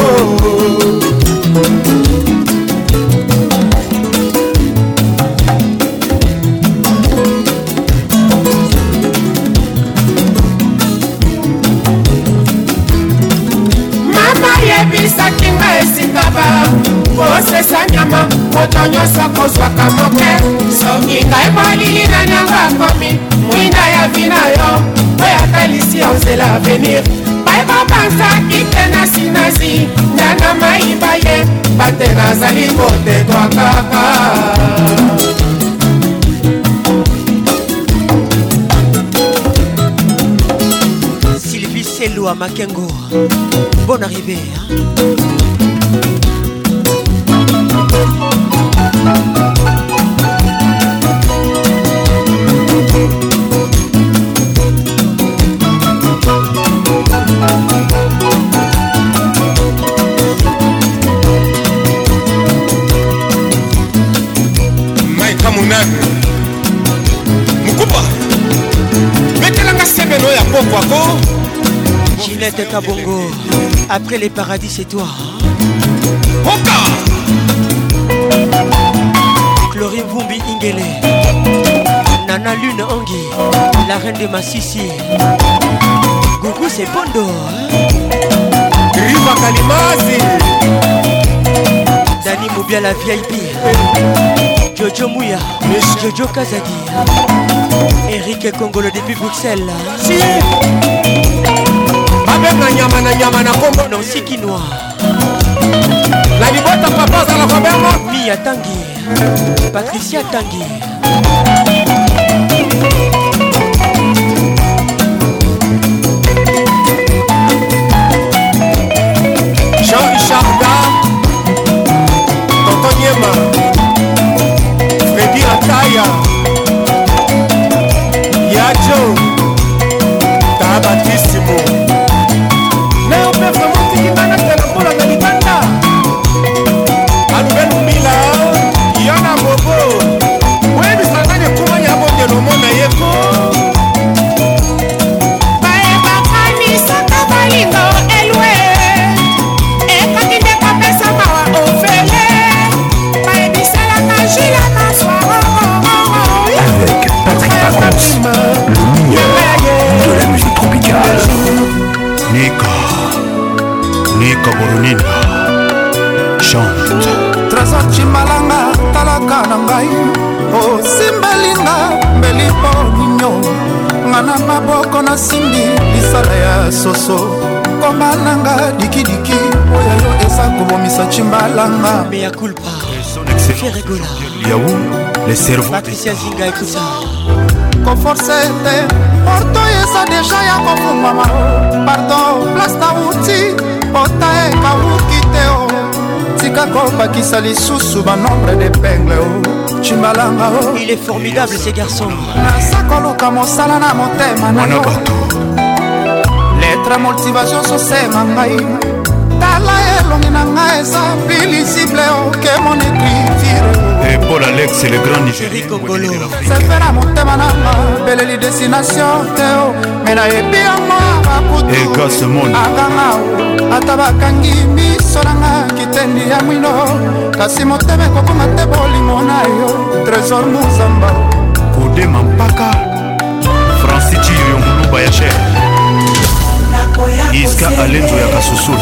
ebisaki nga esika ba kosesa nyama moto nyonso kozwaka moke soki ngai molili na nyango akomi mwinda ya vi na yo oyo atalisi yo nzela avenir bayebabanzaki te na sinazi ndana mayiba ye bate nazali kotetwa kaka Hello à Makengo, bonne arrivée hein? Maika Munani Mukupa Metelanga sebeno ya popo ako Ginette Kabongo, après les paradis c'est toi. Oka Chlorine Vumbi Ingele, Nana Lune Angi, la reine de Massissi. Gougou c'est Bondo. Riva Kalimasi. Dani Moubia la V I P. Jojo Mouya, Jojo Kazadi. Eric Congolo depuis Bruxelles. Si. Abenga nyama na nyama na kombo non sikinoa la libota papa za la kobenga Mia Tangi Patricia Tangi Jean-Richard Da Tonton Nyema Freddy Ataya Yajo Tabatissimo Yana bobo, wewe sanganya kumanya bonde no mona yeko. Bae bakani saka balingo elwe. E kakinde kapesa mawa ofele. Bae bisala kajila maswa. Avec Patrick Pacons, le meilleur de la musique tropicale. Nika, Nika Boronina, chante. Trésor Chimalanga talaka na ngai osimbelinga mbelipo ninyo ngana maboko na simbi lisala ya soso koma nanga dikidiki oyo yo eza kobomisa Chimbalanga mea culpa Yaou, les cerveaux Patricia Zinga écoute ça koforce te porto eza deja ya kofungwama pardon place na uti pota ekawuki te o tika kobakisa lisusu banombre d'épingle o chimbalanga o. Il est formidable ces garçons. naza koluka mosala na motema na yo lettre motivation sosenga ngai tala elongi na ngai eza pilisible oke mon écriture. Et Paul Alex, le grand Nigérien Congolo. sefe na motema nanga beleli destination te o me nayebi yango bakutu akanga o ata bakangi miso nanga kitendi ya mwino kasi motema ekokoma te bolingo na yo trésor muzamba Kodema mpaka Francis Chiyo Muluba ya cher Iska Alenzo ya Kasusula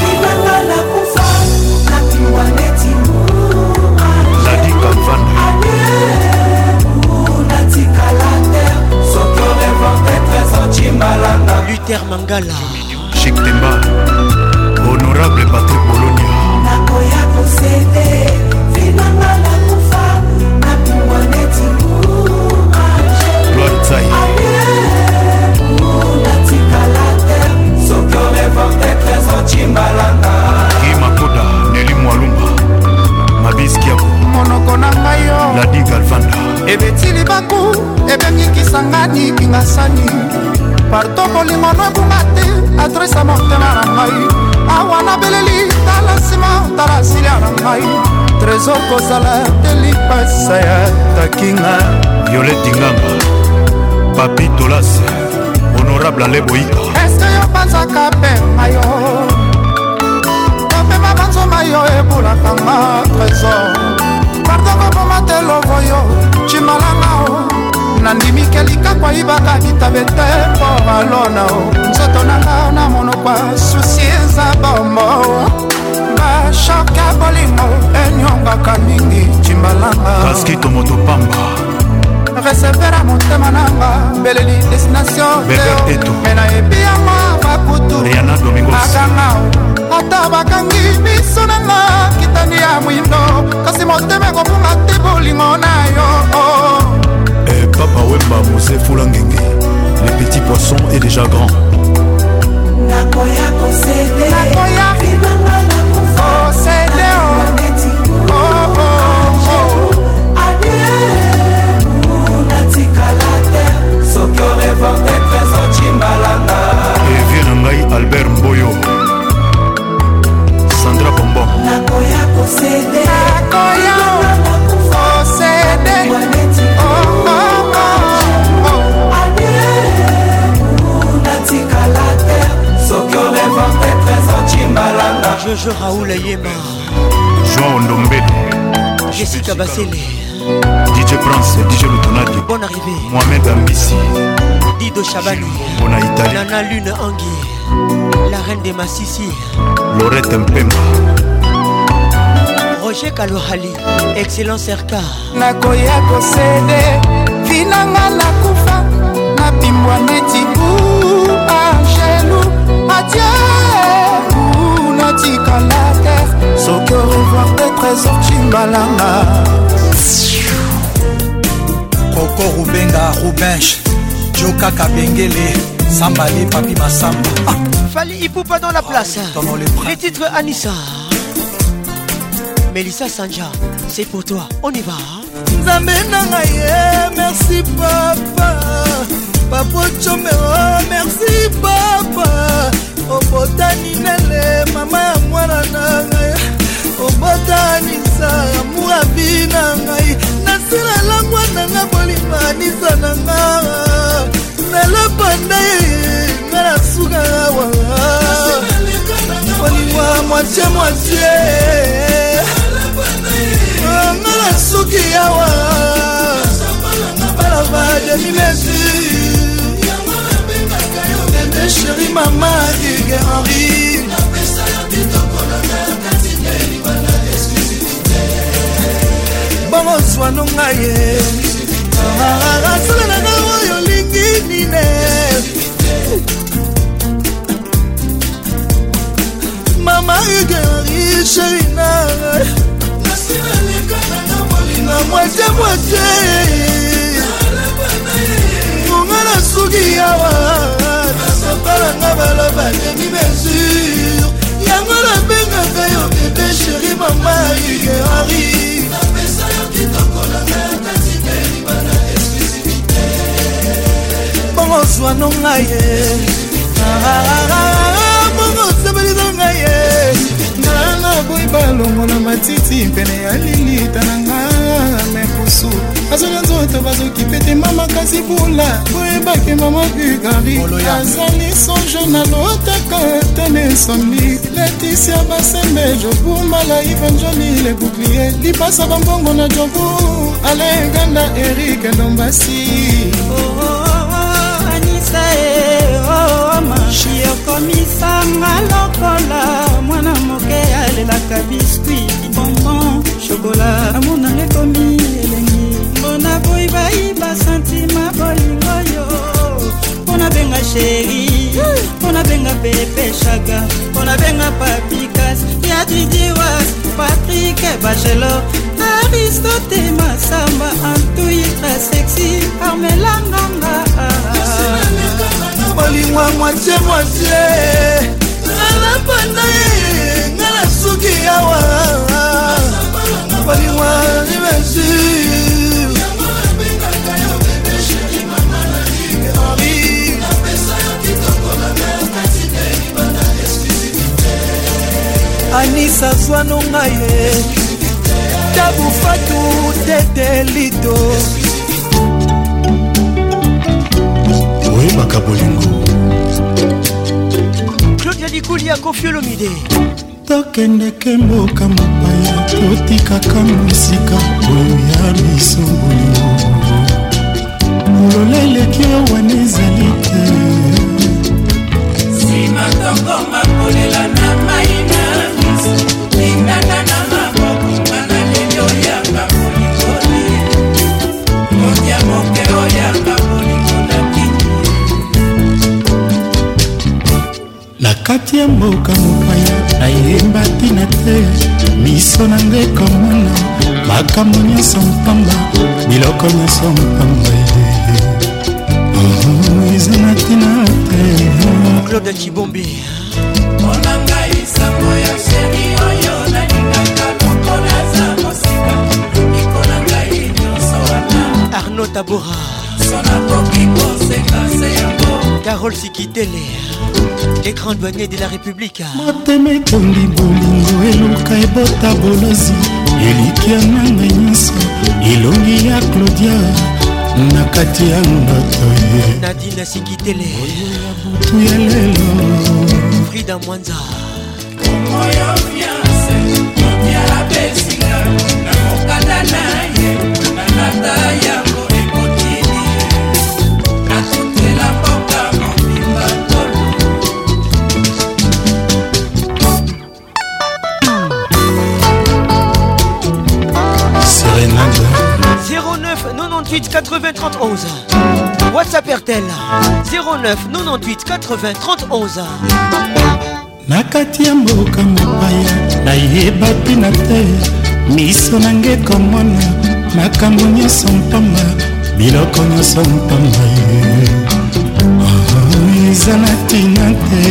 Ladi Kalvanda Luther Mangala Chic Temba Honorable Patrick Bologna Gloire Tsai Guy Makoda Nelly Mwalumba Mabiski Yako monoko na ngai yo Ladi Galvanda ebeti libaku ebengikisangani kingasani parto bolingo no ebunga te adrese ya motema na ngai awa nabeleli tala nsima tala silia na ngai trésor kozala te lipasa ya takinga Violet Dingamba Papi Tolas Honorable Ale Boyika eske yo banzaka penga yo topema banzoma yo ebulakanga trésor parto koboma te lovo yo cimalanga o nandimi kelika kwa ibaka bitabe te mpo balona o nzoto nanga na monokwa susi eza bombo bashoka bolingo enyongaka mingi cimbalanga Kaskito Motopamba resevera motema nanga beleli destination Beber me nayebi yango bakutu Rihanna Domingos akanga o ata bakangi miso nanga kitandi ya mwindo kasi motema ekofunga te bolingo na yo Eh, Papa Wemba Mose Foulangenge Les petits poissons est déjà grand Nakoya posede Nakoya posede oh oh oh Et vient Nangai Albert Mboyo Sandra Bombon Nakoya posede Nakoya posede oh oh oh Jojo Raoul Yema Jean Ondombele Jessica Bassele D J Prince, D J Lutonadi Bonne arrivée Mohamed Ambissi Dido Chabani Bona Italie Nana Lune Angui La reine des Massissi Lorette Mpemba Roger Kalohali Excellent Serka Nakoya kosede Vinanga nakufa Napimbwa neti u Angelu Adieu ou natika la terre Soki au revoir des trésors Chimbalanga Koko Rubenga Rubench Joka Kabengele Sambali Papi Massamba ah. Fali Ipupa dans la place les, les titres Anissa Mélissa Sanja c'est pour toi on y va Nzambe nanga ye merci papa Papa Chomero merci papa Obotani nele mama ya mwana nanga Obotani sa amour abi nanga Nasila langwa nanga bolima nisa nanga Nala panda ye ngana suga wa Bolima moitié moitié Ngana suki yawa Balava demi mesure Nende chéri mama Digue Henri Bongo swano ngaye Asala na nga oyo lingi nine Mama Digue Henri chéri na Na moitié moitié Ngana suki yawa bademi mesure yango nabengaka yo bebe sheri mama igerari napesa yo kitoko na kasi belibana exclusivité bongo zwano ngaye bongo sebelino ngaye ngana boy balongo na matiti pene ya lilita na nga mekusu azonya nzoto bazokipete mama kasi bula boyebake mama bugari azali songe na lotaka tene somni Laetitia basembe jobumala ivanjoli le bouclier lipasa bambongo na jobu alenganda Eric Ndombasi Anissa oh machi okomisanga lokola mwana moke alelaka biskuit bonbon chokola amonanga ekomi elengi mbona boyi bayiba santima bolingo yo mpona benga sheri mpona benga pepe shaka mpona benga papikas yadidiwas Patrick Bachelo Aristote Masamba Antuitra sexy Armelanganga bolingwa moitié moitié ngala panda ngala suki yawa bolingwa ni mesure Anissa Zwano ngaye Tabu Fatou Tete Lito Oui Makabolingo Claudia Dikoulia Koffi Olomide tokendeke mboka mopaya totikaka mosika oyo ya biso bolingo mololeleki wana ezali te nsima tokoma kolela na mai na miso linganga na maboko ngana leli oyanga bolikoli modia moke oyanga bolingo na kini na kati ya mboka mopaya nayemba tina te miso na ngai komona makambo nyonso mpamba biloko nyonso mpamba eza na tina te Claude Chibombi mpona ngai sango ya sheri oyo nalingaka lokola za mosika mikolo ngai nyonso wana Arnaud Tabora sona koki kosekase yango Carole Sikitele les grands douaniers de la République motema etondi bolingo eluka ebota bolozi elikia na ngai nyonso elongi ya Claudia na kati ya ndoto ye Nadine Sikitele butu ya lelo Frida Mwanza moyo fiance motia besinga na mokanda na ye na lata yango ekotini natutela mboka mobimba tolo Serenade zéro neuf quatre-vingt-huit quatre-vingts trente onze WhatsApp R T L zéro neuf quatre-vingt-huit quatre-vingts trente onze na kati ya mboka mopaya nayeba mpina te miso na nge komona makambo nyonso mpamba biloko nyonso mpamba eza na tina te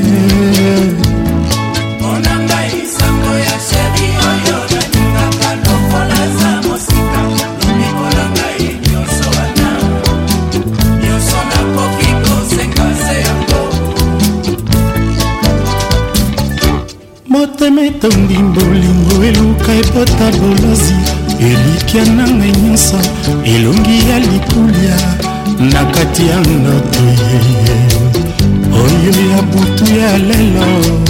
mpona ngai sango ya sheri oyo nalingaka lokola za mosika lomikola ngai nyonso wana nyonso nakoki kosekase yango motema etondi bolingo eluka ebota bolozi elikia na ngai nyonso elongi ya likulia na kati ya ndoto yeye oyo ya butu ya lelo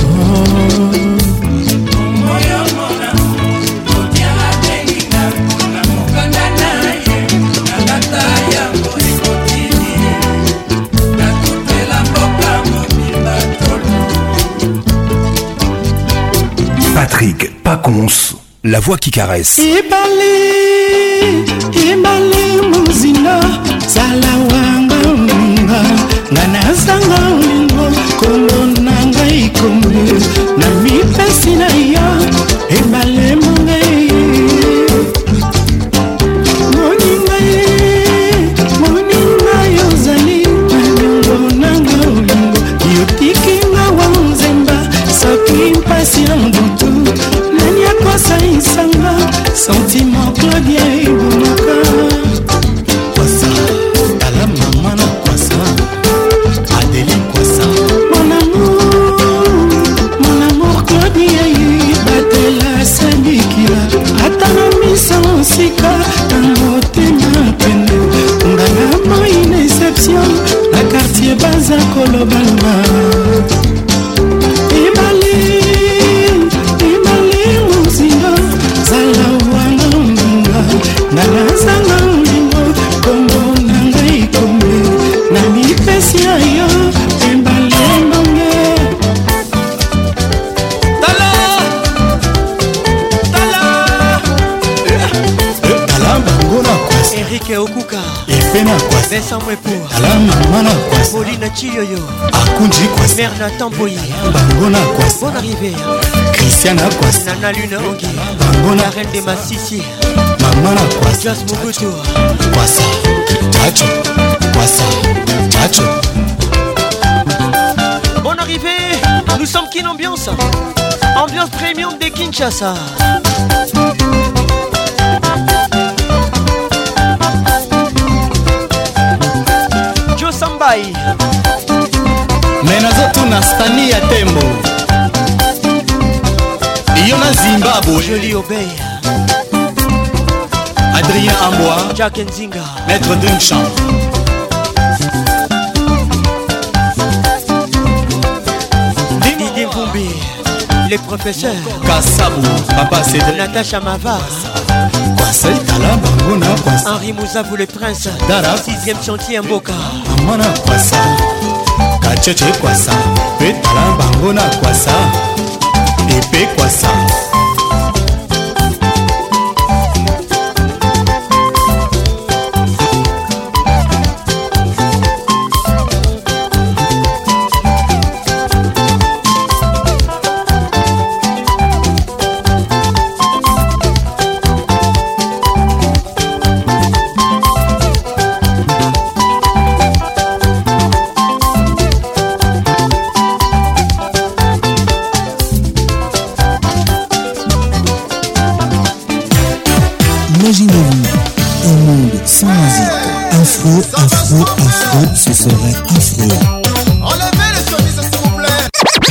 moyo mona motiala belinga na mokanda na ye na lata yango ekotini natutela mboka mobimba tolo Patrick Pacons, la voix qui caresse. ibali ibali muzina zala wanga nga ngana zanga ulingo kolo nanga ikombe na mipesi na ya ibali mungai moninga moninga yozali nyongo nanga ulingo yotiki balobaloba ibali ibali muzinga zala wanga mbunga nalazanga ulingo kombo na ngai kombe na mipesi ayo ibali mbonge tala tala tala bango na kwasi Eric Okuka epe na kwasi Vincent Mwepo tala mama na kwasi Paulina Chiyoyo akunji kwasi Merna Tamboyi bango na kwasi Bonne arrivée Christian na kwasi Nana Lune Ongi bango na la reine de Massissi mama na kwasi Joss Mugutu kwasa chacho kwasa chacho. Bonne arrivée. Nous sommes Kin Ambiance. Ambiance premium de Kinshasa. Joe Sambai menazotuna stani ya tembo iyo na Zimbabwe. Jolie Obey Adrien Ambois Jack Nzinga Maître Dunchamp Didier Vumbi les professeurs Kassabou Papa Cédric Natacha Mava Kwasa itala bango na kwasa Henri Mouzavou le prince Dara sixième chantier Mboka Amana kwasa Kacheche kwasa Petala bango na kwasa Epe kwasa Imaginez-vous un monde sans musique. Afro, afro, afro, ce serait affreux. Enlevez les chemises s'il vous plaît.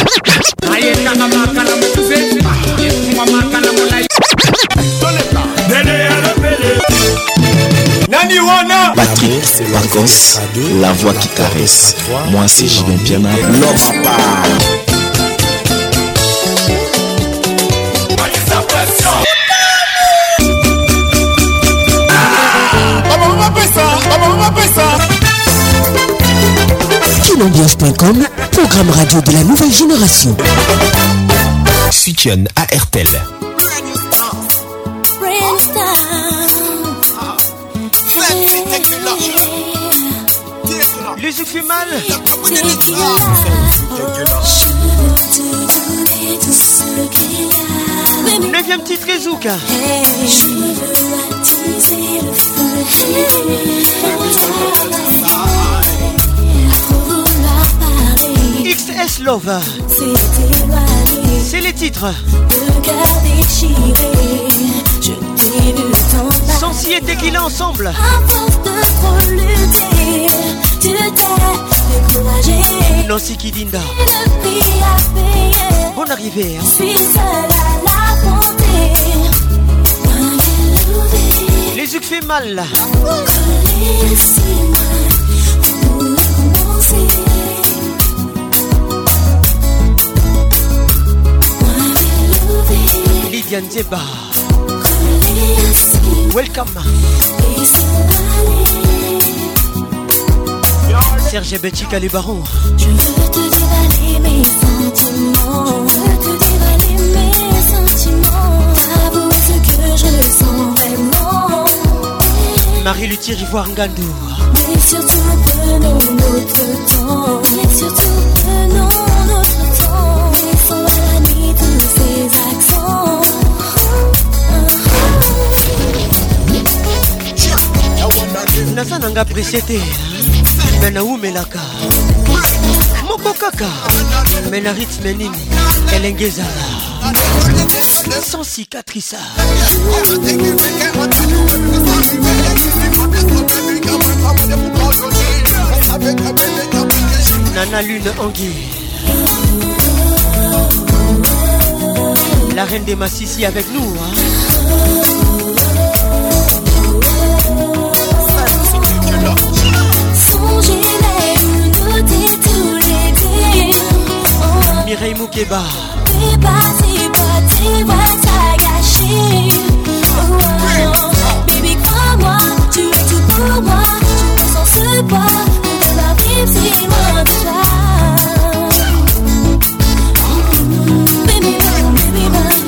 Patrick Pacons, la voix qui caresse. Moi c'est Julien Piana, l'homme à part. Kinambiance point com, programme radio de la nouvelle génération. Sukion à R T L. Les yeux fait mal. Neuvième titre Rezouka. Je veux attiser le feu. X S Love. C'est les titres. Sensi et Tequila ensemble. Nancy Kidinda. Bonne arrivée. Hein. Les yeux fait mal là. Lydiane Zeba. Welcome. Serge Betchika les barons. Je veux te dévaler mes sentiments. Je veux te dévaler mes sentiments. Avouer ce que je ressens vraiment. Marie Luthier Ivoire Ngandou. Mais surtout prenons notre temps. Mais surtout prenons notre temps. Laissons à la nuit tous ces accents. Nasa nanga presete Mena umelaka Moko kaka Mena rythme nini Elengezala Sans cicatrice Nana Lune Angui La reine des Massissi avec nous hein. Songez les nous tous les Moukeba. Baby, crois-moi, tu es tout pour moi. Je ressens ce poids, de ma vie, si loin de toi. Baby, baby,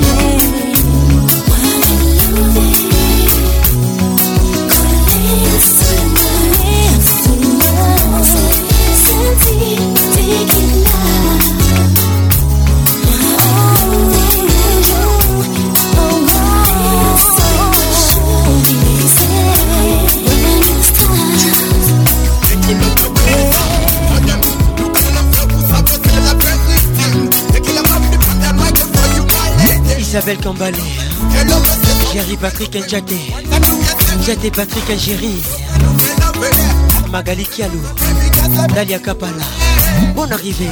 Isabelle Kambalé, Jerry Patrick Ndjate, Ndjate Patrick Ngéri, Magali Kialou, Dalia Kapala, bonne arrivée.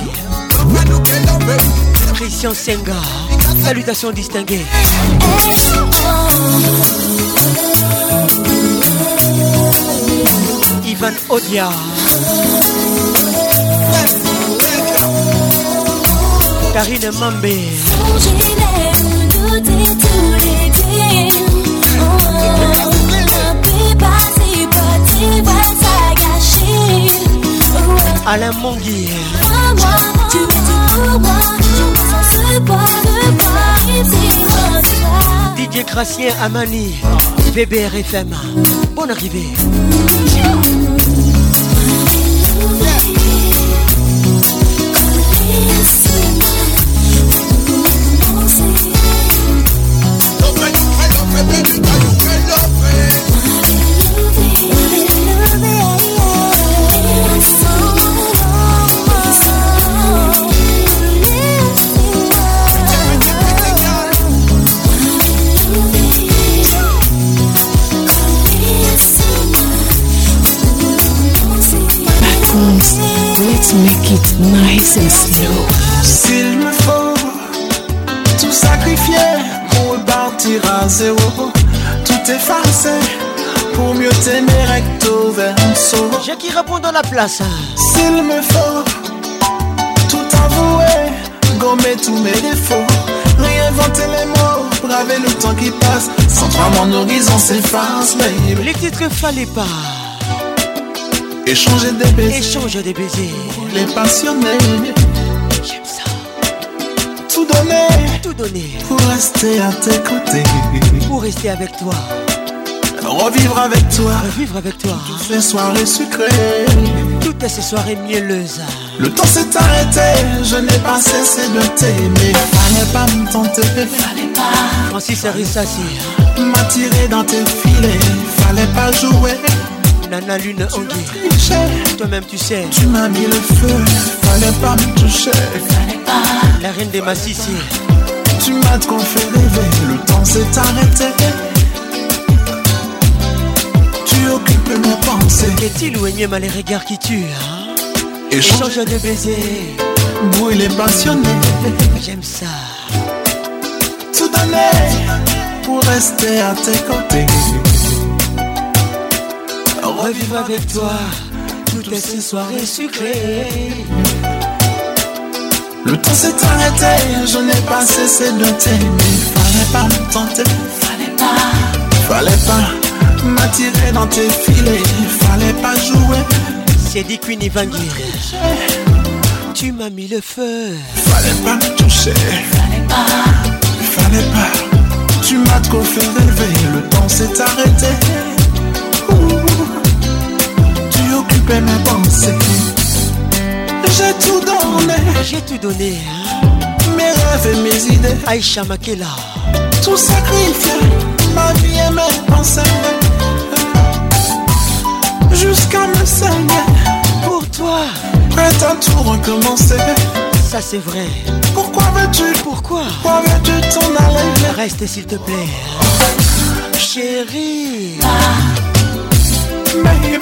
Christian Senga, salutations distinguées. Ivan Odia, Karine Mambé, Alain Mongui, Didier Crassien Amani, V B R F M, bonne arrivée. Let's make it nice and slow. S'il me faut tout sacrifier pour repartir à zéro, tout effacer pour mieux t'aimer recto verso. J'ai qui répond dans la place. S'il me faut tout avouer, gommer tous mes défauts, réinventer les mots, braver le temps qui passe. Sans toi mon horizon s'efface, baby. Les titres fallait pas. Échanger des baisers, échanger des baisers. Les passionnés, j'aime ça. Tout donner, tout donner pour rester à tes côtés, pour rester avec toi, revivre avec toi, revivre avec toi. Toutes ces soirées sucrées, toutes ces soirées mielleuses. Le temps s'est arrêté, je n'ai pas cessé de t'aimer. Fallait pas me tenter, fallait pas. Francis Arissassi, m'attirer dans tes filets, fallait pas jouer. Nana Lune Ongui, toi-même tu sais. Tu m'as mis le feu, fallait pas me toucher, fallait pas. La reine des Massissi, tu m'as trop fait rêver, le temps s'est arrêté. Tu occupes mes pensées. Qu'est-il ou énième les regards qui tuent, hein? Échange de baisers, brûler passionné. J'aime ça. Tout donner pour rester à tes côtés. Revivre avec toi toutes ces soirées sucrées. Le temps s'est arrêté, je n'ai pas cessé de t'aimer. Fallait pas me tenter, fallait pas. Fallait pas m'attirer dans tes filets, fallait pas jouer. C'est dit Queen Ivangir, tu m'as mis le feu. Fallait pas me toucher, fallait pas. Fallait pas, tu m'as trop fait rêver. Le temps s'est arrêté. Ouh. Occupé mes pensées. J'ai tout donné. J'ai tout donné, hein? Mes rêves et mes idées. Aïcha Makela. Tout sacrifié, ma vie et mes pensées. Jusqu'à me saigner. Pour toi. Prête à tout recommencer. Ça c'est vrai. Pourquoi veux-tu? Pourquoi? Pourquoi veux-tu t'en aller? Reste s'il te plaît. Chérie. Baby.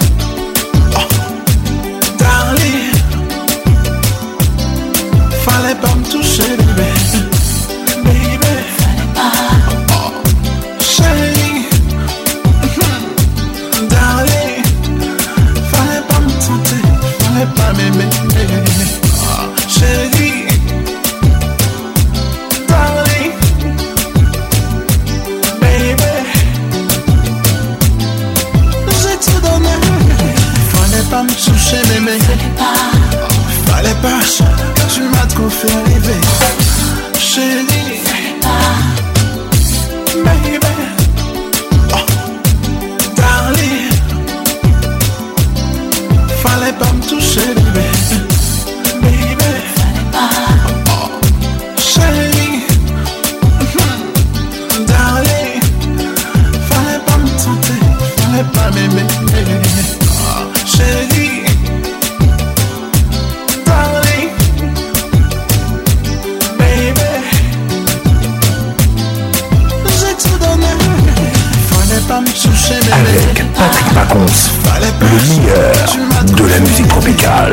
Darling, fallait pas me toucher, bébé. Baby, fallait pas. Oh, chérie, darling, fallait pas me tenter, fallait pas m'aimer. Oh, chérie, Tropical.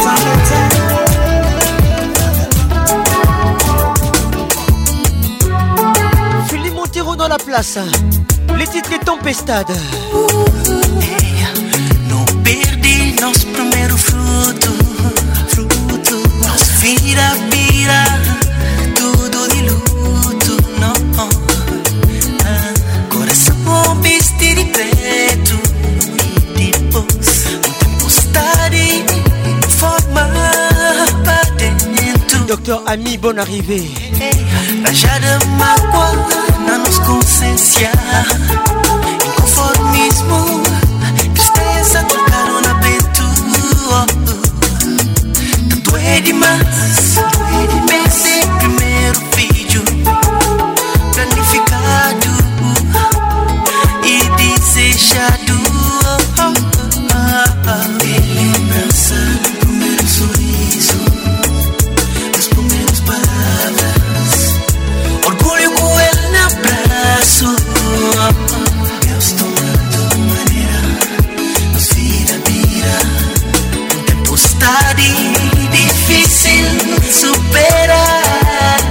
Philippe Montero dans la place. Les titres de Tempestade. Não perdi nosso primeiro fruto, fruto. Nos vira, vira, tudo de luto, não. Ah, coração bom vestir de preto e depois um tempestade forma pra dentro. Docteur Ami, bonne arrivée. Rajada mágoa na nos consciência, inconformismo, tristeza trocaram na peito. Tanto é demais, pensei primeiro vídeo planificado e desejado. E lembrança do primeiro sorriso, das primeiras palavras, orgulho com ele no abraço. Deus tomando maneira, nos vira, vira. Um tempestade difícil superar.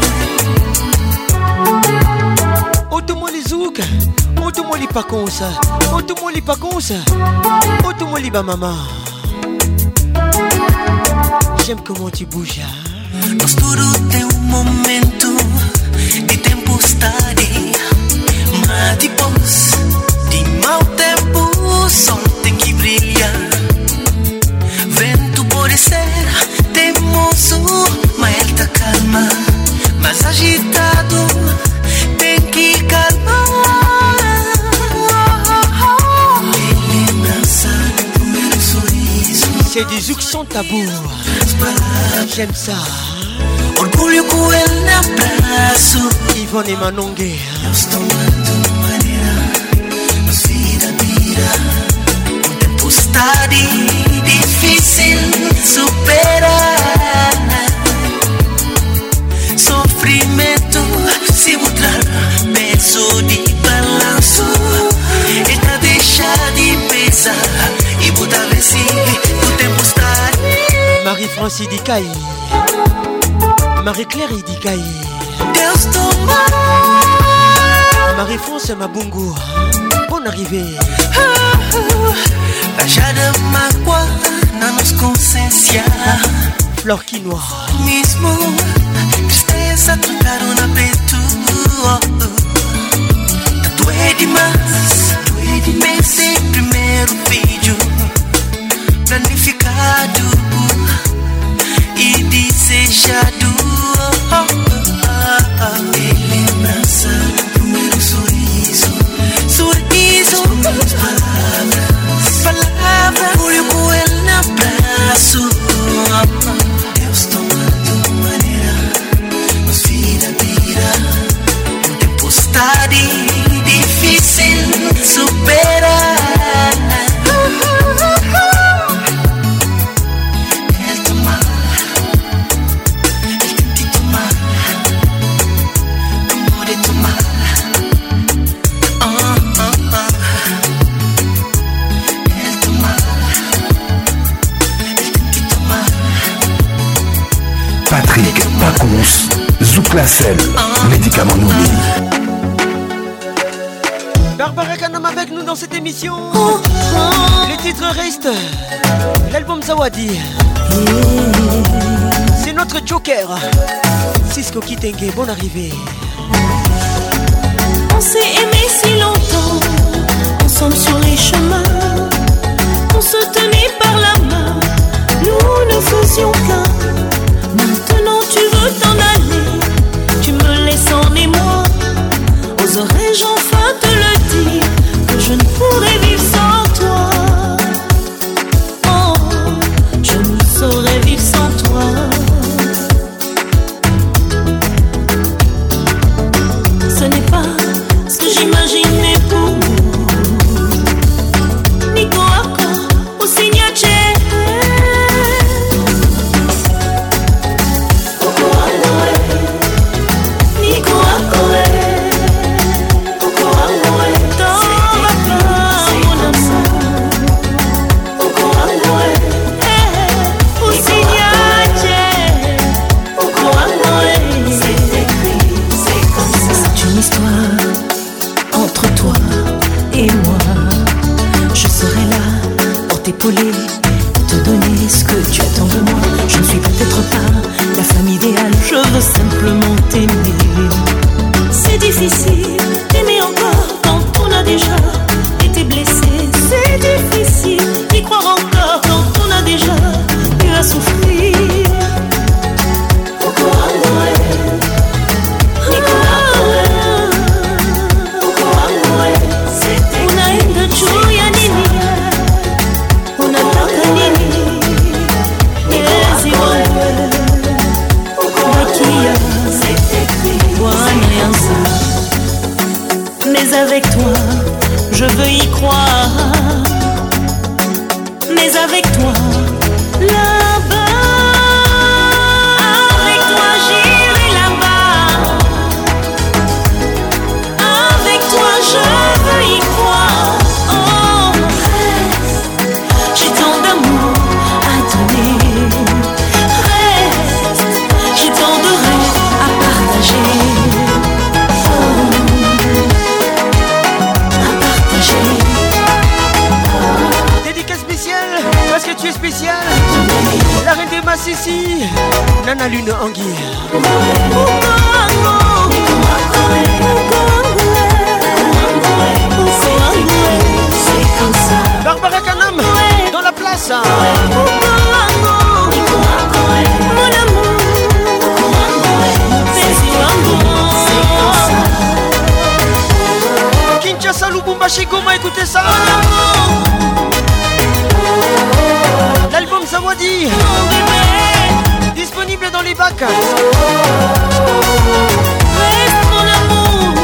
Automoli Zouk, Automoli Paconsa, Automoli Paconsa, Automoli Bamama. J'aime comment tu bouges. Nós tudo tem um momento de tempestade, mas depois de mau tempo o sol tem que brilhar. Vento pode ser teimoso, mas ele tá calma. Mas agitado tem que calmar. E lembrança do primeiro sorriso, c'est du Zouk sans tabou. J'aime ça. Orgulho com ele no abraço. Yvonne et Manongue. Deus tomando maneira, nos vira, vira. Um tempestade difícil superar. Sofrimento se mostrar peso de balanço. Ele deixa de pesar e botar vence do tempestade. Marie-Francis Dikaï, Marie-Claire Dikaï, Deus toma. Marie-France Mabungu, bonne arrivée. Rajada mágoa na nos consciência, Flor Quinoa, mismo tristeza trocaram na peito. Tanto é demais, pensei primeiro vídeo planificado e desejado. E lembrança do primeiro sorriso, sorriso, as palavras, palavras, orgulho com ele no abraço. Deus tomando maneira, nos vira, vira. Um tempestade difícil superar. Patrick Pacons, Zouk la selle, médicament nourri. Barbara Kanam avec nous dans cette émission. Les titres restent. L'album Zawadi. C'est notre Joker. Cisco Kitenge, bonne arrivée. On s'est aimé si longtemps, ensemble sur les chemins. On se tenait par la main, nous ne faisions qu'un. Maintenant tu veux t'en aller, tu me laisses en émoi. Oserais-je enfin te le dire, que je ne pourrais vivre sans toi. Oh, je ne saurais vivre sans toi. Ce n'est pas ce que j'imaginais pour nous. Nico Accord au signature. Massissi, Nana Lune Angui. Barbara Kanam dans la place. Kinshasa, Lubumbashi, Goma, écoutez ça. L'album Zawadi, disponible dans les bacs. Reste mon amour.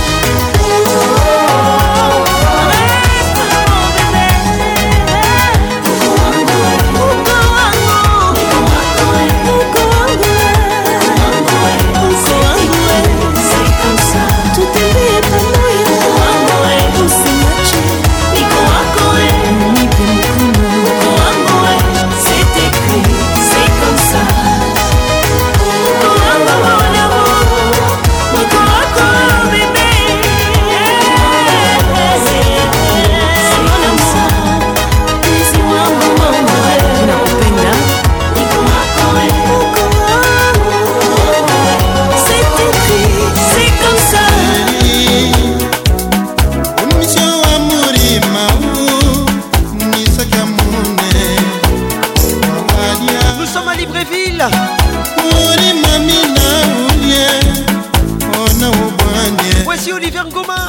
Voici Olivier Ngoma.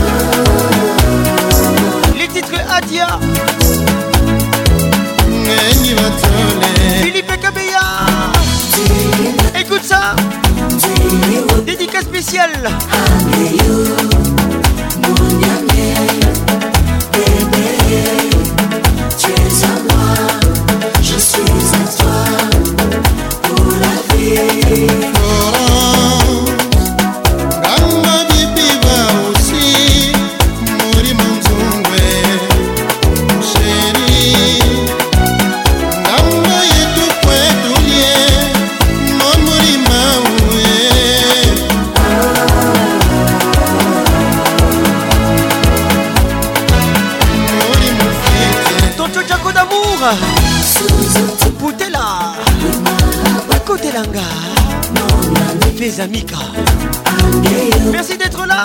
Les titres Adia, Philippe Kabeya. Écoute ça. Dédicace spéciale. Tu es à moi, je suis à toi pour la vie. Boutela Kotelanga Mes Amika. Merci d'être là.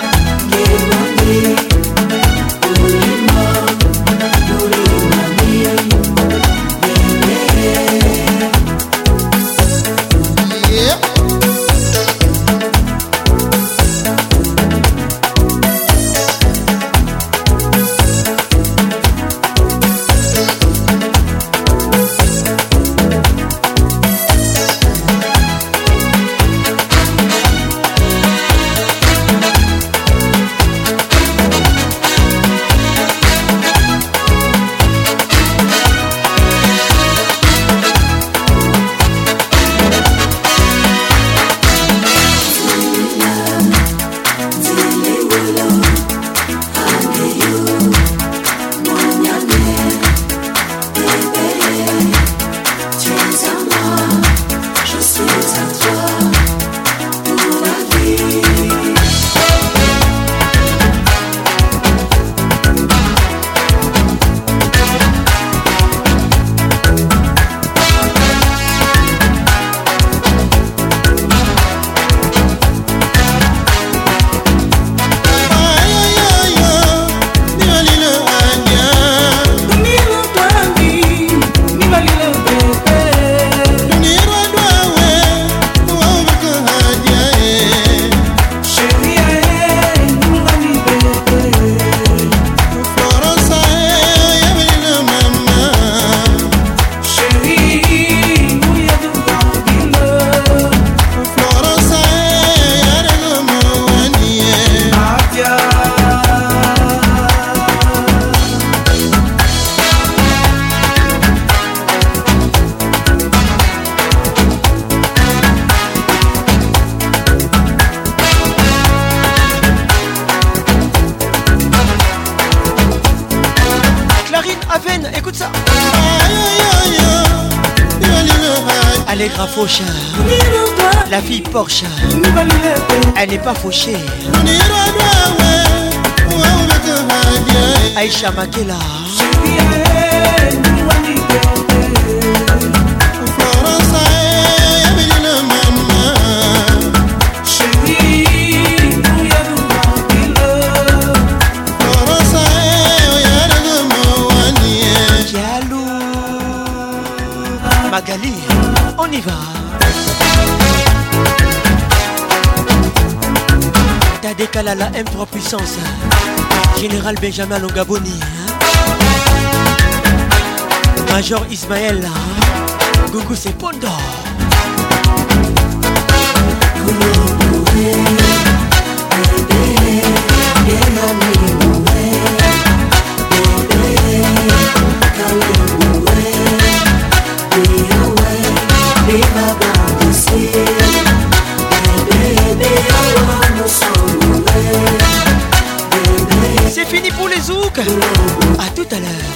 Allegra Faucha, la fille Porsche, elle n'est pas fauchée. Aïcha Makela, Florence Magali, on y va. Tadé Kalala M trois puissance. Général Benjamin Longaboni. Major Ismaël. Gougou c'est Pondo. C'est fini pour les zouks. À tout à l'heure.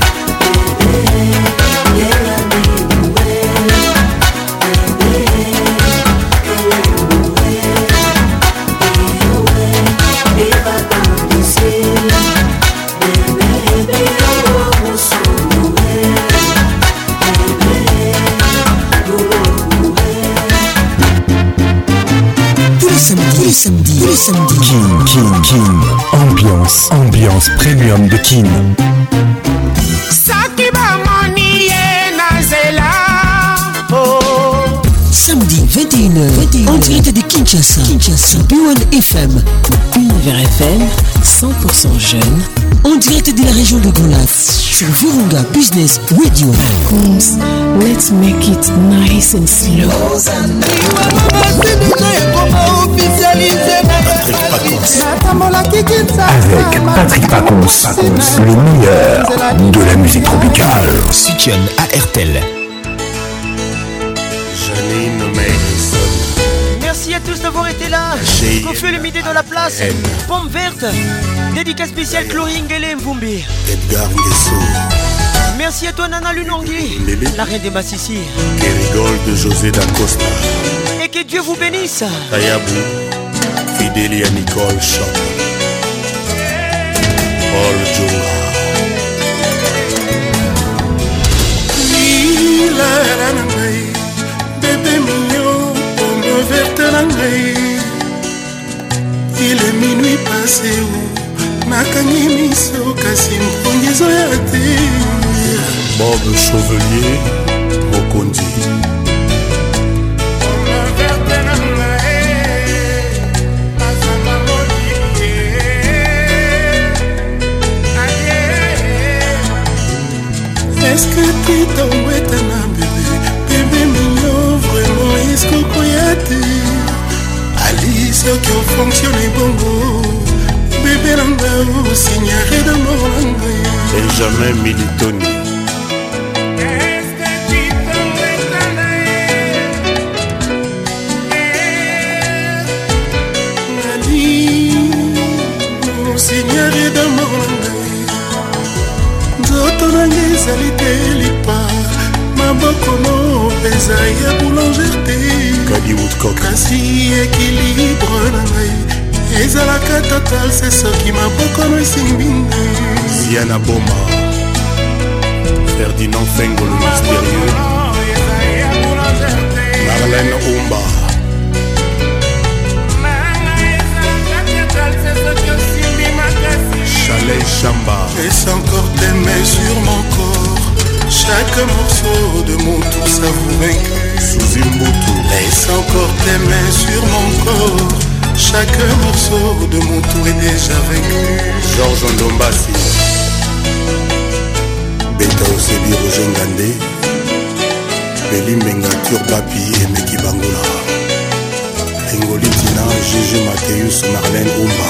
Tous les samedis, tous les samedis. Kin, Kin, Kin. Ambiance, ambiance premium de Kin. Samedi vingt et une heures, en direct de Kinshasa, Kinshasa, B un F M, Univers F M, cent pour cent jeune, en direct de la région de Golas, sur Virunga Business Radio. Let's make it nice and slow. Avec Patrick Pacons, le meilleur de la musique tropicale. Soutien à R T L. Merci à tous d'avoir été là. Kofi le midi de la place. Pomme verte. Dédicace spéciale Chloring et Mvumbi. Edgar Nguesso. Merci à toi Nana Lunongli, la reine des Massissi. Kerigol de José Dacosta. Et que Dieu vous bénisse. Tayabou. Fidélia Nicole Chop. Paul Djonga. Bébé mignon, pomme verte la nuit. Il est minuit passé où nakangi miso kasi mpongizo ya te. Bob Chauvelier, Mokondi. Pomme verte la nuit, pasama molié. Est-ce que tu t'en es un bébé? Bébé mignon, vraiment, est-ce que koyate? Alice, qui ont fonctionné bongo. Bébé langa, signaré de mort langa. Benjamin Militoni. Est-ce que tu t'en es un Ali, signaré de mort langa. Nzoto nanga ezali te lipa. Maboko no peza ya boulangerté. Kadi Woodcock. Kasi équilibre na ngai ezalaka total se soki maboko no esimbi ngai. Ziana Boma. Ferdinand Fengo le mystérieux. Marlène Oumba. Chalet Chamba. Laisse encore tes mains sur mon corps. Chaque morceau de mon tour s'avoue vaincu. Sous Mbutu. Laisse encore tes mains sur mon corps. Chaque morceau de mon tour est déjà vaincu. Georges Ndombasi. Beta Osebi Roger Ngandé. Beli Menga Turbapi et Meki Bangola. Engoli Tina, Gégé Mathéus, Marlène Oumba.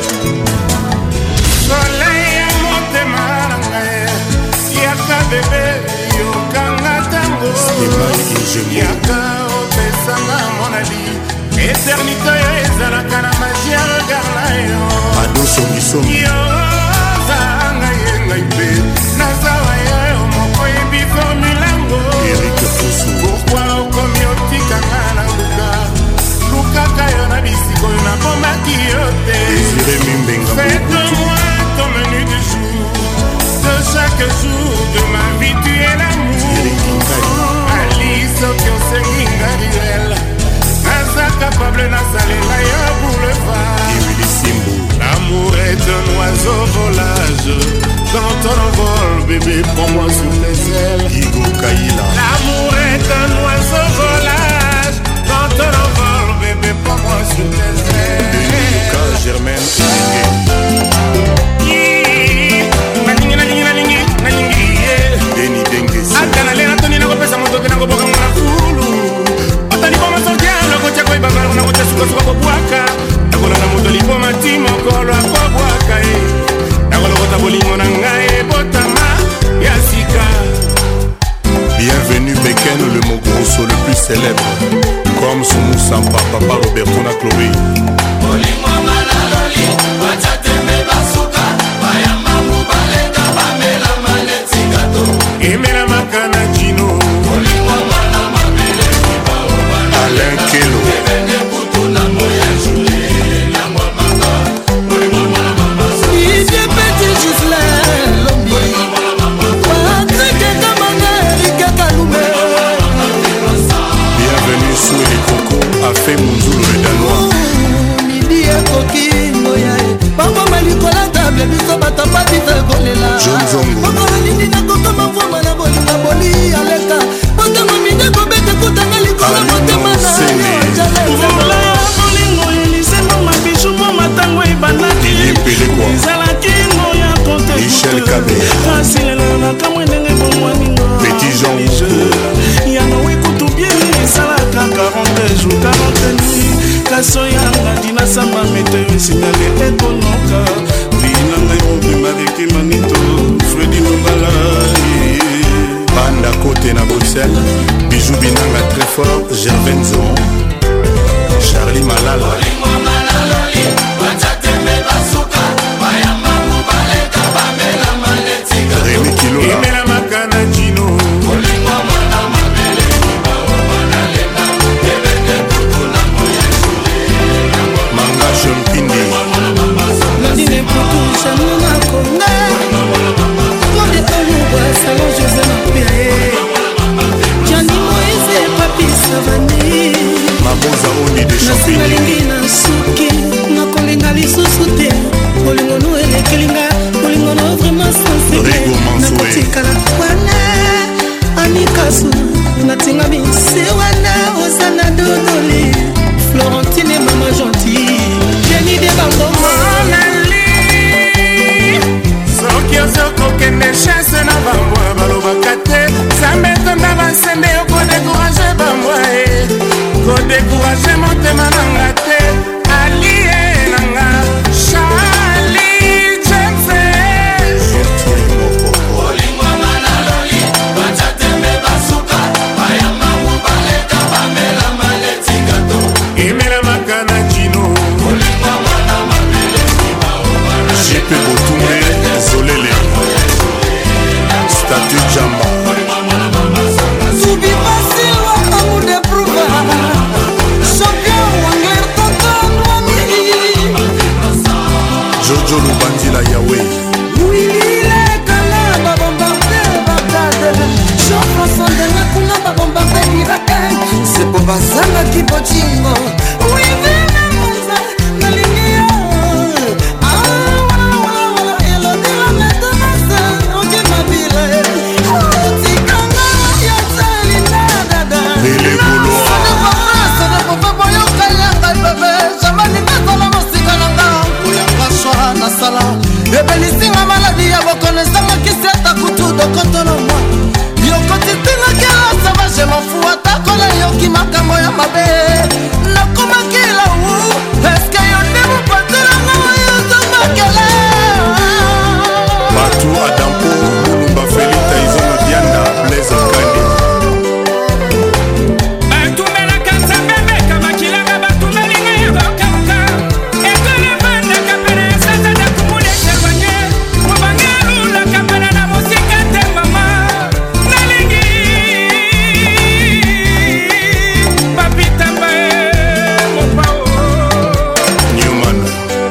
Soleil à motema nangae. Yaka bébé, yokanga tango. Yaka opesanga monali. Éternité ezalaka na magie ya regard na yo. Ado songisongi. Yo zanga ye ngai mpe. Nazawa yo moko yebi formulango. Eric Fosu. Pourquoi okomi otikanga na luka. Lukaka yo na bisiko yo nakomaki yo te. Désiré Mimbenga. Faites-moi ton menu du jour. De chaque jour de ma vie tu es l'amour. Alice soki osengi nga riel. Naza capable nasalela yo boulevard. L'amour est un oiseau volage. Quand on envole bébé prends-moi sur les ailes. Igo Kaila. L'amour Mogrosso le plus célèbre, comme Soumou Sampa, Papa Roberto na Chloé. Emela Makana Gino, Alain Kelo, bienvenue sous les cocos, a fait Mounzoulou le Danois. Midi ekoki ngoya bango malikola table biso batapati fekolela John Zongo bango nini nakokoma mvoma na bolinga boli aleka botango mide kobete kutanga likolo motema na vola bolingo elisengo mabisu mo matango ebandaki ezalaki ngoya Michel Kabé asilela na kamwe ndenge bomwaninga Petit Jean yana wekutu bien esalaka quarante jours quarante nuit kaso yanga dina samba meteo esinyale ekonoka bina ngai mobimba reki manito Fredi Nongala Banda côté na Bruxelles Bijou Binanga très fort Gervain Zon Charlie Malala Rémi Kilola Emela Makana Gino Manga Chompindi Nadine Poutou Chanona Konga Konde Oluwa Salon José Mapiae Gianni Moïse Papi Savani Maboza Oni de Chompindi Nasinalingi na suki Nakolinga lisusu te Bolingo no elekelinga Bolingo no vraiment sensible Nakotikala wana Anikasu Natinga bisi wana Osana Dodoli Florentine Mama Gentille Jenny de Bangoma soki ozokokende chasse na bambwa balobaka te sambetonda basende okodécourage bambwa e kodécourage motema nanga te alie nanga Charlie James Emela Makana Gino Jipe Botumé Zolele Statue Jamba Zubi Basiwa Amude Pruva Champion Wangler Tonton Wami Jojo Lubandila Yahweh Willy Lekala Babombarde Bagdad Jean-François Ndena Kuna Babombarde Irak C'est pour Bazanga Kibochingo Oui, Vena Monza Nalingia Ah, voilà, voilà, voilà Elodie la Metamasa Oje Mabile Tikanga Yatali Nadada Bele Gouloa Sada Papa, Sada Papa Boyo Kayanga Bebe Jamani Bezala Mosika Nanga Kuyanga Shwa Nasala Ebelisinga maladi ya bokonesanga kiseta kutudo kotono mwa Yokoti tinga kila saba je m'enfou atakola yoki makambo ya mabe Nakoma kila wu Eske yote mupatula ngawa yoto makele Batu Adampo Mulumba Felita Izono Dianda Blaise Kande batumela kanzambebe kamakilanga batumelinga ya bakauka ekole banda kapena ya sasa da kumule servanye mubangelu kapena na musika te mama nalingi papitamba mopao Newman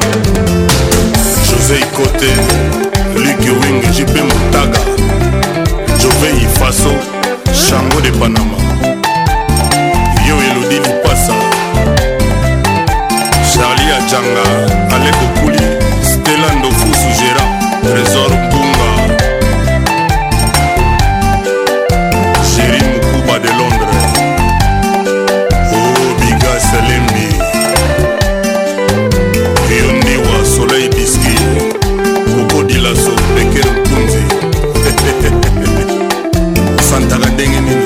José Ikote Luc Wing J P Moutaga Jové Ifaso Chango de Panama Yo Elodie Lipasa Charlie Adjanga Aleko Kouli Stella Ndofusu Gérard Trésor Bunga Géry Mukuba de Londres Oh Biga Selembi Yondiwa Soleil Biski Coco Dilaso Becker Kunzi Santana ndenge nini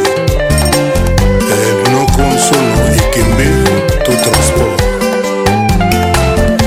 Bino Konsono Ekembe To Transport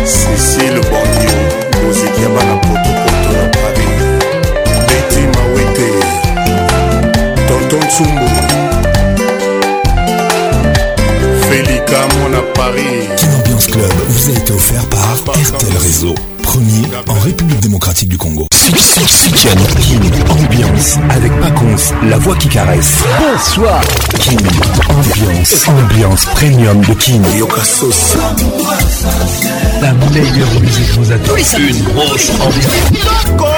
Paris. Kin Ambiance Club vous a été offert par R T L Réseau, premier en République démocratique du Congo. Kin Ambiance avec Paconce, la voix qui caresse. Bonsoir. Kin Ambiance, ambiance premium de Kin. Yokasos. La meilleure musique vous attend. Une grosse ambiance.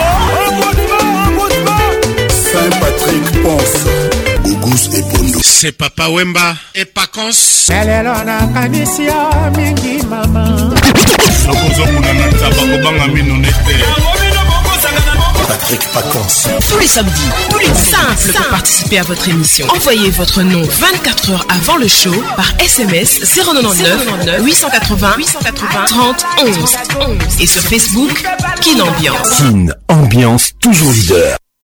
Saint-Patrick Ponce, Gougous et Bondo. C'est Papa Wemba et Paconce. Lelo nakanisi yo mingi mama. Sokozomuna na taba kobanga mino nete. Patrick Paconce. Tous les samedis, tous les simples pour participer à votre émission. Envoyez votre nom vingt-quatre heures avant le show par S M S zéro neuf huit cent quatre-vingts trente onze et sur Facebook Kin Ambiance. Kin Ambiance toujours leader.